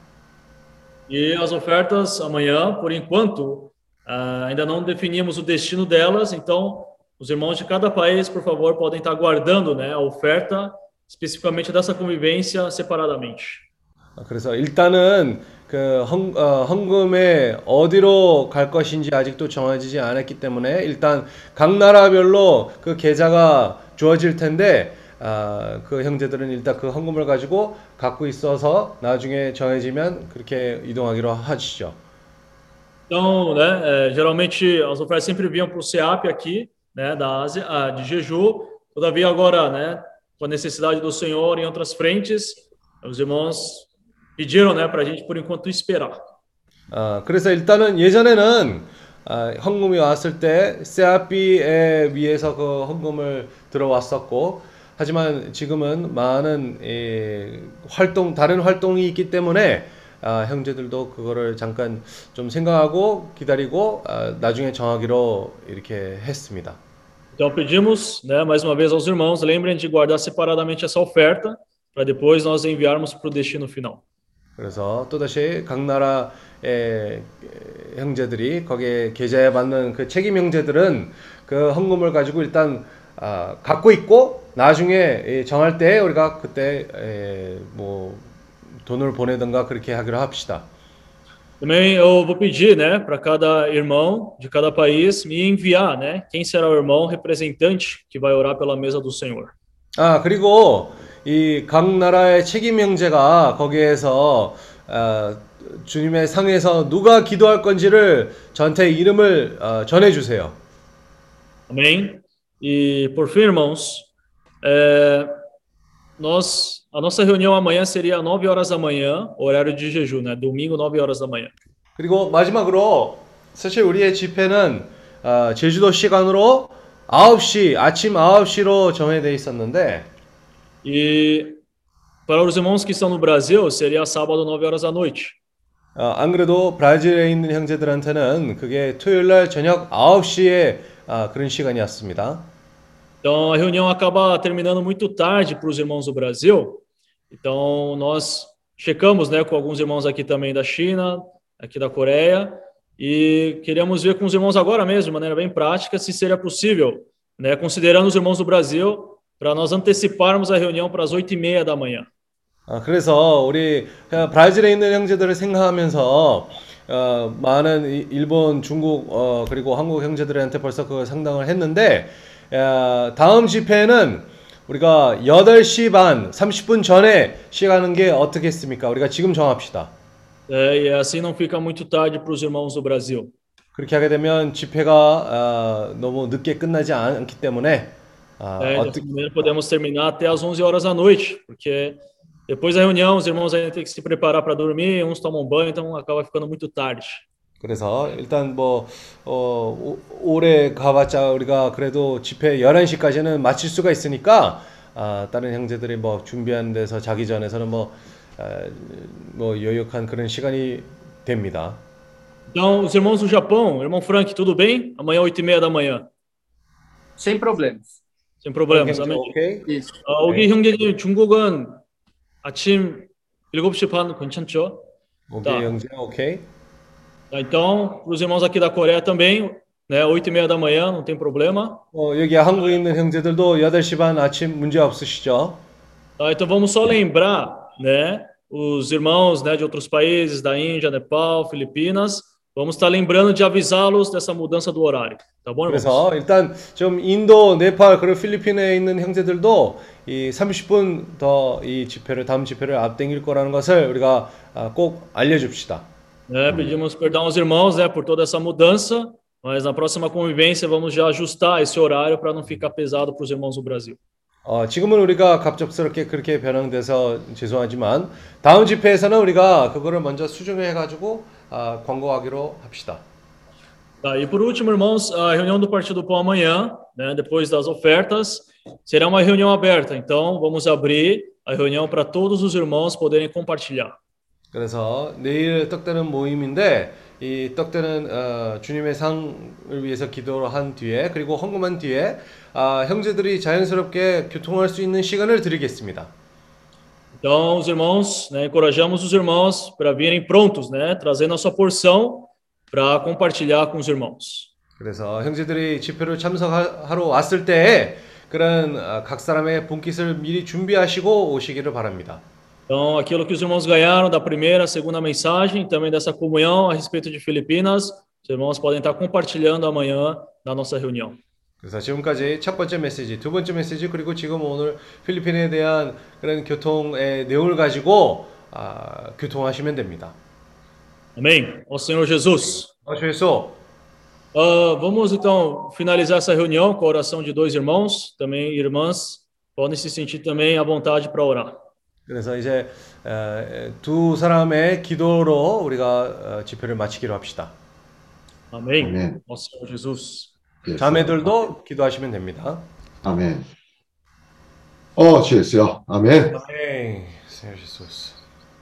E as ofertas amanhã, por enquanto, ah, ainda não definimos o destino delas, então os irmãos de cada país, por favor, podem estar guardando, né, a oferta especificamente dessa convivência separadamente. 그래서 일단은 그 헌, 어, 헌금에 어디로 갈 것인지 아직도 정해지지 않았기 때문에 일단 각 나라별로 그 계좌가 주어질 텐데 아, 그 형제들은 일단 그 헌금을 가지고 갖고 있어서 나중에 정해지면 그렇게 이동하기로 하시죠. Então, né, é, geralmente as ofertas sempre vinham para o SEAP aqui, né, da Ásia, ah, de Jeju. Todavia agora, né, com a necessidade do Senhor em outras frentes, os irmãos pediram, né, para a gente por enquanto esperar. 아, 그래서 일단은 예전에는 아, 헌금이 왔을 때 세아피에 위해서 그 헌금을 들어왔었고 하지만 지금은 많은 예, 활동 다른 활동이 있기 때문에 아, 형제들도 그거를 잠깐 좀 생각하고 기다리고 아, 나중에 정하기로 이렇게 했습니다. Então pedimos, né, mais uma vez aos irmãos, lembrem de guardar separadamente essa oferta para depois nós enviarmos para o destino final. 그래서 또다시 각 나라의 형제들이 거기에 계좌에 받는 그 책임 형제들은 그 헌금을 가지고 일단 아, 갖고 있고 나중에 정할 때 우리가 그때 에, 뭐 돈을 보내든가 그렇게 하기로 합시다. Também eu vou pedir, né, para cada irmão de cada país me enviar, né, quem será o irmão representante que vai orar pela mesa do Senhor. 아, 그리고 이 각 나라의 책임 형제가 거기에서 어, 주님의 상에서 누가 기도할 건지를 저한테 이름을 어, 전해 주세요. Amém? E por fim, irmãos, é, nós, a nossa reunião amanhã seria às nove horas da manhã, horário de jejum, né? Domingo, nove horas da manhã. 그리고 마지막으로 사실 우리의 집회는 어, 제주도 시간으로 아홉 시, 아침 아홉 시로 정해져 있었는데 E para os irmãos que estão no Brasil, seria sábado, nove horas da noite. 어, 안 그래도 브라질에 있는 형제들한테는 그게 토요일 날 저녁 아홉 시에 아, 그런 시간이었습니다. Então a reunião acaba terminando muito tarde para os irmãos do Brasil. Então nós checamos, né, com alguns irmãos aqui também da China, aqui da Coreia, e queríamos ver com os irmãos agora mesmo, de maneira bem prática, se seria possível, né, considerando os irmãos do Brasil, para nós anteciparmos a reunião para as oito e meia da manhã. 아, 그래서 우리 브라질에 있는 형제들을 생각하면서 어, 많은 이- 일본, 중국 어, 그리고 한국 형제들한테 벌써 그 상담을 했는데 어, 다음 집회는 우리가 여덟 시 반 삼십 분 전에 시작하는 게 어떻겠습니까? 우리가 지금 정합시다. É, e assim não fica muito tarde para os irmãos do Brasil. 그렇게 하게 되면 집회가 어, 너무 늦게 끝나지 않- 않기 때문에 아, É, 어떻게 dessa maneira podemos terminar até às onze horas da noite, porque depois da reunião os irmãos ainda têm que se preparar para dormir, uns tomam banho, então acaba ficando muito tarde. 그래서 일단 뭐 어, 오- 오래 가봤자 우리가 그래도 집회 열한 시까지는 마칠 수가 있으니까 아, 다른 형제들이 뭐 준비하는 데서 자기 전에서는 뭐, 아, 뭐 여유한 그런 시간이 됩니다. Então, os irmãos do Japão, irmão Frank, tudo bem? Amanhã, oito e meia da manhã. Sem problemas. Sem problemas, 형제 amém. 오케이? Isso. 어, 우리 형제님, 중국은 아침 일곱 시 반 괜찮죠? 오케이 Tá. 형제 오케이? Tá, então, para os irmãos aqui da Coreia também, né, oito e meia da manhã, não tem problema. 어, 여기 한국에 있는 형제들도 여덟 시 반 아침 문제 없으시죠? Tá, então, vamos só lembrar, né, os irmãos, né, de outros países, da Índia, Nepal, Filipinas, vamos estar lembrando de avisá-los dessa mudança do horário. Tá bom, irmãos? 그래서 일단 좀 인도, 네팔 그리고 필리핀에 있는 형제들도 이 삼십 분 더 이 집회를 다음 집회를 앞당길 거라는 것을 우리가 아, 꼭 알려줍시다. Né, pedimos perdão aos irmãos, né, por toda essa mudança, mas na próxima convivência vamos já ajustar esse horário para não ficar pesado para os irmãos do Brasil. 어, 지금은 우리가 갑작스럽게 그렇게 변형돼서 죄송하지만 다음 집회에서는 우리가 그거를 먼저 수정해 가지고 아, 광고하기로 합시다. Tá, e por último, irmãos, a reunião do Partido do Pão amanhã, né, depois das ofertas, será uma reunião aberta. Então, vamos abrir a reunião para todos os irmãos poderem compartilhar. 그래서 내일 떡되는 모임인데 이 떡되는 어, 주님의 상을 위해서 기도를 한 뒤에 그리고 헌금한 뒤에 아, 형제들이 자연스럽게 교통할 수 있는 시간을 드리겠습니다. Então, os irmãos, né, encorajamos os irmãos para virem prontos, né, trazendo a sua porção para compartilhar com os irmãos. 그래서 형제들이 집회를 참석하러 왔을 때 그런 아, 각 사람의 분깃을 미리 준비하시고 오시기를 바랍니다. Então, aquilo que os irmãos ganharam da primeira, segunda mensagem, também dessa comunhão a respeito de Filipinas, os irmãos podem estar compartilhando amanhã na nossa reunião. 그래서 지금까지 첫 번째 메시지, 두 번째 메시지 그리고 지금 오늘 필리핀에 대한 그런 교통의 내용을 가지고 아, 교통하시면 됩니다. Amém? Ó Senhor Jesus. 어, 주 예수. Ah, vamos então finalizar essa reunião com a oração de dois irmãos, também irmãs, podem se sentir também à vontade para orar. 그래서 이제 에, 두 사람의 기도로 우리가 어, 집회를 마치기로 합시다. Amém? Amém. Ó Senhor Jesus. 자매들도 기도하시면 됩니다. 아멘. 어, 주 예수요. 아멘. 아멘. Senhor Jesus.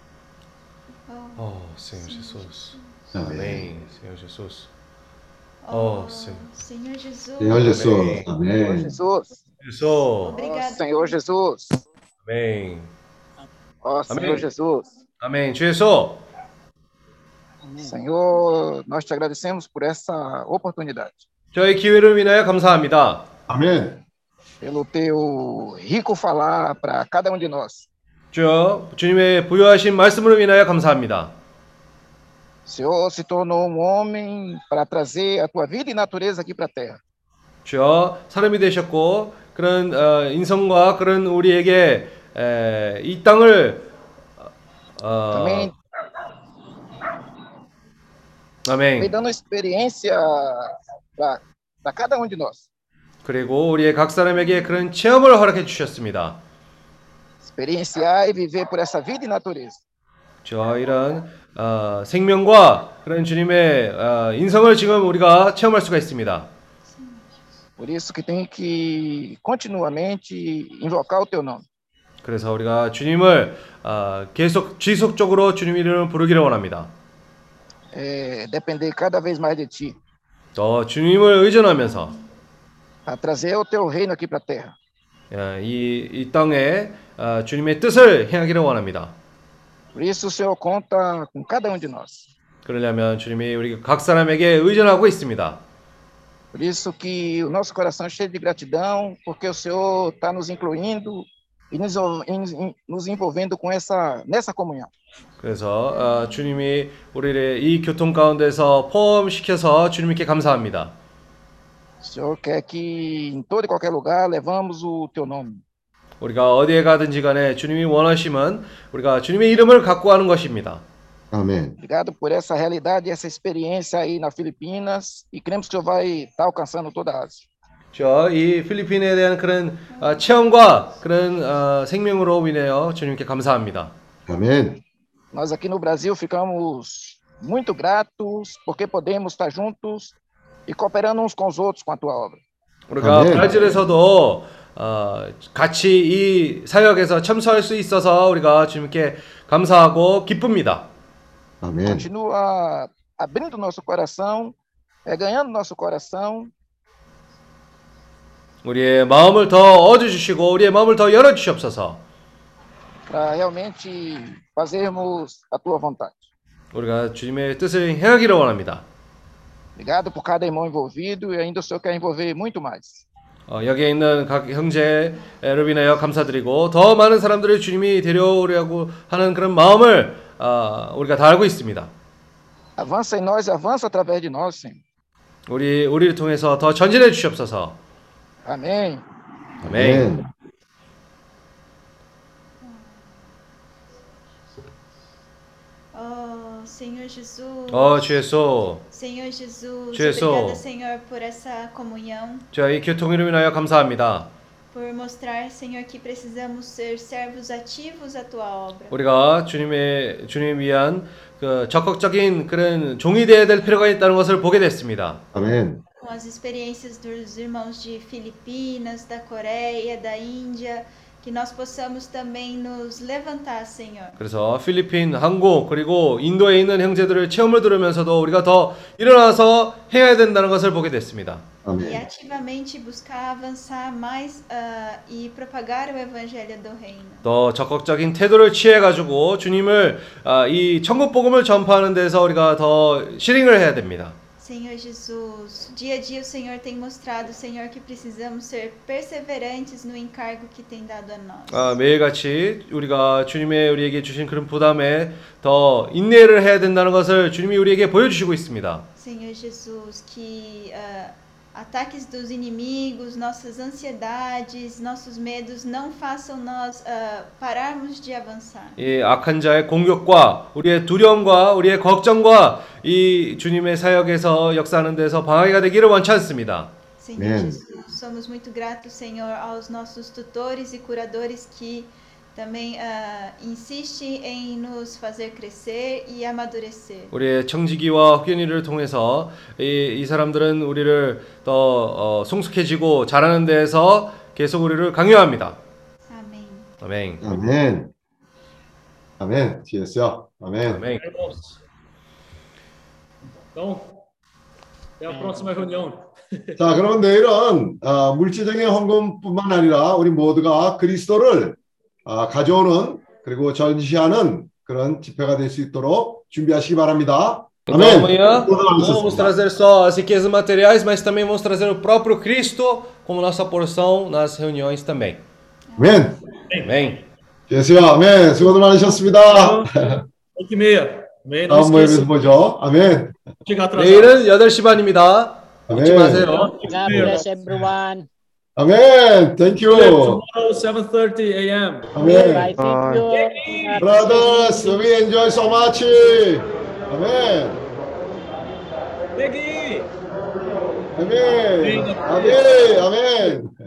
Oh, Senhor Jesus. Amém. Amém, Senhor Jesus. Oh, Senhor. Senhor Jesus. Senhor Jesus. Amém. 아멘. Jesus. Jesus. Obrigado. Senhor Jesus. Amém. Ó Senhor Amém. Jesus. Amém. 주 예수. Senhor, nós te agradecemos por essa oportunidade. 저희 기회를 위하여 감사합니다. 아멘. Pelo teu rico falar para cada um de nós. 주여, 주님의 부여하신 말씀을 위하여 감사합니다. O Senhor se tornou um homem para trazer a tua vida e natureza aqui para a terra. 주여, 사람이 되셨고 그런 어, 인성과 그런 우리에게 에, 이 땅을 어, Também 아멘. vem dando experiência para cada um de nós. 그리고 우리의 각 사람에게 그런 체험을 허락해 주셨습니다. Experienciar e viver por essa vida e natureza. 저 이런 어, 생명과 그런 주님의 어, 인성을 지금 우리가 체험할 수가 있습니다. Por isso que tem que continuamente invocar o teu nome. 그래서 우리가 주님을 어, 계속 지속적으로 주님 이름을 부르기를 원합니다. É, depender cada vez mais de ti. 더 주님을 의존하면서 A trazer o teu reino aqui para a terra. 예, 이, 이 땅에 어, 주님의 뜻을 행하기를 원합니다. Por isso o Senhor conta com cada um de nós. 그러려면 주님이 우리 각 사람에게 의존하고 있습니다. Por isso que o nosso coração é cheio de gratidão, porque o Senhor está nos incluindo e nos, em, nos envolvendo com essa, nessa comunhão. 그래서 어, 주님이 우리를 이 교통 가운데서 포함시켜서 주님께 감사합니다. O Senhor quer que em todo e qualquer lugar levamos o teu nome. 우리가 어디에 가든지 간에 주님이 원하심은 우리가 주님의 이름을 갖고 가는 것입니다. 아멘. Obrigado por essa realidade, essa experiência aí na Filipinas e cremos que o Senhor vai estar alcançando toda a Ásia. 저 이 필리핀에 대한 그런 어, 체험과 그런 어, 생명으로 인하여 주님께 감사합니다. 아멘. Nós aqui no Brasil ficamos muito gratos porque podemos estar juntos e cooperando uns com os outros com a tua obra. 우리가 브라질에서도 어, 같이 이 사역에서 참석할 수 있어서 우리가 주님께 감사하고 기쁩니다. 아멘. Continua abrindo nosso coração, é, ganhando nosso coração. 우리의 마음을 더 얻어주시고 우리의 마음을 더 열어주시옵소서. Para realmente fazermos a tua vontade. 우리가 주님의 뜻을 행하기를 원합니다. Obrigado por cada irmão envolvido e ainda o Senhor quer envolver muito mais. 어, 여기에 있는 각 형제를 인하여 감사드리고 더 많은 사람들을 주님이 데려오려고 하는 그런 마음을 어, 우리가 다 알고 있습니다. Avança em nós, avança através de nós, Senhor. 우리 우리를 통해서 더 전진해 주시옵소서. Amém. 아멘. Oh, Senhor Jesus. 어, 주 예수. Senhor Jesus. 주 예수. Obrigada, Senhor, por essa comunhão. 저희 교통으로 인하여 감사합니다. Por mostrar, Senhor, que precisamos ser servos ativos à tua obra. 우리가 주님의 주님 위한 그 적극적인 그런 종이 되어야 될 필요가 있다는 것을 보게 됐습니다. 아멘. Com as experiências dos irmãos de Filipinas, da Coreia, da Índia, que nós possamos também nos levantar, Senhor. 그래서 필리핀, 한국 그리고 인도에 있는 형제들의 체험을 들으면서도 우리가 더 일어나서 해야 된다는 것을 보게 됐습니다. E ativamente buscar avançar mais uh, e propagar o evangelho do reino. 더 적극적인 태도를 취해 가지고 주님을 아, 이 천국 복음을 전파하는 데서 우리가 더 실행을 해야 됩니다. Senhor Jesus, dia a dia o Senhor tem mostrado, Senhor, que precisamos ser perseverantes no encargo que tem dado a nós. 아, 매일같이 우리가 주님의 우리에게 주신 그런 부담에 더 인내를 해야 된다는 것을 주님이 우리에게 보여주시고 있습니다. Senhor Jesus, que uh, ataques dos inimigos, nossas ansiedades, nossos medos não façam nós uh, pararmos de avançar. 이 악한 자의 공격과 우리의 두려움과 우리의 걱정과 이 주님의 사역에서 역사하는 데서 방해가 되기를 원치 않습니다. Senhor Jesus, somos muito gratos, Senhor, aos nossos tutores e curadores que também uh, insiste em nos fazer crescer e amadurecer. 우리의 청지기와 혹연이를 통해서 이, 이 사람들은 우리를 더 어, 성숙해지고 자라는 데에서 계속 우리를 강요합니다. 아멘. 아멘. 아멘. 아멘. 주였어. 아멘. 아멘. Então, até a próxima reunião. 자, 그러면 내일은 어, 물질적인 헌금뿐만 아니라 우리 모두가 그리스도를 어, 가져오는 그리고 전시하는 그런 집회가 될 수 있도록 준비하시기 바랍니다. Então amanhã vamos trazer só as riquezas materiais, mas também vamos trazer o próprio Cristo como nossa porção nas reuniões também. 아멘. Amém. 예수야, 아멘. 수고들 많으셨습니다. oito e meia. Amém. Não 다음 모임에서 esqueça. 보죠. 아멘. Chega atrasado. 내일은 여덟 시 반입니다. 잊지 아멘. 마세요. God bless everyone. 아멘. Thank you. Tomorrow seven thirty a m 아멘. I thank you. Brothers, we enjoy so much. 아멘. Peggy. 아멘. 아멘. 아멘.